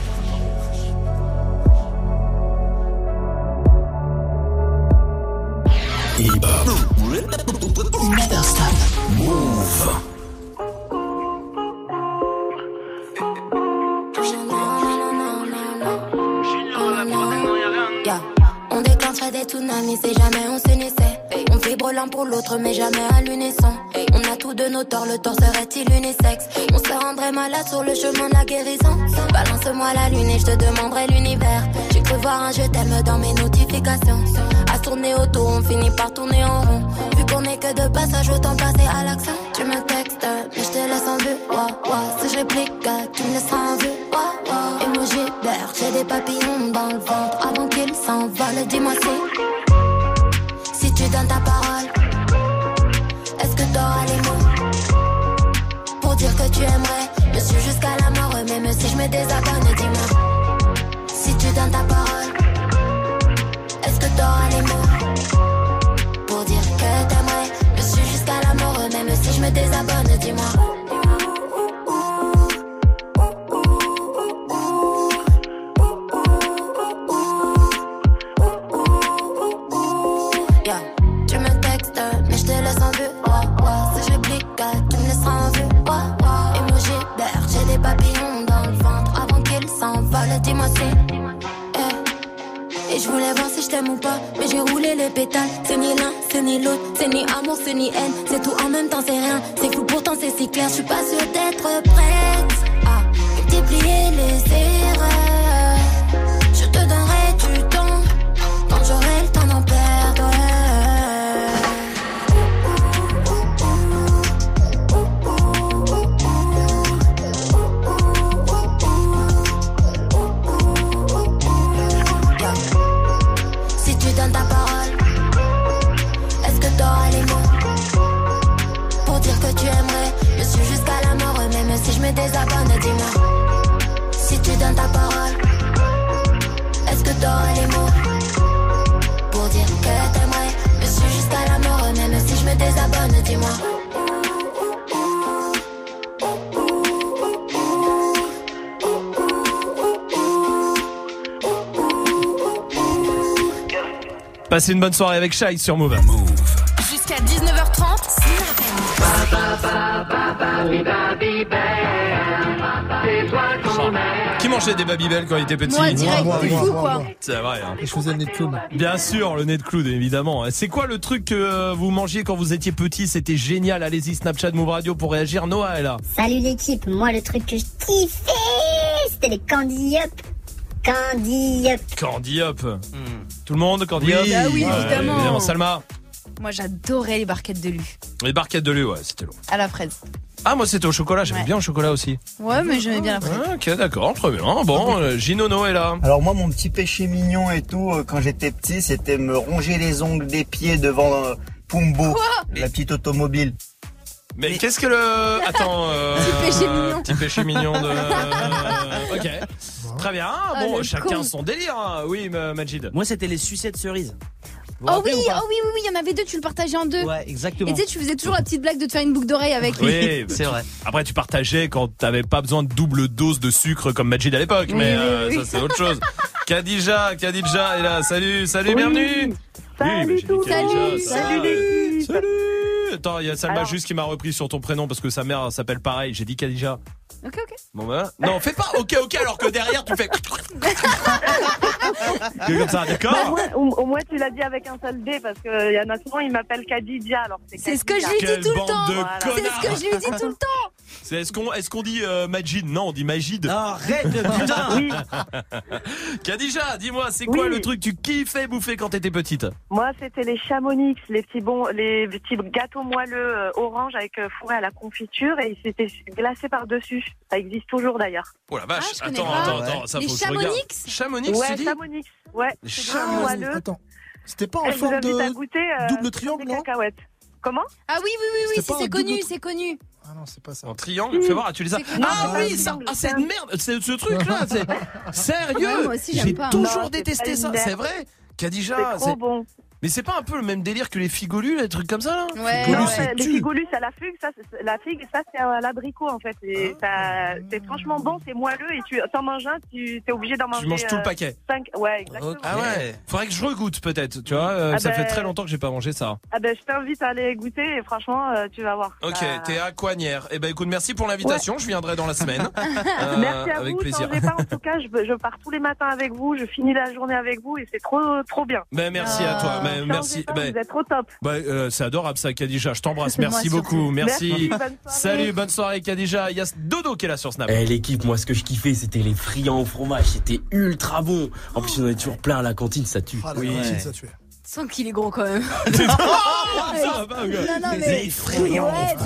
Speaker 21: Never stop.
Speaker 20: Move.
Speaker 13: Yeah. On déclencherait des tsunamis si jamais on s'unissait. On vibre l'un pour l'autre mais jamais à l'unisson. On a tous de nos torts, le tort serait-il unisexe? On se rendrait malade sur le chemin de la guérison. Balance-moi la lune et je te demanderai l'univers. J'ai cru voir un je t'aime dans mes notifications. À tourner autour, on finit par tourner en rond. Vu qu'on est que de passage, autant passer à l'action. Tu me textes, mais je te laisse en vue. Si je réplique, tu me laisseras en vue. Emoji vert, j'ai des papillons dans le ventre. Avant qu'ils s'envolent, dis-moi si tu donnes ta parole, est-ce que t'auras les mots pour dire que tu aimerais me suivre jusqu'à la mort, même si je me désabonne, dis-moi si tu donnes ta parole, est-ce que t'auras les mots pour dire que t'aimerais me suivre jusqu'à la mort, même si je me désabonne, dis-moi. Dis-moi si et je voulais voir si je t'aime ou pas, mais j'ai roulé les pétales. C'est ni l'un, c'est ni l'autre, c'est ni amour, c'est ni haine. C'est tout en même temps, c'est rien. C'est fou, pourtant c'est si clair. Je suis pas sûre d'être prête à multiplier les erreurs. Je te donnerai du temps quand j'aurai le temps d'en perdre. Ta parole, est-ce que t'auras les mots pour dire que tu aimerais me suivre jusqu'à la mort, même si je me désabonne, dis-moi si tu donnes ta parole, est-ce que t'auras les mots pour dire que t'aimerais me suivre jusqu'à la mort, même si je me désabonne, dis-moi.
Speaker 1: Passez une bonne soirée avec Shai sur Move.
Speaker 21: Jusqu'à 19h30,
Speaker 1: Qui mangeait des Babybel quand il était petit?
Speaker 12: Moi, direct, t'es fou, quoi.
Speaker 1: C'est vrai. Hein.
Speaker 5: Et je faisais le nez de clown.
Speaker 1: Bien sûr, le nez de clown, évidemment. C'est quoi le truc que vous mangiez quand vous étiez petit? C'était génial. Allez-y, Snapchat Move Radio pour réagir. Noah est là.
Speaker 14: Salut l'équipe. Moi, le truc que je kiffais, c'était les Candy Up. Candy Up.
Speaker 1: Candy Up. Tout le monde, Candy Up?
Speaker 12: Ah oui, évidemment.
Speaker 1: Salma?
Speaker 12: Moi, j'adorais les barquettes de Lu.
Speaker 1: Les barquettes de Lu, ouais, c'était long.
Speaker 12: À la fraise.
Speaker 1: Ah, moi c'était au chocolat, j'aimais bien le chocolat aussi.
Speaker 12: Ouais, mais j'aimais bien la fraise.
Speaker 1: Ah, ok, d'accord, très bien. Bon, Ginono est là.
Speaker 15: Alors moi, mon petit péché mignon et tout, quand j'étais petit, c'était me ronger les ongles des pieds devant Pumbo, la petite automobile.
Speaker 1: Mais qu'est-ce que le... Attends...
Speaker 12: Petit péché mignon.
Speaker 1: Petit péché mignon de... Ok. Très bien. Bon, chacun
Speaker 12: con.
Speaker 1: son délire. Hein. Oui, Majid.
Speaker 9: Moi, c'était les sucettes cerises.
Speaker 12: Oh oui, il y en avait deux, tu le partageais en deux.
Speaker 9: Ouais, exactement.
Speaker 12: Et tu sais, tu faisais toujours la petite blague de te faire une boucle d'oreille avec lui.
Speaker 1: Oui,
Speaker 9: c'est vrai.
Speaker 1: Après, tu partageais quand t'avais pas besoin de double dose de sucre comme Majid à l'époque, mais
Speaker 12: oui.
Speaker 1: ça c'est autre chose. Khadija est là. Salut,
Speaker 10: Oui.
Speaker 1: bienvenue.
Speaker 10: Salut
Speaker 1: Oui,
Speaker 10: tout.
Speaker 1: Salut
Speaker 10: l'équipe.
Speaker 1: Salut. Attends, il y a Salma
Speaker 10: Alors.
Speaker 1: juste qui m'a repris sur ton prénom parce que sa mère s'appelle pareil. J'ai dit Khadija.
Speaker 12: Ok.
Speaker 1: Bon bah non, fais pas ok alors que derrière tu fais comme ça, d'accord?
Speaker 10: Au moins tu l'as dit avec un seul D parce que y en a souvent ils m'appellent Khadija alors
Speaker 12: c'est ce que je lui
Speaker 1: Quelle
Speaker 12: dis tout le
Speaker 1: bande
Speaker 12: temps.
Speaker 1: de
Speaker 12: C'est ce que je lui dis tout le temps.
Speaker 1: Est-ce qu'on dit Majid? Non, on dit Majid.
Speaker 9: Non, arrête, putain.
Speaker 10: Oui.
Speaker 1: Khadija, dis-moi, c'est quoi le truc que tu kiffais bouffer quand t'étais petite?
Speaker 10: Moi c'était les Chamonix, les petits gâteaux moelleux orange avec fourré à la confiture et c'était glacé par dessus. Ça existe toujours d'ailleurs.
Speaker 1: Oh la vache,
Speaker 12: Ah, je connais
Speaker 1: attends, ça
Speaker 12: Les
Speaker 1: faut que je regarde.
Speaker 12: Chamonix?
Speaker 1: Chamonix,
Speaker 10: Ouais,
Speaker 1: tu dis?
Speaker 10: Chamonix. Ouais.
Speaker 1: Les
Speaker 10: c'est
Speaker 1: Chamonix.
Speaker 10: moelleux.
Speaker 5: Attends, c'était pas en
Speaker 10: Et je vous
Speaker 5: forme
Speaker 10: invite à
Speaker 5: de
Speaker 10: goûter
Speaker 5: double triangle, non?
Speaker 10: cacahuètes. Comment?
Speaker 12: Ah oui,
Speaker 5: C'était pas un
Speaker 12: c'est connu,
Speaker 5: double-
Speaker 12: c'est connu.
Speaker 5: Ah non, c'est pas ça.
Speaker 1: En triangle, fais voir, tu les as.
Speaker 12: C'est connu.
Speaker 1: Ah
Speaker 10: Non,
Speaker 1: oui,
Speaker 10: c'est
Speaker 1: ça,
Speaker 10: un triangle,
Speaker 1: c'est
Speaker 10: c'est
Speaker 1: une merde, c'est ce truc-là, c'est sérieux.
Speaker 12: Ouais, moi aussi, j'aime
Speaker 1: J'ai
Speaker 12: pas.
Speaker 1: toujours
Speaker 10: Non, c'est
Speaker 1: détesté
Speaker 10: pas
Speaker 1: ça,
Speaker 10: une merde.
Speaker 1: c'est vrai. Khadija,
Speaker 10: C'est trop bon.
Speaker 1: Mais c'est pas un peu le même délire que les figolus, les trucs comme ça là?
Speaker 11: Ouais.
Speaker 1: Figolus,
Speaker 11: Non,
Speaker 1: c'est
Speaker 11: les
Speaker 1: tu.
Speaker 11: figolus, c'est à la figue, ça, c'est à l'abricot en fait. Et ça, c'est franchement bon, c'est moelleux et tu t'en manges un, tu es obligé d'en manger.
Speaker 1: Tu manges tout le paquet.
Speaker 11: 5, ouais, exactement.
Speaker 1: Ah ouais. Faudrait que je regoute peut-être, tu vois. Ça fait très longtemps que j'ai pas mangé ça.
Speaker 11: Ah ben, je t'invite à aller goûter et franchement, tu vas voir.
Speaker 1: Ok, t'es à Coignères. Eh ben écoute, merci pour l'invitation. Je viendrai dans la semaine.
Speaker 11: Merci à
Speaker 1: avec
Speaker 11: vous.
Speaker 1: plaisir.
Speaker 11: Changez pas, en tout cas, je pars tous les matins avec vous, je finis la journée avec vous et c'est trop bien.
Speaker 1: Ben merci à toi. Ben, merci.
Speaker 11: Pas, vous êtes trop top.
Speaker 1: C'est adorable ça, Khadija. Je t'embrasse.
Speaker 11: Moi
Speaker 1: Merci
Speaker 11: surtout.
Speaker 1: beaucoup. Merci.
Speaker 11: Bonne soirée.
Speaker 1: Salut, bonne soirée Khadija. Il y a Dodo qui est là sur Snap.
Speaker 16: L'équipe, moi ce que je kiffais c'était les friands au fromage, c'était ultra bon. En plus on avait toujours plein à la cantine, ça tue.
Speaker 5: Ah, la cantine, ça tue.
Speaker 12: Sans qu'il est gros quand même.
Speaker 16: Les friands au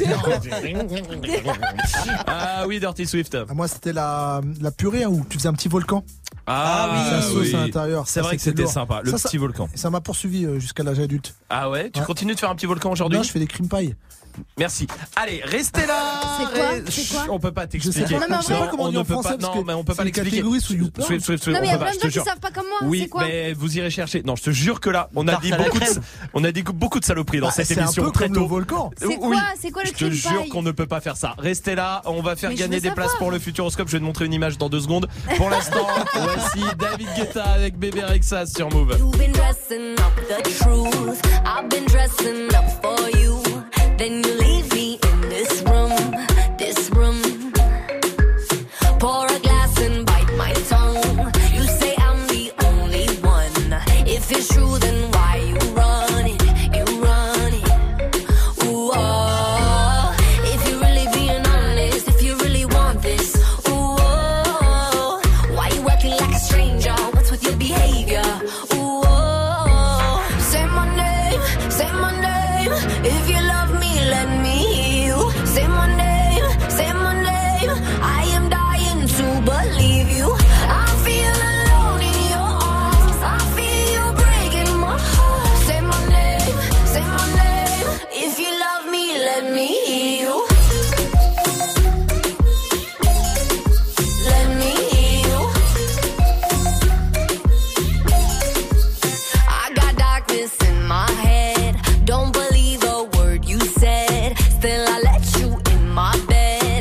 Speaker 1: Ah oui, Dirty Swift.
Speaker 5: Moi, c'était la purée où tu faisais un petit volcan.
Speaker 1: Ah oui,
Speaker 5: la sauce à l'intérieur.
Speaker 1: C'est vrai que c'était sympa, le petit volcan.
Speaker 5: Ça m'a poursuivi jusqu'à l'âge adulte.
Speaker 1: Ah ouais, tu continues de faire un petit volcan aujourd'hui?
Speaker 5: Non, je fais des cream pie.
Speaker 1: Merci. Allez, restez là.
Speaker 12: C'est quoi
Speaker 1: On peut pas t'expliquer.
Speaker 5: Je sais pas comment on dit en français.
Speaker 1: Non, mais on peut pas l'expliquer.
Speaker 5: Catégorie sous YouPorn.
Speaker 1: Swift,
Speaker 12: Non, mais il y a plein de gens qui
Speaker 1: jure.
Speaker 12: savent pas comme moi.
Speaker 1: Oui,
Speaker 12: C'est quoi?
Speaker 1: mais vous irez chercher. Non, je te jure que là, on a dit beaucoup de saloperies dans cette émission.
Speaker 5: C'est un peu comme le volcan.
Speaker 12: C'est quoi le
Speaker 1: Je te
Speaker 12: cream
Speaker 1: jure
Speaker 12: pie?
Speaker 1: qu'on ne peut pas faire ça. Restez là, on va faire
Speaker 12: Mais je
Speaker 1: gagner
Speaker 12: veux
Speaker 1: des
Speaker 12: savoir.
Speaker 1: places pour le Futuroscope. Je vais te montrer une image dans 2 secondes. Pour l'instant, voici David Guetta avec Bébé Rexha sur Move.
Speaker 13: You've been dressing up the truth. I've been dressing up for you. Then you leave me in this room, this room. Pour a glass and bite my tongue. You say I'm the only one. If it's true, then why you run it? You run it. Ooh, oh. If you're really being honest, if you really want this, ooh, oh. Why you acting like a stranger? What's with your behavior? Ooh, oh. Say my name, say my name. If you love me, let me hear you. Say my name, say my name. I am dying to believe you. I feel alone in your arms. I feel you breaking my heart. Say my name, say my name. If you love me, let me hear you. Let me hear you. I got darkness in my head. Don't believe a word you said. Still I let you in my bed,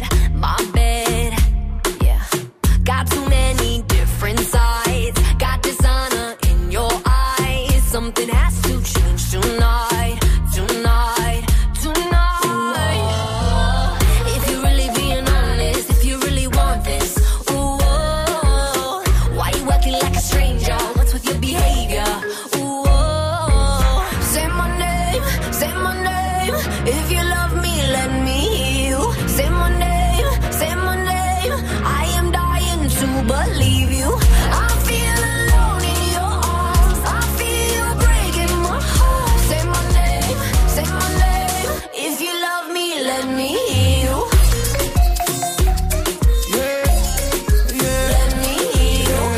Speaker 13: yeah. Got too many different sides. Got dishonor in your eyes. Something has to change tonight, tonight, tonight. Ooh, if you're really being honest, if you really want this, ooh, oh, why you acting like a stranger? What's with your behavior? Ooh, oh, say my name, say my name. If you love me, let me hear you. Say my name, say my name. I am dying to believe you. I feel alone in your arms. I feel you breaking my heart. Say my name, say my name. If you love me, let me hear you. Let me hear you.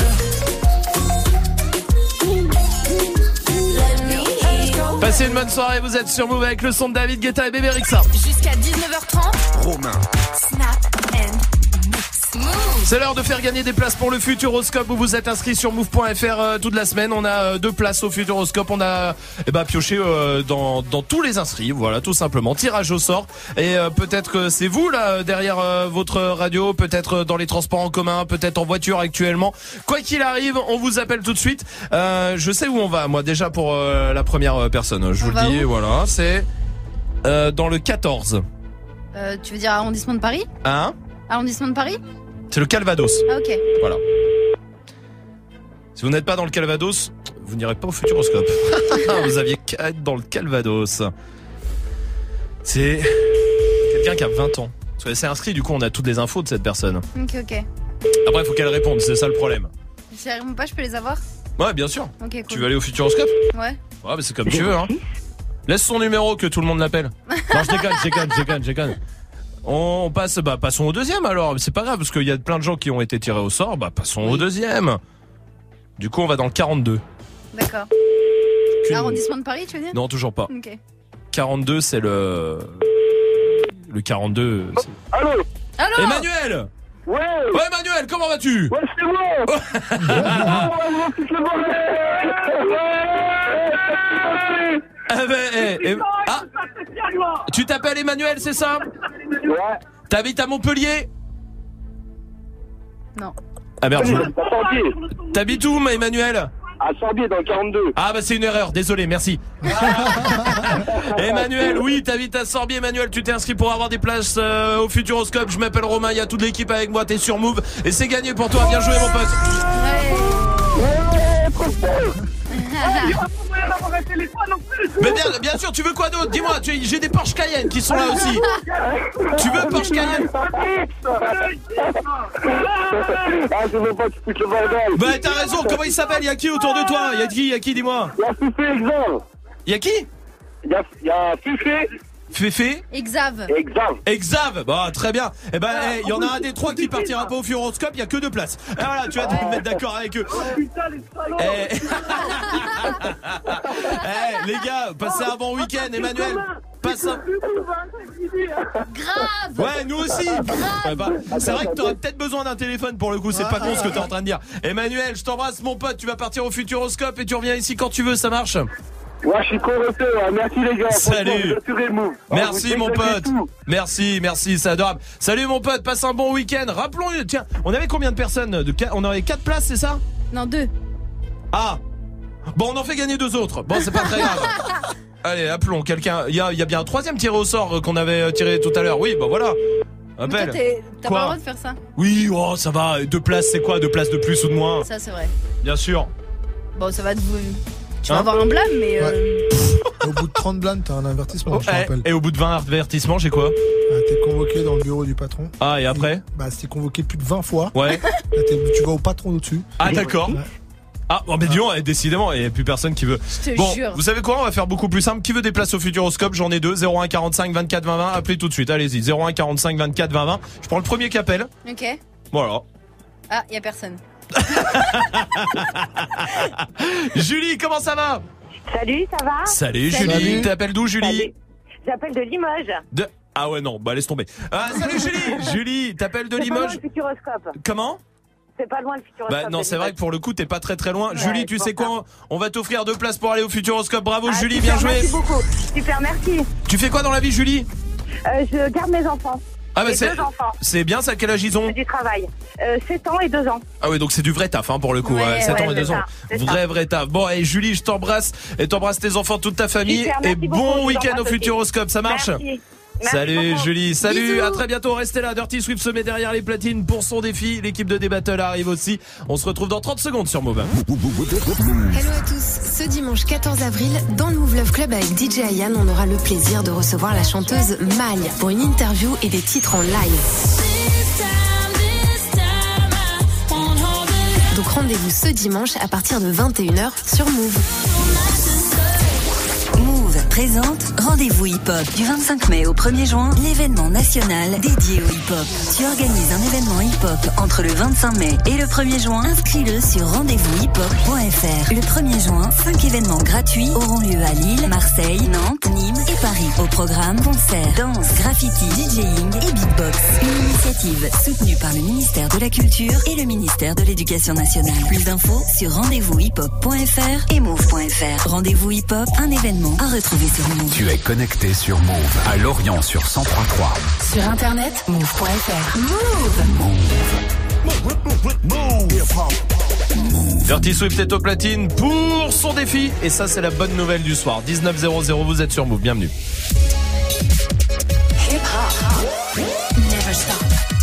Speaker 13: Let me hear you.
Speaker 1: Passez une bonne soirée, vous êtes sur Move avec le son de David Guetta et Bébé Rexha.
Speaker 21: Jusqu'à 19h30.
Speaker 1: Romain.
Speaker 21: Snap and mix. Move.
Speaker 1: C'est l'heure de faire gagner des places pour le Futuroscope. Vous vous êtes inscrit sur move.fr toute la semaine. On a 2 places au Futuroscope. On a pioché dans tous les inscrits. Voilà, tout simplement. Tirage au sort. Et peut-être que c'est vous là derrière votre radio, peut-être dans les transports en commun, peut-être en voiture actuellement. Quoi qu'il arrive, on vous appelle tout de suite. Je sais où on va. Moi déjà pour la première personne. Je vous le dis. Voilà, c'est dans le 14.
Speaker 12: Tu veux dire arrondissement de Paris?
Speaker 1: Hein?
Speaker 12: Arrondissement de Paris?
Speaker 1: C'est le Calvados.
Speaker 12: Ah, ok.
Speaker 1: Voilà. Si vous n'êtes pas dans le Calvados, vous n'irez pas au Futuroscope. Vous aviez qu'à être dans le Calvados. C'est quelqu'un qui a 20 ans. Parce qu'elle s'est inscrite, du coup on a toutes les infos de cette personne.
Speaker 12: Ok.
Speaker 1: Après il faut qu'elle réponde, c'est ça le problème.
Speaker 12: Si elle répond pas, je peux les avoir?
Speaker 1: Ouais, bien sûr.
Speaker 12: Ok, cool.
Speaker 1: Tu veux aller au Futuroscope?
Speaker 12: Ouais.
Speaker 1: Ouais, mais c'est comme tu veux, hein. Laisse son numéro que tout le monde l'appelle. Non, je déconne. On passe, passons au deuxième alors. C'est pas grave parce qu'il y a plein de gens qui ont été tirés au sort. Passons au deuxième. Du coup, on va dans le 42.
Speaker 12: D'accord. Arrondissement de Paris, tu veux dire?
Speaker 1: Non, toujours pas.
Speaker 12: Ok.
Speaker 1: 42, c'est le 42.
Speaker 4: Allô?
Speaker 12: Allô?
Speaker 1: Emmanuel!
Speaker 4: Ouais.
Speaker 1: Ouais, Emmanuel, comment vas-tu?
Speaker 4: Ouais, c'est moi.
Speaker 1: Tu t'appelles Emmanuel, c'est ça?
Speaker 4: Ouais.
Speaker 1: T'habites à Montpellier?
Speaker 12: Non.
Speaker 1: Ah merde. T'habites où, Emmanuel?
Speaker 4: À Sorbier, dans le 42.
Speaker 1: Ah bah c'est une erreur, désolé, merci. Emmanuel, oui, t'habites à Sorbier. Emmanuel, tu t'es inscrit pour avoir des places au Futuroscope. Je m'appelle Romain, il y a toute l'équipe avec moi, t'es sur Move. Et c'est gagné pour toi, bien joué mon pote. Mais bien sûr, tu veux quoi d'autre? Dis-moi, j'ai des Porsche Cayenne qui sont là aussi. Tu veux Porsche Cayenne?
Speaker 4: Ah, je veux pas que tu foutes le bordel.
Speaker 1: Bah t'as raison, comment il s'appelle? Y'a qui autour de toi? Y'a qui, dis-moi?
Speaker 4: Y'a Fifé, Exav.
Speaker 1: Y'a qui?
Speaker 4: Y'a Fifé.
Speaker 1: Féfé? Exav. Bah très bien. Eh ben il y en a un des trois qui partira pas au Futuroscope, il y a que 2 places. Et voilà, tu vas te mettre d'accord avec eux. Les gars, passez un bon week-end, Emmanuel. Passe un...
Speaker 12: Grave.
Speaker 1: Ouais, nous aussi. C'est vrai que t'aurais peut-être besoin d'un téléphone pour le coup, c'est pas con ce que t'es en train de dire. Emmanuel, je t'embrasse mon pote, tu vas partir au Futuroscope et tu reviens ici quand tu veux, ça marche?
Speaker 4: Ouais, je suis convaincu, merci les gars.
Speaker 1: Salut. Merci mon pote. Merci, c'est adorable. Salut mon pote, passe un bon week-end. Rappelons, tiens, on avait combien de personnes? On avait 4 places, c'est ça?
Speaker 12: Non, 2.
Speaker 1: Ah. Bon, on en fait gagner 2 autres. Bon, c'est pas très grave. Allez, appelons quelqu'un. Il y a bien un 3e tiré au sort qu'on avait tiré tout à l'heure. Oui, bah voilà. Appelle.
Speaker 12: T'as pas le droit de faire ça?
Speaker 1: Oui, oh, ça va. 2 places, c'est quoi? 2 places de plus ou de moins?
Speaker 12: Ça, c'est vrai.
Speaker 1: Bien sûr.
Speaker 12: Bon, ça va te... Tu vas avoir un blâme, mais...
Speaker 5: Au bout de 30 blâmes, t'as un avertissement, je te rappelle.
Speaker 1: Et au bout de 20 avertissements, j'ai quoi?
Speaker 5: T'es convoqué dans le bureau du patron.
Speaker 1: Ah, et après?
Speaker 5: Bah, si t'es convoqué plus de 20 fois.
Speaker 1: Ouais.
Speaker 5: Là, tu vas au patron au-dessus.
Speaker 1: Ah, d'accord. Ouais. Ah, bon, mais disons, décidément, il n'y a plus personne qui veut.
Speaker 12: Je te jure.
Speaker 1: Vous savez quoi? On va faire beaucoup plus simple. Qui veut des places au Futuroscope? J'en ai 2. 01 45 24 20 20. Appelez tout de suite. Allez-y. 01 45 24 20 20. Je prends le premier qui appelle.
Speaker 12: Ok.
Speaker 1: Voilà.
Speaker 12: Ah, y a personne.
Speaker 1: Julie, comment ça va?
Speaker 11: Salut, ça va?
Speaker 1: Salut Julie. T'appelles d'où, Julie?
Speaker 11: J'appelle de Limoges.
Speaker 1: Ah ouais, non, bah laisse tomber. Salut Julie. Julie, t'appelles de
Speaker 11: C'est
Speaker 1: Limoges?
Speaker 11: pas loin le Futuroscope.
Speaker 1: Comment?
Speaker 11: C'est pas loin le Futuroscope.
Speaker 1: Bah non, c'est vrai que pour le coup, t'es pas très loin.
Speaker 11: Ouais,
Speaker 1: Julie, tu sais quoi? On va t'offrir 2 places pour aller au Futuroscope. Bravo Julie,
Speaker 11: super,
Speaker 1: bien joué.
Speaker 11: Merci beaucoup. Super, merci.
Speaker 1: Tu fais quoi dans la vie, Julie?
Speaker 11: Je garde mes enfants.
Speaker 1: Ah bah
Speaker 11: J'ai 2 enfants.
Speaker 1: C'est bien ça, quel âge ils ont?
Speaker 11: C'est du travail. 7 ans et 2 ans.
Speaker 1: Ah ouais, donc c'est du vrai taf pour le coup.
Speaker 11: Ouais,
Speaker 1: 7 ans et
Speaker 11: c'est
Speaker 1: 2 ans.
Speaker 11: ça.
Speaker 1: Vrai taf. Bon, et Julie, je t'embrasse et t'embrasse tes enfants, toute ta famille.
Speaker 11: Super,
Speaker 1: et
Speaker 11: merci
Speaker 1: bon
Speaker 11: beaucoup,
Speaker 1: week-end
Speaker 11: je
Speaker 1: au
Speaker 11: vous
Speaker 1: Futuroscope, ça marche?
Speaker 11: Merci.
Speaker 1: Salut
Speaker 11: beaucoup.
Speaker 1: Julie, salut,
Speaker 11: Bisous.
Speaker 1: à très bientôt, restez là. Dirty Swift se met derrière les platines pour son défi. L'équipe de D-Battle arrive aussi. On se retrouve dans 30 secondes sur Move.
Speaker 21: Hello à tous. Ce dimanche 14 avril, dans le Move Love Club avec DJ Ayan, on aura le plaisir de recevoir la chanteuse Malia pour une interview et des titres en live. Donc rendez-vous ce dimanche à partir de 21h sur Move.
Speaker 7: Move présente Rendez-vous hip-hop du 25 mai au 1er juin, l'événement national dédié au hip-hop. Tu organises un événement hip-hop entre le 25 mai et le 1er juin, inscris-le sur rendez-vous-hip-hop.fr. Le 1er juin, 5 événements gratuits auront lieu à Lille, Marseille, Nantes, Nîmes et Paris. Au programme, concerts, danse, graffiti, DJing et beatbox. Une initiative soutenue par le ministère de la Culture et le ministère de l'Éducation nationale. Plus d'infos sur rendez-vous-hip-hop.fr et move.fr. Rendez-vous hip-hop, un événement à retrouver sur Move.
Speaker 20: Tu es connecté sur Move à Lorient sur 103.3.
Speaker 21: Sur internet, move.fr.
Speaker 1: Dirty Swift est au platine pour son défi. Et ça, c'est la bonne nouvelle du soir. 19:00, vous êtes sur Move, bienvenue.
Speaker 21: Never stop.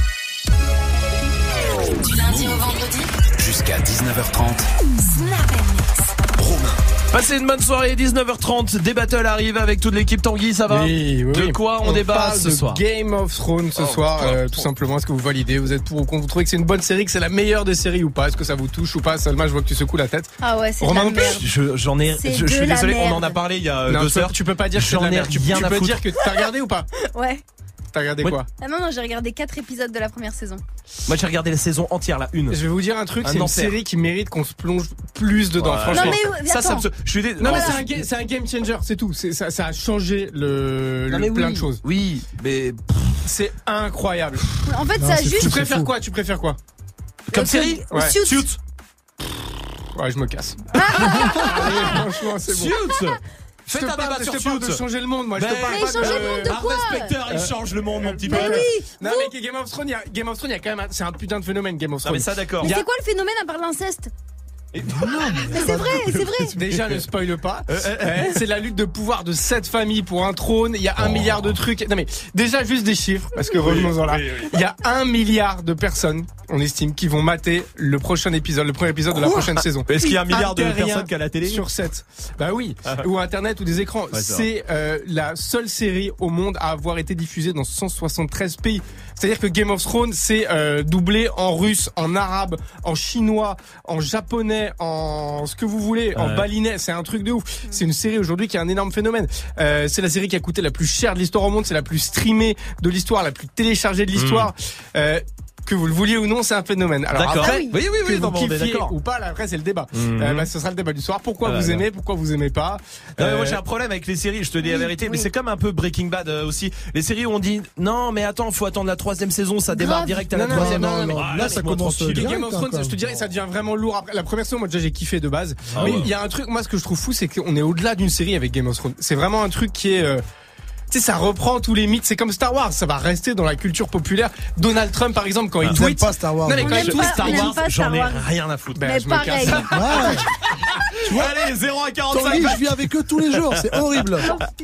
Speaker 21: Du lundi au vendredi,
Speaker 20: Jusqu'à 19h30.
Speaker 21: Snap and Mix.
Speaker 1: Passez une bonne soirée, 19h30, des battles arrivent avec toute l'équipe. Tanguy, ça va?
Speaker 8: Oui.
Speaker 1: De quoi on débat
Speaker 8: parle
Speaker 1: ce
Speaker 8: de
Speaker 1: soir?
Speaker 8: Game of Thrones ce soir, tout simplement. Est-ce que vous validez? Vous êtes pour ou contre? Vous trouvez que c'est une bonne série, que c'est la meilleure des séries ou pas? Est-ce que ça vous touche ou pas? Salma, je vois que tu secoues la tête.
Speaker 12: Ah ouais, c'est de
Speaker 8: Romain
Speaker 12: la
Speaker 8: non plus.
Speaker 12: merde.
Speaker 1: Je suis désolé, on en a parlé il y a 2 heures.
Speaker 8: Tu peux pas dire que c'est de la merde. Tu peux dire que t'as regardé ou pas?
Speaker 12: Ouais.
Speaker 8: T'as regardé quoi?
Speaker 12: Ah non, j'ai regardé 4 épisodes de la première saison.
Speaker 1: Moi j'ai regardé la saison entière, la 1.
Speaker 8: Je vais vous dire un truc, c'est une série qui mérite qu'on se plonge plus dedans, franchement.
Speaker 12: Non mais
Speaker 1: ça
Speaker 8: Non mais c'est un game changer, c'est tout. Ça a changé plein de choses.
Speaker 1: Oui, mais
Speaker 8: C'est incroyable.
Speaker 12: En fait, ça juste.
Speaker 8: Tu préfères quoi
Speaker 1: Comme série?
Speaker 12: Ouais.
Speaker 1: Suits.
Speaker 8: Ouais, je me casse. Allez, franchement, c'est bon.
Speaker 1: Suits.
Speaker 8: Je
Speaker 1: Fais un débat sur
Speaker 8: te parle de
Speaker 1: Suits.
Speaker 8: changer le monde, moi. Je te parle
Speaker 12: Mais
Speaker 8: pas
Speaker 12: changer le monde de quoi?
Speaker 1: Inspecteur, il change le monde, mon petit peu.
Speaker 12: Mais oui.
Speaker 8: Non, mais Game of Thrones, il y a quand même. C'est un putain de phénomène, Game of
Speaker 1: Non,
Speaker 8: Thrones.
Speaker 1: mais ça, d'accord.
Speaker 12: Mais c'est quoi le phénomène à part l'inceste? Mais c'est vrai.
Speaker 8: Déjà, ne spoile pas. C'est la lutte de pouvoir de 7 familles pour un trône. Il y a 1 milliard de trucs. Non mais déjà juste des chiffres, parce que revenons-en là. Il y a 1 milliard de personnes, on estime, qui vont mater le premier épisode de la prochaine saison.
Speaker 1: Est-ce qu'il y a 1 milliard de personnes qui a la télé
Speaker 8: sur 7? Bah oui. Ou internet ou des écrans.
Speaker 1: Ouais,
Speaker 8: c'est la seule série au monde à avoir été diffusée dans 173 pays. C'est-à-dire que Game of Thrones, c'est doublé en russe, en arabe, en chinois, en japonais, en ce que vous voulez, en balinais. C'est un truc de ouf. C'est une série aujourd'hui qui a un énorme phénomène. C'est la série qui a coûté la plus chère de l'histoire au monde. C'est la plus streamée de l'histoire, la plus téléchargée de l'histoire. Que vous le vouliez ou non, c'est un phénomène. Alors
Speaker 1: d'accord.
Speaker 8: après,
Speaker 1: Oui,
Speaker 8: que vous
Speaker 1: non, on est
Speaker 8: kiffiez
Speaker 1: d'accord.
Speaker 8: ou pas, là, après c'est le débat. Ce sera le débat du soir. Pourquoi vous aimez, pourquoi vous aimez pas.
Speaker 1: Moi j'ai un problème avec les séries, je te dis la vérité, mais c'est comme un peu Breaking Bad aussi. Les séries où on dit non mais attends, faut attendre la 3e saison, ça démarre direct à la 3e.
Speaker 5: Là ça commence bien.
Speaker 8: Game of Thrones, je te dirais, ça devient vraiment lourd. Après la première saison, moi déjà j'ai kiffé de base. Mais il y a un truc, moi ce que je trouve fou, c'est qu'on est au-delà d'une série avec Game of Thrones. C'est vraiment un truc qui est tu sais, ça reprend tous les mythes. C'est comme Star Wars, ça va rester dans la culture populaire. Donald Trump, par exemple, quand il tweet.
Speaker 5: pas Star Wars.
Speaker 8: Non, mais quand il tweet
Speaker 1: Star Wars, j'en ai rien à foutre.
Speaker 12: Mais
Speaker 8: je me
Speaker 12: pareil.
Speaker 8: casse.
Speaker 5: Ouais. Tu vois,
Speaker 1: Allez, 0 à 45.
Speaker 5: Tanguy, je vis avec eux tous les jours, c'est horrible.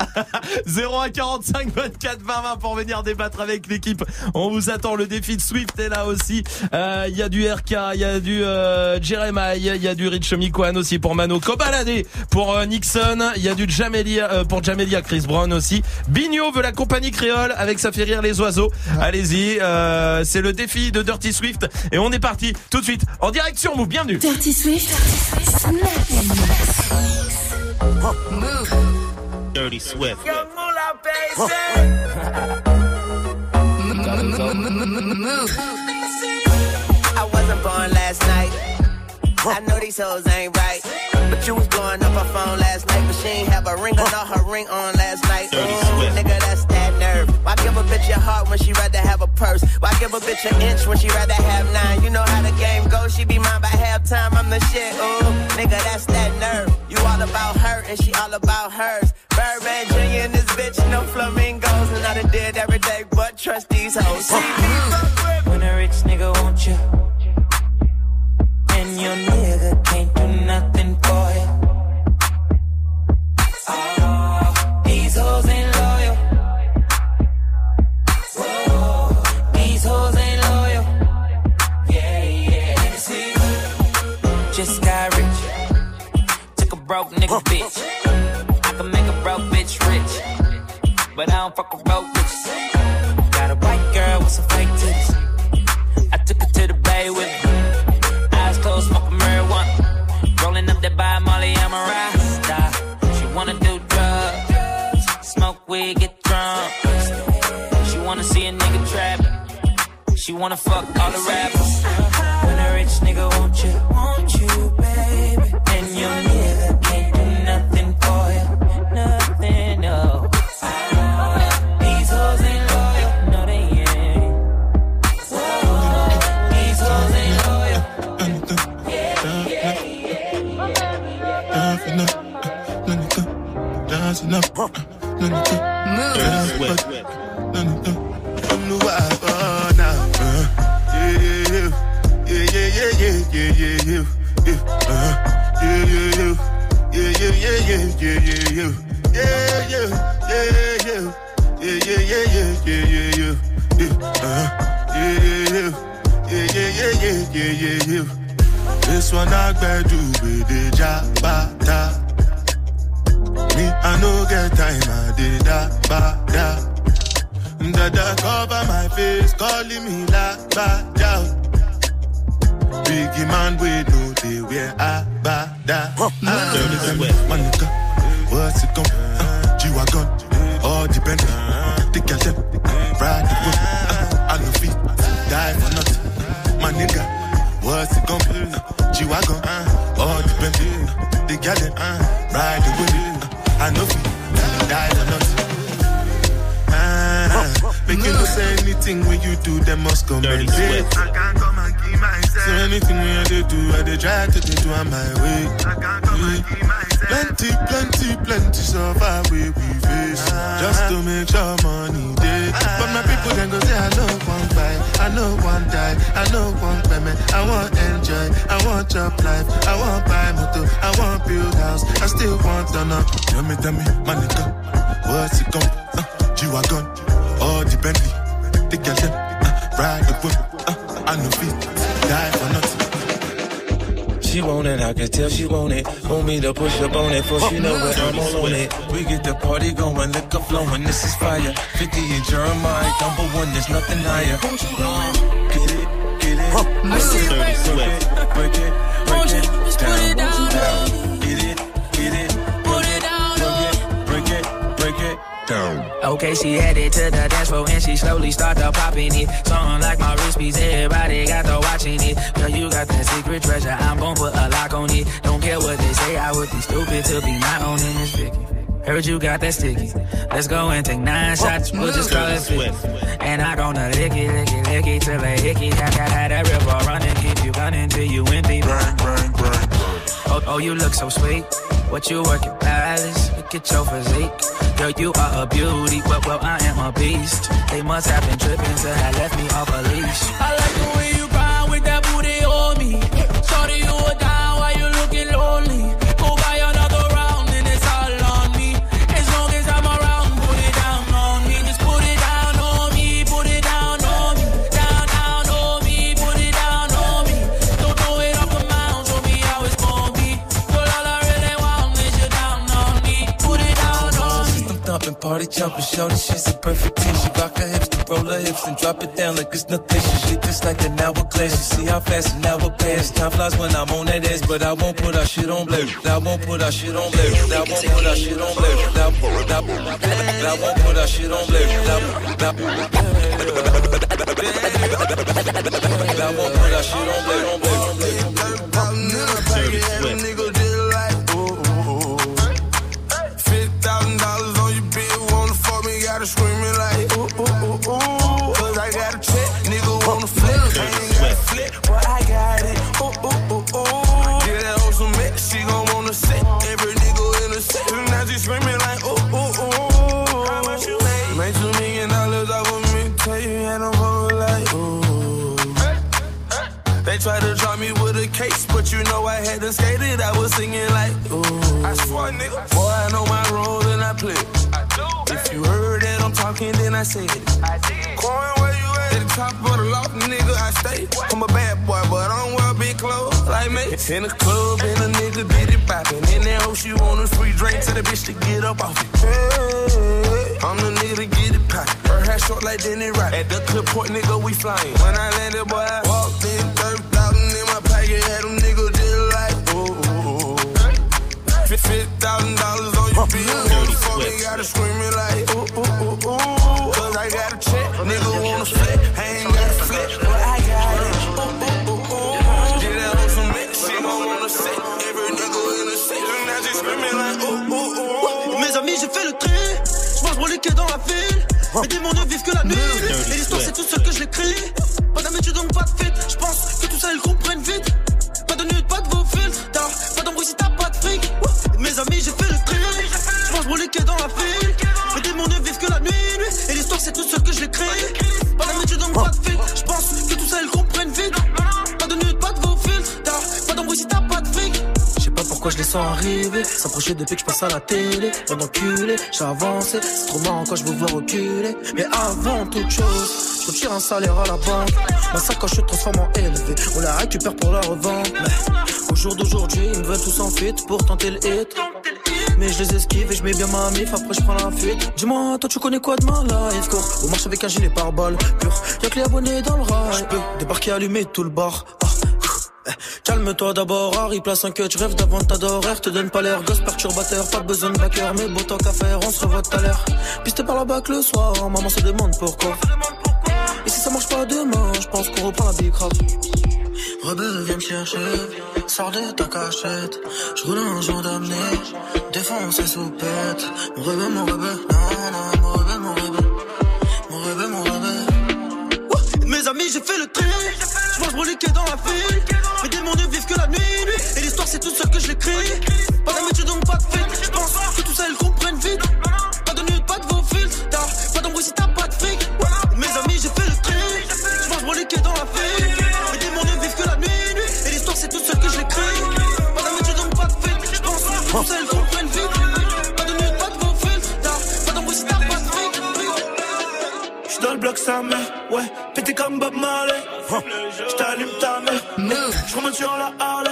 Speaker 1: 0 à 45, 24, 20, 20 pour venir débattre avec l'équipe. On vous attend, le défi de Swift est là aussi. Il y a du RK, il y a du Jeremiah, il y a du Rich Mikwan aussi pour Mano Kobalade, pour Nixon, il y a du Jamelia, pour Jamelia Chris Brown aussi. Bigno veut la compagnie créole avec Ça fait rire les oiseaux. Allez-y, c'est le défi de Dirty Swift et on est parti tout de suite en direct sur Move. Bienvenue.
Speaker 7: Dirty Swift.
Speaker 3: Move. Dirty Swift.
Speaker 19: Young Moolah, baby. I wasn't born last night. I know these hoes ain't right. But you was blowing up her phone last night. But she ain't have a ring or not her ring on last night. Ooh, nigga, that's that nerve. Why give a bitch a heart when she rather have a purse? Why give a bitch an inch when she rather have 9? You know how the game goes. She be mine by halftime. I'm the shit. Ooh, nigga, that's that nerve. You all about her and she all about hers. Birdman Jr. and this bitch, no flamingos. And I done did every day, but trust these hoes.
Speaker 22: When a rich nigga want you, and your nigga can't do nothing for you. Oh, these hoes ain't loyal. Whoa, these hoes ain't loyal. Yeah, yeah. Let me see. Just got rich. Took a broke nigga bitch. I can make a broke bitch rich, but I don't fuck with broke bitches. Got a white girl with some fake titties. I took her to the bay with me. Eyes closed, smoking marijuana. Rolling up that by Molly, I'm a rasta. She wanna do drugs, smoke weed, get drunk. She wanna see a nigga trap. She wanna fuck all the rappers. When a rich nigga want you, baby. And your nigga can't do nothing for you, nothing, no. These hoes ain't loyal, no they ain't. These hoes ain't loyal.
Speaker 2: This one I better do with the jabata. Me, I no get time, I did that, da. Dada cover my face, calling me la ba da. Biggie man, we know they wear a ba da. Man, what's it gon' G-Wagon, all depend. The girl them, ride the boat. I no fit, die for nothing. My nigga, what's it gon' G-Wagon, all depend. The girl them, ride the boat. I no fit, die for nothing. Make you know say anything when you do, them must come and say. I can't come and keep myself. So anything when I do, I dey try to do on my way. I can't come and keep myself. Plenty so far we face. Just to make sure money day. But my people then go say I know one buy, I know one die, I know one payment. I want enjoy, I want job life, I want buy motor, I want build house, I still want to know. Tell me, my nigga, what's it gon' G-Wagon, all the Bentley, the girl them, ride the whip, I know feet, die for nothing.
Speaker 6: She want it, I can tell she want it. Want me to push up on it, for she know that I'm all on it. We get the party going, liquor flowing, this is fire. 50 and Jeremiah, number one, there's nothing higher. Get it.
Speaker 25: I see you, baby.
Speaker 6: Break it,
Speaker 25: just put it down.
Speaker 6: Get it,
Speaker 25: put it down.
Speaker 6: Break it down.
Speaker 22: Okay, she headed to the dance floor and she slowly started popping it. Something like my wrist piece, everybody got to watching it. Girl, you got that secret treasure, I'm gon' put a lock on it. Don't care what they say, I would be stupid to be not owning this Vicky. Heard you got that sticky. Let's go and take 9 shots, we'll just call it 50. And I gonna lick it till I hickey. Got that river running, keep you running till you empty. Bang. Oh, you look so sweet. What you working, Alice? Look at your physique. Girl, you are a beauty, well, I am a beast. They must have been tripping till I left me off a leash.
Speaker 25: I like the way you grind with that booty on me. Shorty, you are down while you looking lonely. Go buy another round and it's all on me. As long as I'm around, put it down on me. Just put it down on me, put it down on me. Down on me, put it down on me. Don't throw it off the mound, show me how it's gonna be. Girl, all I really want is you down on me. Put it down on me.
Speaker 6: System thumping, party jumping, shorty, she's a perfect 10. She rock her hips, to roll her hips and drop it down like it's nothing. She just like an hourglass. You see how fast an hour pass. Time flies when I'm on that ass, but I won't put our shit on blast. I won't put our shit on blast. I won't put our shit on blast. I won't put our shit on blast. I won't put our shit on blast.
Speaker 2: $50,000 on your bill, wanna fuck me, gotta scream it like ooh. Cause I got a check, nigga wanna flip. I ain't gotta flip, but I got it. Ooh. Get that hoe some mix, she gon' wanna sit. Every nigga in the set, now she screaming like ooh. How much you made? Made $2 million off of me, tell you, and I'm over like ooh. They tried to drop me with a case, but you know I had to skate it. I was singing like ooh. I swear, nigga, boy, I know my role and I play. I do. If you heard that I'm talking, then I said it. I did. Coin, where you at? At the top of the loft, nigga, I stay. I'm a bad boy, but I don't wear big clothes like me. In the club, and a nigga get it poppin'. In that hoe, she want a free drink to the bitch to get up off it. Hey, I'm the nigga to get it poppin'. Her hair short like Denny Rock. At the clip port, nigga, we flyin'. When I landed, boy, I walked in, 30,000 in my pocket, had them niggas just like ooh. $50,000 on your bill, wanna fuck me, gotta scream it like ooh. Cause I got a check, nigga wanna flip, I ain't gotta flip, but I got it. Ooh. Get that on some mix, she gon' wanna sit. Every nigga in the set, now she screaming like ooh.
Speaker 25: Mes amis, j'ai fait le tri. J'mange mon liquide dans la ville. Mes démons ne vivent que la nuit. Et l'histoire, c'est tout seul que je l'écris. Pas d'habitude, donc pas de fit. J'pense que tout ça, ils comprennent vite. Pas de nude, pas de vos filtres. Pas d'embrouille si t'as pas de fric. Mes amis, j'ai fait le tri. J'mange mon liquide dans la ville. Mes démons ne vivent que la nuit. Et l'histoire, c'est tout seul que je l'écris. Pas d'habitude, donc pas de fit. J'pense que tout ça, ils comprennent vite. Pas de nude, pas de vos filtres. Pas d'embrouille si t'as pas de fric. Pourquoi je les sens arriver, s'approcher depuis que je passe à la télé. Bon enculé, j'ai avancé, c'est trop marrant quand je vous vois reculer. Mais avant toute chose, je retire un salaire à la banque. Ma sacoche se transforme en élevé, on la récupère pour la revendre. Mais au jour d'aujourd'hui, ils me veulent tous en fit pour tenter le hit. Mais je les esquive et je mets bien ma mif, après je prends la fuite. Dis-moi, toi tu connais quoi de ma life? Cours, on marche avec un gilet pare-balles pur, y'a que les abonnés dans le rail. Je peux débarquer, allumer tout le bar. Calme-toi d'abord, Harry, place un cut, je rêve d'avant ta d'horaire, te donne pas l'air, gosse perturbateur, pas besoin de backer, mais beau temps qu'à faire, on se revoit tout à l'heure. Pisté par la bac le soir, maman se demande pourquoi. Et si ça marche pas demain, je pense qu'on reprend la big rap. Rebelle, viens me chercher, sors de ta cachette, je roule un jour d'amener, défonce les soupettes. Mon rebelle, non, mon rebelle, mon rebelle, mon rebelle, mon rebelle.
Speaker 14: j'ai fait le tri. J'mange broliqué dans la ville. Mes démons ne vivent que la nuit. Et l'histoire c'est toute seule que je l'écris. Pas d'amitié donc pas de fake. J'pense que tout ça ils comprennent vite. Pas de nude, pas de vos fils. Pas d'embrouille si t'as pas de fric. Mes amis j'ai fait le tri. J'mange broliqué dans la ville. Mes démons ne vivent que la nuit. Et l'histoire c'est toute seule que je l'écris. Pas d'amitié donc pas de fake. J'pense que tout ça ils comprennent vite. Pas de nude, pas de vos fils. Pas d'embrouille si t'as pas de fric.
Speaker 2: J'suis dans le bloc sa mère, ouais, pété comme Bob Marley. J't'allume ta mère, j'remonte sur la Harley.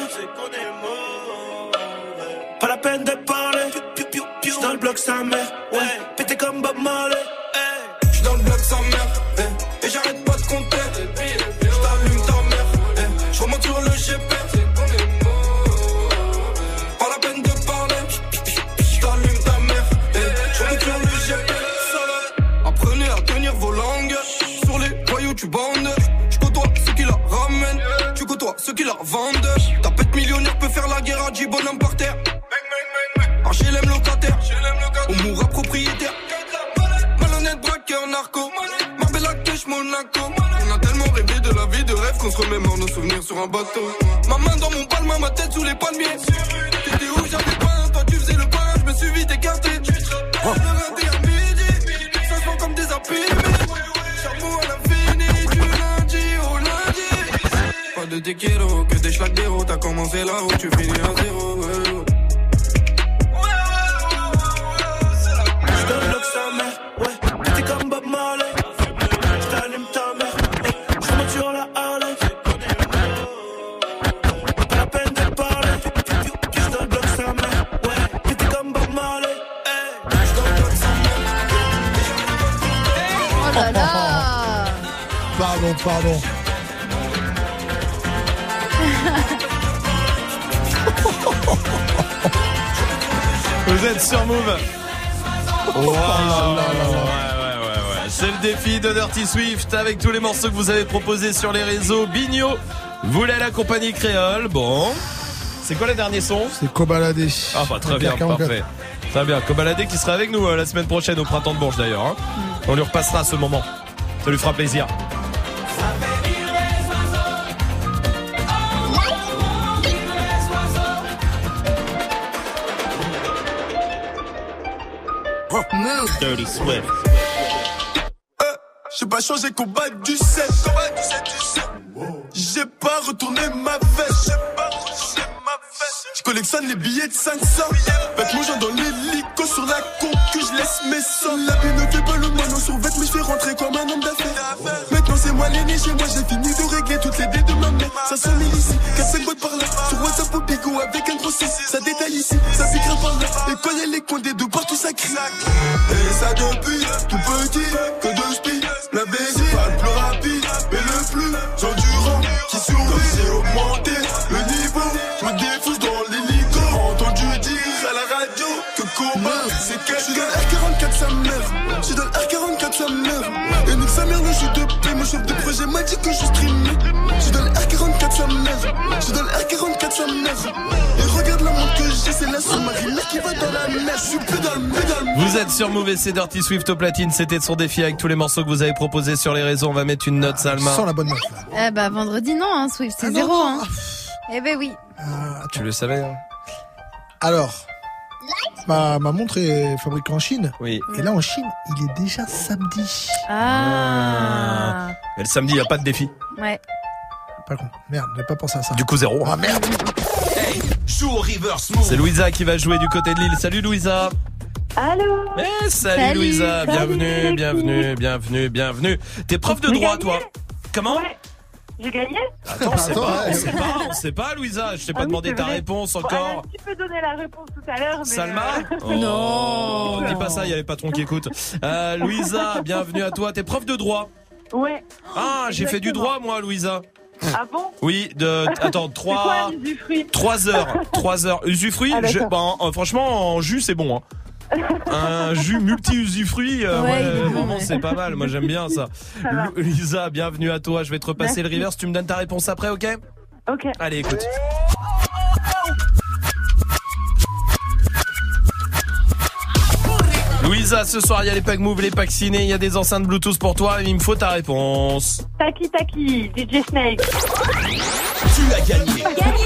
Speaker 2: Pas la peine de parler. J'suis dans le bloc sa mère, ouais, pété comme Bob Marley.
Speaker 17: J'suis dans le bloc sa mère, et j'arrête pas de compter. J't'allume ta mère, j'remonte sur le GP. Pas la peine de parler. J't'allume ta mère, j'remonte sur le GP. Apprenez à tenir vos langues. Sur les voyous tu bandes. J'côtoie ceux qui la ramènent. Tu côtoies ceux qui la vendent. Ta pète millionnaire peut faire la guerre à J bonhomme par terre. HLM locataire, on mourra propriétaire. Malhonnête braqueur narco. Marbella Cash Monaco. On a tellement rêvé de la vie de rêve qu'on se remémore nos souvenirs sur un bateau. Ma main dans mon palme, ma tête sous les palmiers. T'étais où j'avais pas, toi tu faisais le pain. Je me suis vite écarté. Le raté à midi, ça se vend comme des imprimés. Chameau à l'infini, du lundi au lundi. Pas de tequila, que des schlags d'héros. T'as commencé là où tu finis à zéro.
Speaker 5: Pardon.
Speaker 1: Vous êtes sur Move.
Speaker 5: Oh
Speaker 1: wow. Ouais. C'est le défi de Dirty Swift avec tous les morceaux que vous avez proposés sur les réseaux. Bigno voulait l'accompagner créole. Bon. C'est quoi les derniers sons?
Speaker 5: C'est Kobalade.
Speaker 1: Ah bah très bien, parfait. Très bien, Kobalade qui sera avec nous la semaine prochaine au Printemps de Bourges d'ailleurs. Hein. On lui repassera ce moment. Ça lui fera plaisir.
Speaker 3: Dirty Swift.
Speaker 2: J'ai pas changé combat du 7. J'ai pas retourné ma veste. Je collectionne les billets de 500. Avec mon genre dans l'hélico sur la concu, je laisse mes sons. La vie ne fait pas le moineau sur vête, mais je fais rentrer comme un homme d'affaires. Maintenant c'est moi l'aîné chez moi, j'ai fini de régler toutes les dettes de ma mère. Ça sonne ici, 4-5 boîtes par là. Sur WhatsApp ou Bigo avec un gros 6. Ça détaille ici, ça piquera par là. Et quand y'a les condés de partout ça crie. Et ça depuis tout petit, que de spi. La baisse, c'est pas le plus rapide, mais le plus endurant qui survit. J'ai augmenté le niveau, je me défousse dans l'hélico. Entendu dire à la radio que combat c'est quelqu'un. J'suis dans le R44 sa mère, j'suis dans le R44 sa mère. Et nique sa mère, le jeu de paix, mon chef de projet m'a dit que je streamais. J'suis dans le R44 sa mère, j'suis dans le R44 sa mère. Et regarde la montre que j'ai, c'est la sous-marine qui va dans la mer. J'suis plus dans le pédale.
Speaker 1: Vous êtes sur Move et c'est Dirty Swift au platine. C'était son défi avec tous les morceaux que vous avez proposés sur les réseaux. On va mettre une note, Salma.
Speaker 5: Sans la bonne note.
Speaker 12: Eh bah vendredi non, hein, Swift, c'est 0. Hein. Eh ben oui.
Speaker 1: Tu le savais hein.
Speaker 5: Alors, ma montre est fabriquée en Chine.
Speaker 1: Oui.
Speaker 5: Et là en Chine, il est déjà samedi.
Speaker 12: Ah.
Speaker 1: Mais le samedi, il n'y a pas de défi.
Speaker 12: Ouais.
Speaker 5: Pas con. Merde, j'avais pas pensé à ça.
Speaker 1: Du coup, 0.
Speaker 5: Ah merde.
Speaker 3: Hey, joue au reverse move.
Speaker 1: C'est Louisa qui va jouer du côté de Lille. Salut Louisa.
Speaker 10: Allô.
Speaker 1: Salut Louisa,
Speaker 10: Salut,
Speaker 1: bienvenue. T'es prof de droit toi. Comment?
Speaker 10: Ouais. J'ai gagné.
Speaker 1: Attends, on sait pas Louisa, je t'ai pas demandé ta réponse encore.
Speaker 10: Tu peux donner la réponse tout à l'heure. Mais
Speaker 1: Salma Non, dis pas ça, il y a les patrons qui écoutent. Louisa, bienvenue à toi, t'es prof de droit.
Speaker 10: Ouais.
Speaker 1: Ah, j'ai fait du droit moi Louisa.
Speaker 10: Ah bon?
Speaker 1: Oui, attends, 3 heures. Usufruit, franchement en jus c'est bon hein. Un jus multi-usufruit, vraiment c'est pas mal, moi j'aime bien ça. Lisa, bienvenue à toi, je vais te repasser le reverse, tu me donnes ta réponse après, ok?
Speaker 10: Ok.
Speaker 1: Allez, écoute. Louisa, ce soir, il y a les packs Move, les packs ciné, il y a des enceintes Bluetooth pour toi. Il me faut ta réponse.
Speaker 11: Taki Taki, DJ Snake.
Speaker 3: Tu as gagné.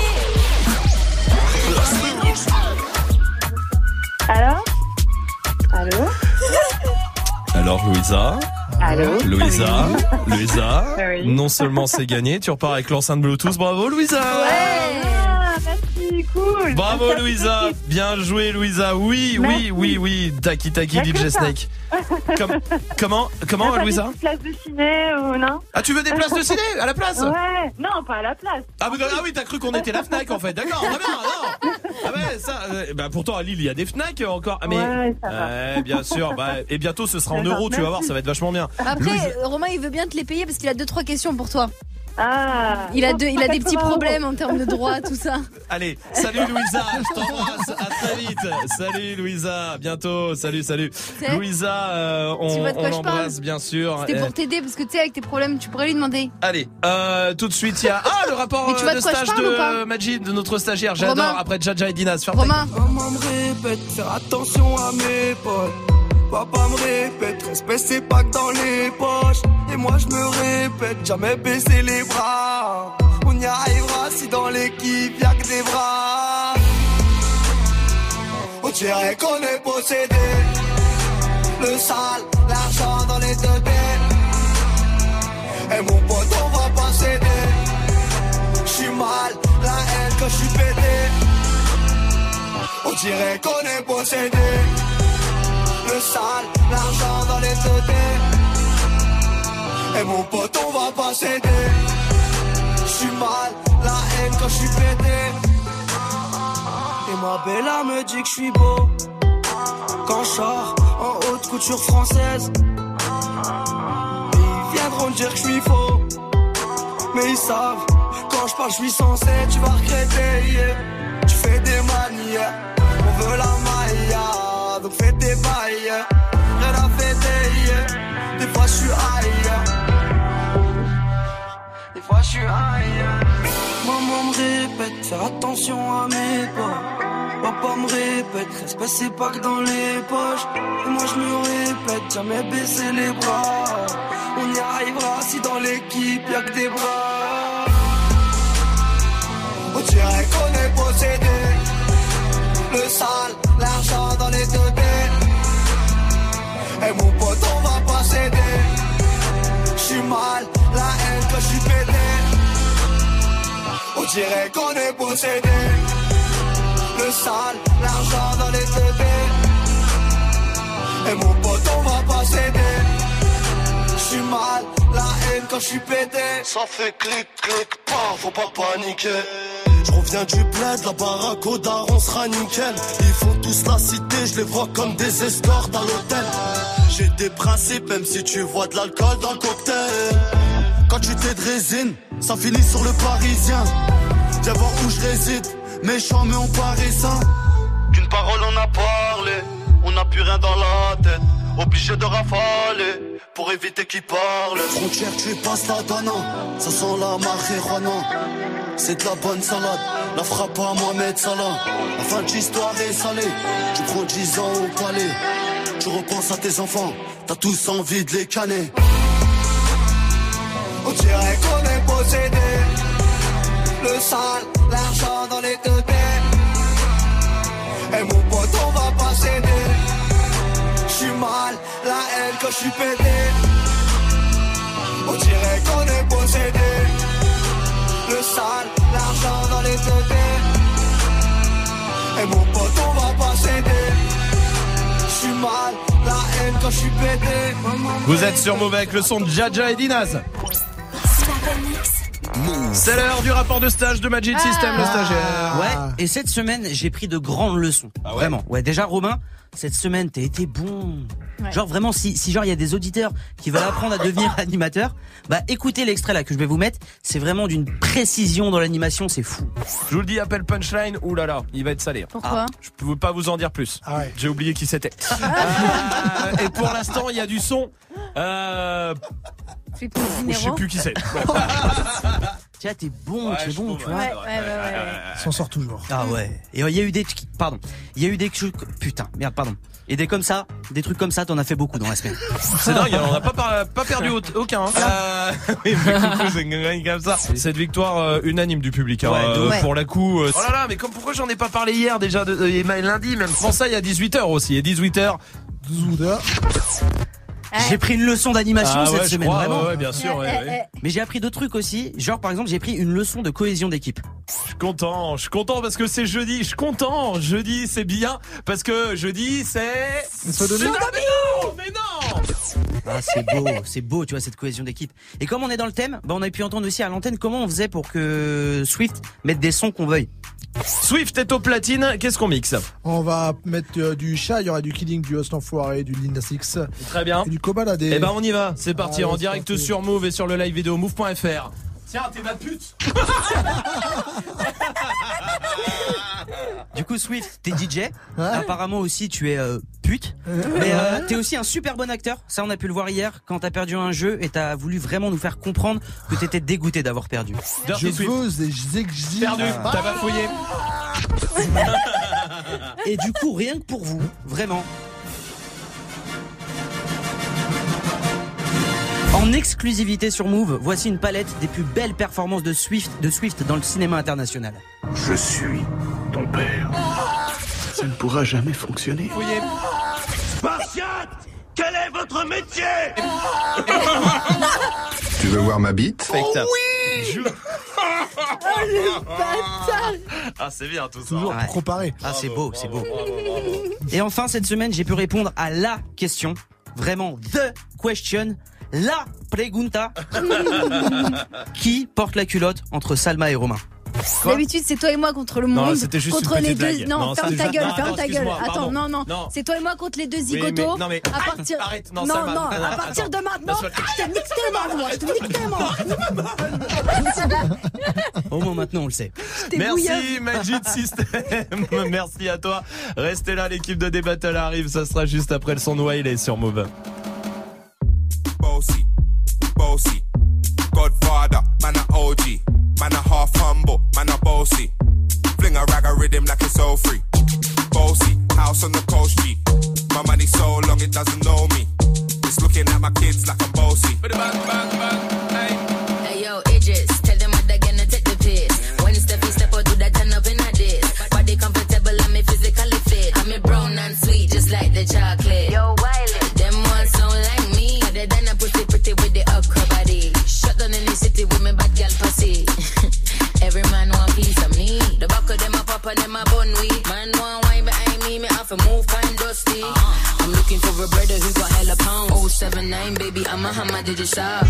Speaker 11: Allô
Speaker 1: Alors, Louisa.
Speaker 11: Allô
Speaker 1: Louisa.
Speaker 11: Oui.
Speaker 1: Non seulement c'est gagné, tu repars avec l'enceinte Bluetooth. Bravo, Louisa.
Speaker 11: Merci, cool.
Speaker 1: Bravo,
Speaker 11: Merci,
Speaker 1: Louisa.
Speaker 11: l'équipe.
Speaker 1: Bien joué, Louisa. Oui. Taki Taki,
Speaker 11: Y a que
Speaker 1: DJ
Speaker 11: ça.
Speaker 1: Snake. Comment,
Speaker 11: T'as
Speaker 1: Louisa?
Speaker 11: des places de ciné ou non?
Speaker 1: Ah, tu veux des places de ciné à la place?
Speaker 11: Ouais, non, pas à la place.
Speaker 1: Ah oui, t'as cru qu'on était la Fnac en fait. D'accord, très bien. Non. Ah ouais, ça. Pourtant à Lille il y a des Fnac encore. Ah, mais
Speaker 11: Ouais, ça va.
Speaker 1: bien sûr. Et bientôt ce sera en euros. Tu vas voir, ça va être vachement bien.
Speaker 12: Après, Romain, il veut bien te les payer parce qu'il a 2-3 questions pour toi.
Speaker 11: Ah.
Speaker 12: Il a des petits
Speaker 11: 180
Speaker 12: problèmes en termes de droit, tout ça.
Speaker 1: Allez, salut Louisa, je t'embrasse, à très vite. Salut Louisa, à bientôt. Salut. Louisa,
Speaker 12: Tu vois de quoi
Speaker 1: on
Speaker 12: je parle
Speaker 1: l'embrasse bien sûr.
Speaker 12: C'était pour t'aider parce que tu sais, avec tes problèmes, tu pourrais lui demander.
Speaker 1: Allez, tout de suite il y a le rapport
Speaker 12: Mais tu vois
Speaker 1: de
Speaker 12: de quoi je
Speaker 1: stage
Speaker 12: parle ou pas
Speaker 1: de Majid, de notre stagiaire. J'adore.
Speaker 12: Romain.
Speaker 1: Après Jaja et Dinaz.
Speaker 12: Romain.
Speaker 17: Maman me répète, faire attention à mes potes. Papa me répète, respect c'est pas que dans les poches. Et moi je me répète, jamais baisser les bras. On y arrivera si dans l'équipe y'a que des bras. On dirait qu'on est possédé. Le sale, l'argent dans les deux têtes. Et mon pote on va pas céder. J'suis mal, la haine quand j'suis pété. On dirait qu'on est possédé. Le sale, l'argent dans les teutés. Et mon pote on va pas céder. J'suis mal, la haine quand j'suis pété. Et ma bella me dit que j'suis beau quand j'sors en haute couture française. Et ils viendront dire que j'suis faux, mais ils savent, quand j'parle j'suis censé. Tu vas regretter, yeah. Tu fais des manières, on veut la maille, donc fais des bails, yeah. Rien à fêter, yeah. Des fois j'suis high, des fois j'suis high. Maman me répète, faire attention à mes pas. Papa me répète, respect c'est pas que dans les poches. Et moi je me répète, jamais baisser les bras. On y arrivera si dans l'équipe y'a que des bras. On dirait qu'on est possédé. Le sale, l'argent dans les deux têtes. Et mon pote on va pas céder. J'suis mal, la haine quand j'suis pété. On dirait qu'on est possédé. Le sale, l'argent dans les teutés. Et mon pote on va pas céder. J'suis mal, la haine quand j'suis pété. Ça fait clic clic, pas, faut pas paniquer. J'reviens du bled, la baraque au daron sera nickel. Ils font tous la cité, je les vois comme des escortes à l'hôtel. J'ai des principes, même si tu vois de l'alcool dans le cocktail. Quand tu t'es de résine, ça finit sur le parisien. Viens voir où je réside, méchant mais on paraît sain. Qu'une parole on a parlé, on n'a plus rien dans la tête. Obligé de rafaler, pour éviter qu'ils parlent. Frontière tu passes la donnant, ça sent la marijuana. C'est de la bonne salade, la frappe à Mohamed Salah. La fin de l'histoire est salée, tu prends 10 ans au palais. Tu repenses à tes enfants, t'as tous envie de les canner. On dirait qu'on est possédé. Le sale, l'argent dans les deux têtes. Et mon pote on va pas céder. J'suis mal, la haine quand j'suis pété. On dirait qu'on est possédé. Le sale, l'argent dans les deux têtes. Et mon pote on va pas céder. J'suis mal, la haine quand j'suis pété.
Speaker 1: Vous êtes sur Move avec le son de Jaja et Dinaz. C'est l'heure du rapport de stage de Magic System, le stagiaire.
Speaker 9: Ouais, et cette semaine, j'ai pris de grandes leçons.
Speaker 1: Ah ouais.
Speaker 9: Vraiment. Ouais, déjà, Romain, cette semaine, t'as été bon.
Speaker 12: Ouais.
Speaker 9: Genre, vraiment, si genre, il y a des auditeurs qui veulent apprendre à devenir animateur, bah, écoutez l'extrait là que je vais vous mettre. C'est vraiment d'une précision dans l'animation, c'est fou.
Speaker 1: Je vous le dis, appel punchline, oulala, il va être salé.
Speaker 12: Pourquoi
Speaker 1: Je peux pas vous en dire plus.
Speaker 5: Ah ouais.
Speaker 1: J'ai oublié qui c'était. Et pour l'instant, il y a du son. Je sais plus qui c'est.
Speaker 9: Tu vois, t'es bon, tu vois.
Speaker 12: Ouais.
Speaker 5: S'en sort toujours.
Speaker 9: Ah ouais. Et il y a eu des Et des comme ça, des trucs comme ça, t'en as fait beaucoup dans la semaine.
Speaker 1: C'est dingue, on n'a pas perdu aucun. Oui, mais coucou, c'est comme ça. Cette victoire unanime du public. Pour la coup. Oh là là, mais pourquoi j'en ai pas parlé hier déjà, lundi même. Prends ça, il y a 18h aussi. Et 18h.
Speaker 9: J'ai pris une leçon d'animation cette semaine, vraiment.
Speaker 1: Ouais, bien sûr.
Speaker 9: Mais j'ai appris d'autres trucs aussi. Genre, par exemple, j'ai pris une leçon de cohésion d'équipe.
Speaker 1: Je suis content parce que c'est jeudi. Je suis content. Jeudi, c'est bien. Parce que jeudi, c'est. Mais non!
Speaker 9: Ah, c'est beau, tu vois, cette cohésion d'équipe. Et comme on est dans le thème, on a pu entendre aussi à l'antenne comment on faisait pour que Swift mette des sons qu'on veuille.
Speaker 1: Swift est au platine, qu'est-ce qu'on mixe?
Speaker 5: On va mettre du chat, il y aura du Killing, du Host Enfoiré, du Linda Six.
Speaker 1: Très bien.
Speaker 5: Et du Kobalade.
Speaker 1: Eh ben on y va, c'est parti, en direct sur Move et sur le live vidéo move.fr. Tiens, t'es ma pute.
Speaker 9: Du coup, Swift, t'es DJ. Apparemment aussi, tu es pute. Mais t'es aussi un super bon acteur. Ça, on a pu le voir hier quand t'as perdu un jeu et t'as voulu vraiment nous faire comprendre que t'étais dégoûté d'avoir perdu.
Speaker 5: Je veux et
Speaker 1: perdu, t'as bafouillé.
Speaker 9: Et du coup, rien que pour vous, vraiment. En exclusivité sur Move, voici une palette des plus belles performances de Swift dans le cinéma international.
Speaker 15: Je suis ton père. Ça ne pourra jamais fonctionner.
Speaker 17: Spartiate, quel est votre métier?
Speaker 15: Tu veux voir ma bite?
Speaker 17: Oh oui.
Speaker 12: Oh le bâtard.
Speaker 1: Ah, c'est bien tout ça.
Speaker 5: Toujours préparé.
Speaker 9: Ah, c'est beau. Et enfin, cette semaine, j'ai pu répondre à la question. Vraiment, the question. La pregunta. Qui porte la culotte entre Salma et Romain?
Speaker 12: D'habitude, c'est toi et moi contre le monde,
Speaker 1: c'était juste
Speaker 12: contre
Speaker 1: une
Speaker 12: les
Speaker 1: petite
Speaker 12: deux.
Speaker 1: blague.
Speaker 12: Non, ferme ta gueule.
Speaker 1: Excuse-moi,
Speaker 12: Attends,
Speaker 1: pardon.
Speaker 12: non. C'est toi et moi contre les deux zigotos.
Speaker 1: Oui, mais, non, mais
Speaker 12: à partir.
Speaker 1: Arrête, non,
Speaker 12: non,
Speaker 1: Salma,
Speaker 12: à partir de maintenant, je te nique tellement, moi.
Speaker 9: Au moins maintenant, on le sait.
Speaker 1: Merci Magic System. Merci à toi. Restez là, l'équipe de D-Battle arrive. Ça sera juste après le son de Wiley sur Move.
Speaker 16: Bossy, Godfather, man a OG, man a half humble, man a bossy. Fling a rag a rhythm like it's all free. Bossy, house on the coast G. My money so long it doesn't know me. It's looking at my kids like I'm bossy. Bang, bang, bang, hey.
Speaker 18: Hey yo, Idris, tell them what they're gonna take the piss. When Steffi step out, do that turn up in a diss. Body comfortable and me physically fit. I'm a brown and sweet, just like the chocolate. Yo, Wiley, them ones sound like me. Other than a pretty with the upper body. Shut down in the city with me bad girl pussy. Every man want piece of me. The back of them a pop and them a bun weed. Man want wine behind me have to move kind dusty. I'm looking for a brother who got hella pounds. 079 baby, I'm a hammer, did you shop?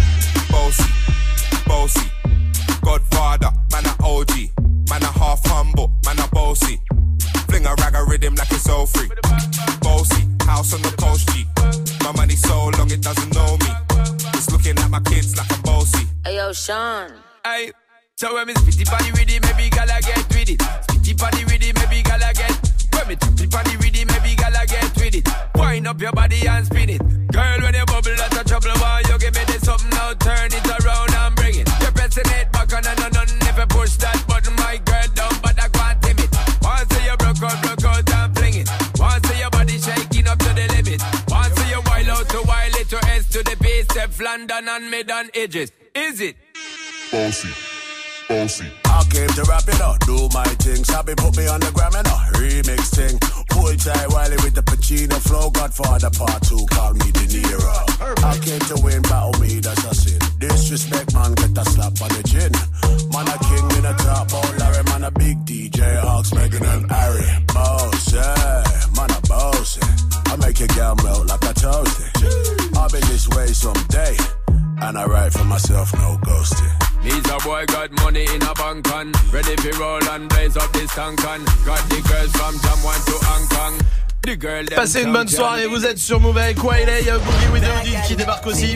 Speaker 16: Bossy, Godfather, man a OG, man a half humble, man a bossy. Fling a rag a rhythm like it's all free. Bossy, house on the coast G. My money so long it doesn't know me. It's looking at my kids like I'm bossy.
Speaker 18: Hey yo, Sean.
Speaker 16: Hey, so when me spitty body with it, maybe gala get with it. Spitty body with it, maybe gala get. When me spitty body with it, maybe gala get with it. Wind up your body and spin it. Girl, when you bubble, that's a trouble. Why you give me this something now? Turn it around and bring it. You're pressing it back on and on. If you push that button, my girl down, but I can't tame it. Once you broke out and fling it. Once your body shaking up to the limit. Once you wild out to wild it to S to the base, Steph London and mid on edges. Is it?
Speaker 15: Bossy.
Speaker 17: I came to rap it up, do my thing. Sabi put me on the gram and a remix thing. Pull tight Wiley with the Pacino flow. Godfather part 2, call me De Niro. I came to win, battle me, that's a sin. Disrespect, man, get a slap on the chin. Man a king in a top, oh Larry, man a big DJ, Hawks, Megan and Harry. Boss, yeah, man a boss. I make your girl melt like a toasty. I'll be this way someday. And I write for myself, no ghosting.
Speaker 16: Needs a boy got money in a bank on. Ready for roll and blaze up this tank on. Got the girls from Jamwan to Hong Kong. The girl them
Speaker 1: Passez une bonne soirée, vous êtes sur Move avec Wiley, Boogie with the Hoodie qui débarque aussi.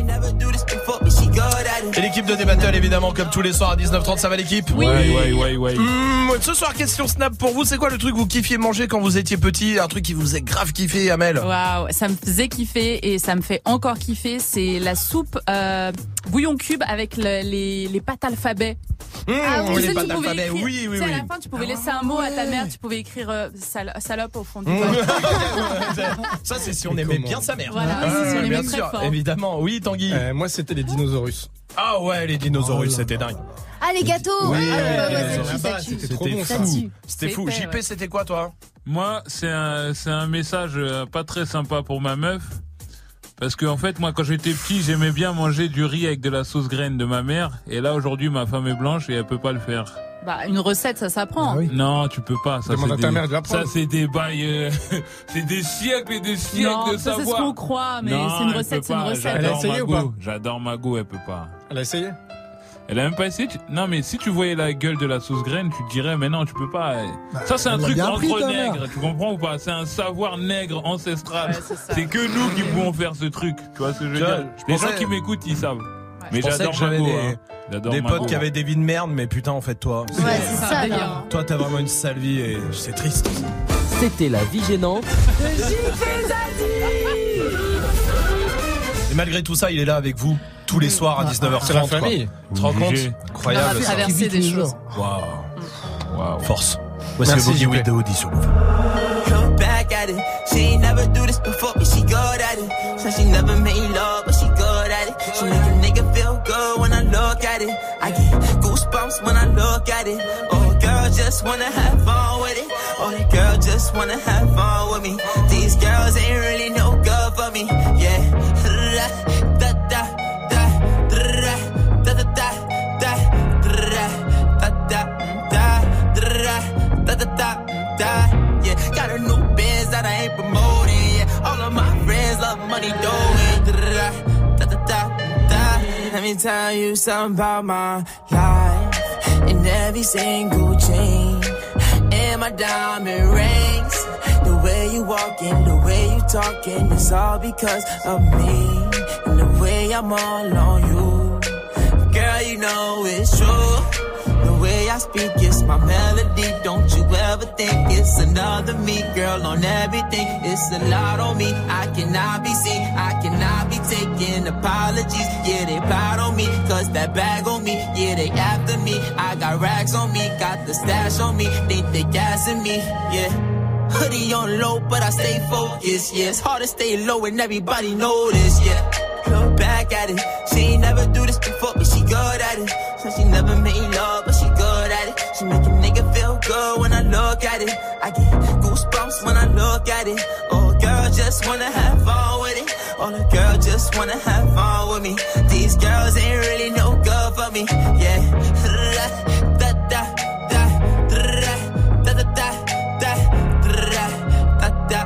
Speaker 1: Et l'équipe de D-Battle évidemment comme tous les soirs à 19h30, ça va l'équipe?
Speaker 8: Oui.
Speaker 1: Ce soir question Snap pour vous, c'est quoi le truc que vous kiffiez manger quand vous étiez petit? Un truc qui vous faisait grave kiffer, Amel?
Speaker 23: Waouh, ça me faisait kiffer et ça me fait encore kiffer, c'est la soupe
Speaker 4: bouillon cube avec les pâtes alphabet.
Speaker 1: Ah oui,
Speaker 4: Tu
Speaker 1: les
Speaker 4: sais,
Speaker 1: pâtes
Speaker 4: tu pouvais
Speaker 1: alphabet,
Speaker 4: écrire-
Speaker 1: oui,
Speaker 4: tu sais, à la fin, tu pouvais laisser un mot à ta mère, tu pouvais écrire salope au fond du bol.
Speaker 1: Ça, c'est si on aimait bien sa mère.
Speaker 4: Voilà, si on aimait
Speaker 1: bien
Speaker 4: très
Speaker 1: sûr,
Speaker 4: fort.
Speaker 1: évidemment. Oui, Tanguy.
Speaker 8: Moi, c'était les dinosaures.
Speaker 1: Ah ouais, les dinosaures, c'était dingue.
Speaker 12: Ah, les gâteaux.
Speaker 1: Oui,
Speaker 12: ça tue.
Speaker 1: c'était fou. C'était fou. JP, c'était quoi, toi?
Speaker 13: Moi, c'est un message pas très sympa pour ma meuf. Parce que en fait, moi, quand j'étais petit, j'aimais bien manger du riz avec de la sauce graine de ma mère. Et là, aujourd'hui, ma femme est blanche et elle peut pas le faire.
Speaker 4: Bah, une recette, ça s'apprend.
Speaker 13: Non, tu peux pas. Ça,
Speaker 8: Demande
Speaker 13: c'est
Speaker 8: à ta mère de l'apprendre.
Speaker 13: Ça, c'est des bails, c'est des siècles et des siècles
Speaker 4: Non,
Speaker 13: de
Speaker 4: ça,
Speaker 13: savoir.
Speaker 4: c'est ce qu'on croit, mais
Speaker 13: Non,
Speaker 4: c'est une
Speaker 13: elle
Speaker 4: recette,
Speaker 13: peut
Speaker 4: c'est une
Speaker 13: pas.
Speaker 4: recette.
Speaker 8: Elle a essayé ou pas?
Speaker 13: J'adore Mago, elle peut pas.
Speaker 8: Elle a essayé?
Speaker 13: Elle a même pas essayé. Non, mais si tu voyais la gueule de la sauce graine, tu te dirais, mais non, tu peux pas. Ça, c'est un
Speaker 5: elle l'a
Speaker 13: truc
Speaker 5: bien
Speaker 13: entre
Speaker 5: appris, ta
Speaker 13: nègres,
Speaker 5: mère.
Speaker 13: tu comprends ou pas? C'est un savoir nègre ancestral.
Speaker 4: Ouais, c'est ça.
Speaker 13: C'est que nous qui pouvons faire ce truc. Tu vois ce que je veux
Speaker 1: Tu vois,
Speaker 13: dire?
Speaker 1: je
Speaker 13: Les
Speaker 1: pensais-
Speaker 13: gens qui m'écoutent, ils savent. Mais
Speaker 1: Je pensais
Speaker 13: j'adore
Speaker 1: que j'avais
Speaker 13: Mago.
Speaker 1: des,
Speaker 13: J'adore
Speaker 1: des
Speaker 13: Mago.
Speaker 1: potes qui avaient des vies de merde, mais putain, en fait, toi.
Speaker 12: Ouais, c'est ça, là.
Speaker 1: Toi, t'as vraiment une sale vie et c'est triste.
Speaker 3: C'était la vie gênante.
Speaker 1: Et malgré tout ça, il est là avec vous tous les soirs à 19h30.
Speaker 8: C'est la famille.
Speaker 1: Tu te rends compte?
Speaker 13: Obligé.
Speaker 1: Incroyable.
Speaker 4: On a
Speaker 1: ça.
Speaker 4: traversé des choses.
Speaker 1: Waouh. Force. Voici
Speaker 8: Merci,
Speaker 1: le Boogie
Speaker 8: JP.
Speaker 1: with the Audi sur Move.
Speaker 19: Look back at it. She ain't never do this before, but she good at it. Said she never made love, but she good at it. She make a nigga feel good when I look at it. I get goosebumps when I look at it. Oh, girl, just wanna have fun with it. Oh, the girl just wanna have fun with me. These girls ain't really no good for me. Yeah. Da da da da da da da da da da da da da da. Yeah, got a new biz that I ain't promoting. Yeah, all of my friends love money doing. Da da da da. Let me tell you something about my life. In every single chain, and my diamond rings. The way you walking, the way you talking, it's all because of me. And the way I'm all on you, girl, you know it's true. The way I speak, it's my melody. Don't you ever think it's another me, girl, on everything. It's a lot on me. I cannot be seen. I cannot be taking apologies. Yeah, they plot on me, cause that bag on me. Yeah, they after me. I got racks on me, got the stash on me. Think they gassing me, yeah. Hoodie on low, but I stay focused, yeah. It's hard to stay low and everybody know this, yeah. Look back at it. She ain't never do this before, but she good at it. Said she never made love, but she good at it. She make a nigga feel good when I look at it. I get goosebumps when I look at it. Oh, girl, just wanna have fun with it. Oh, the girl just wanna have fun with me. These girls ain't really no good for me, yeah. Da da da da da da da da da da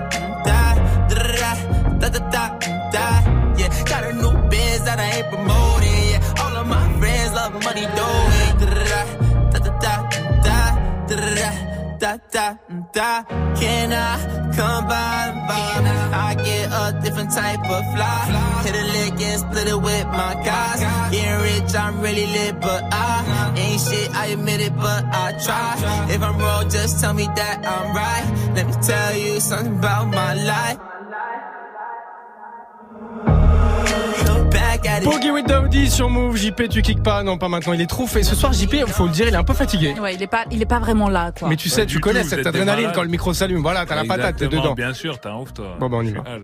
Speaker 19: da da da da. Yeah, got a new biz that I ain't promoting. Yeah, all of my friends love money doing. Da da da da da da da. Can I come by and vibe? I get a different type of fly. Hit a lick and split it with my guys. Getting rich, I'm really lit, but I ain't shit. I admit it, but I try. If I'm wrong, just tell me that I'm right. Let me tell you something about my life.
Speaker 8: Boogie with Daoudi sur Move. JP, tu kicks pas? Non, pas maintenant. Il est trop fait. Ce soir, JP, faut le dire, il est un peu fatigué.
Speaker 4: Ouais, il est pas vraiment là, quoi.
Speaker 8: Mais tu sais, tu connais cette adrénaline quand le micro s'allume. Voilà, t'as la patate, t'es dedans.
Speaker 13: Bien sûr, t'es un ouf, toi.
Speaker 8: Bon, bah, on y va.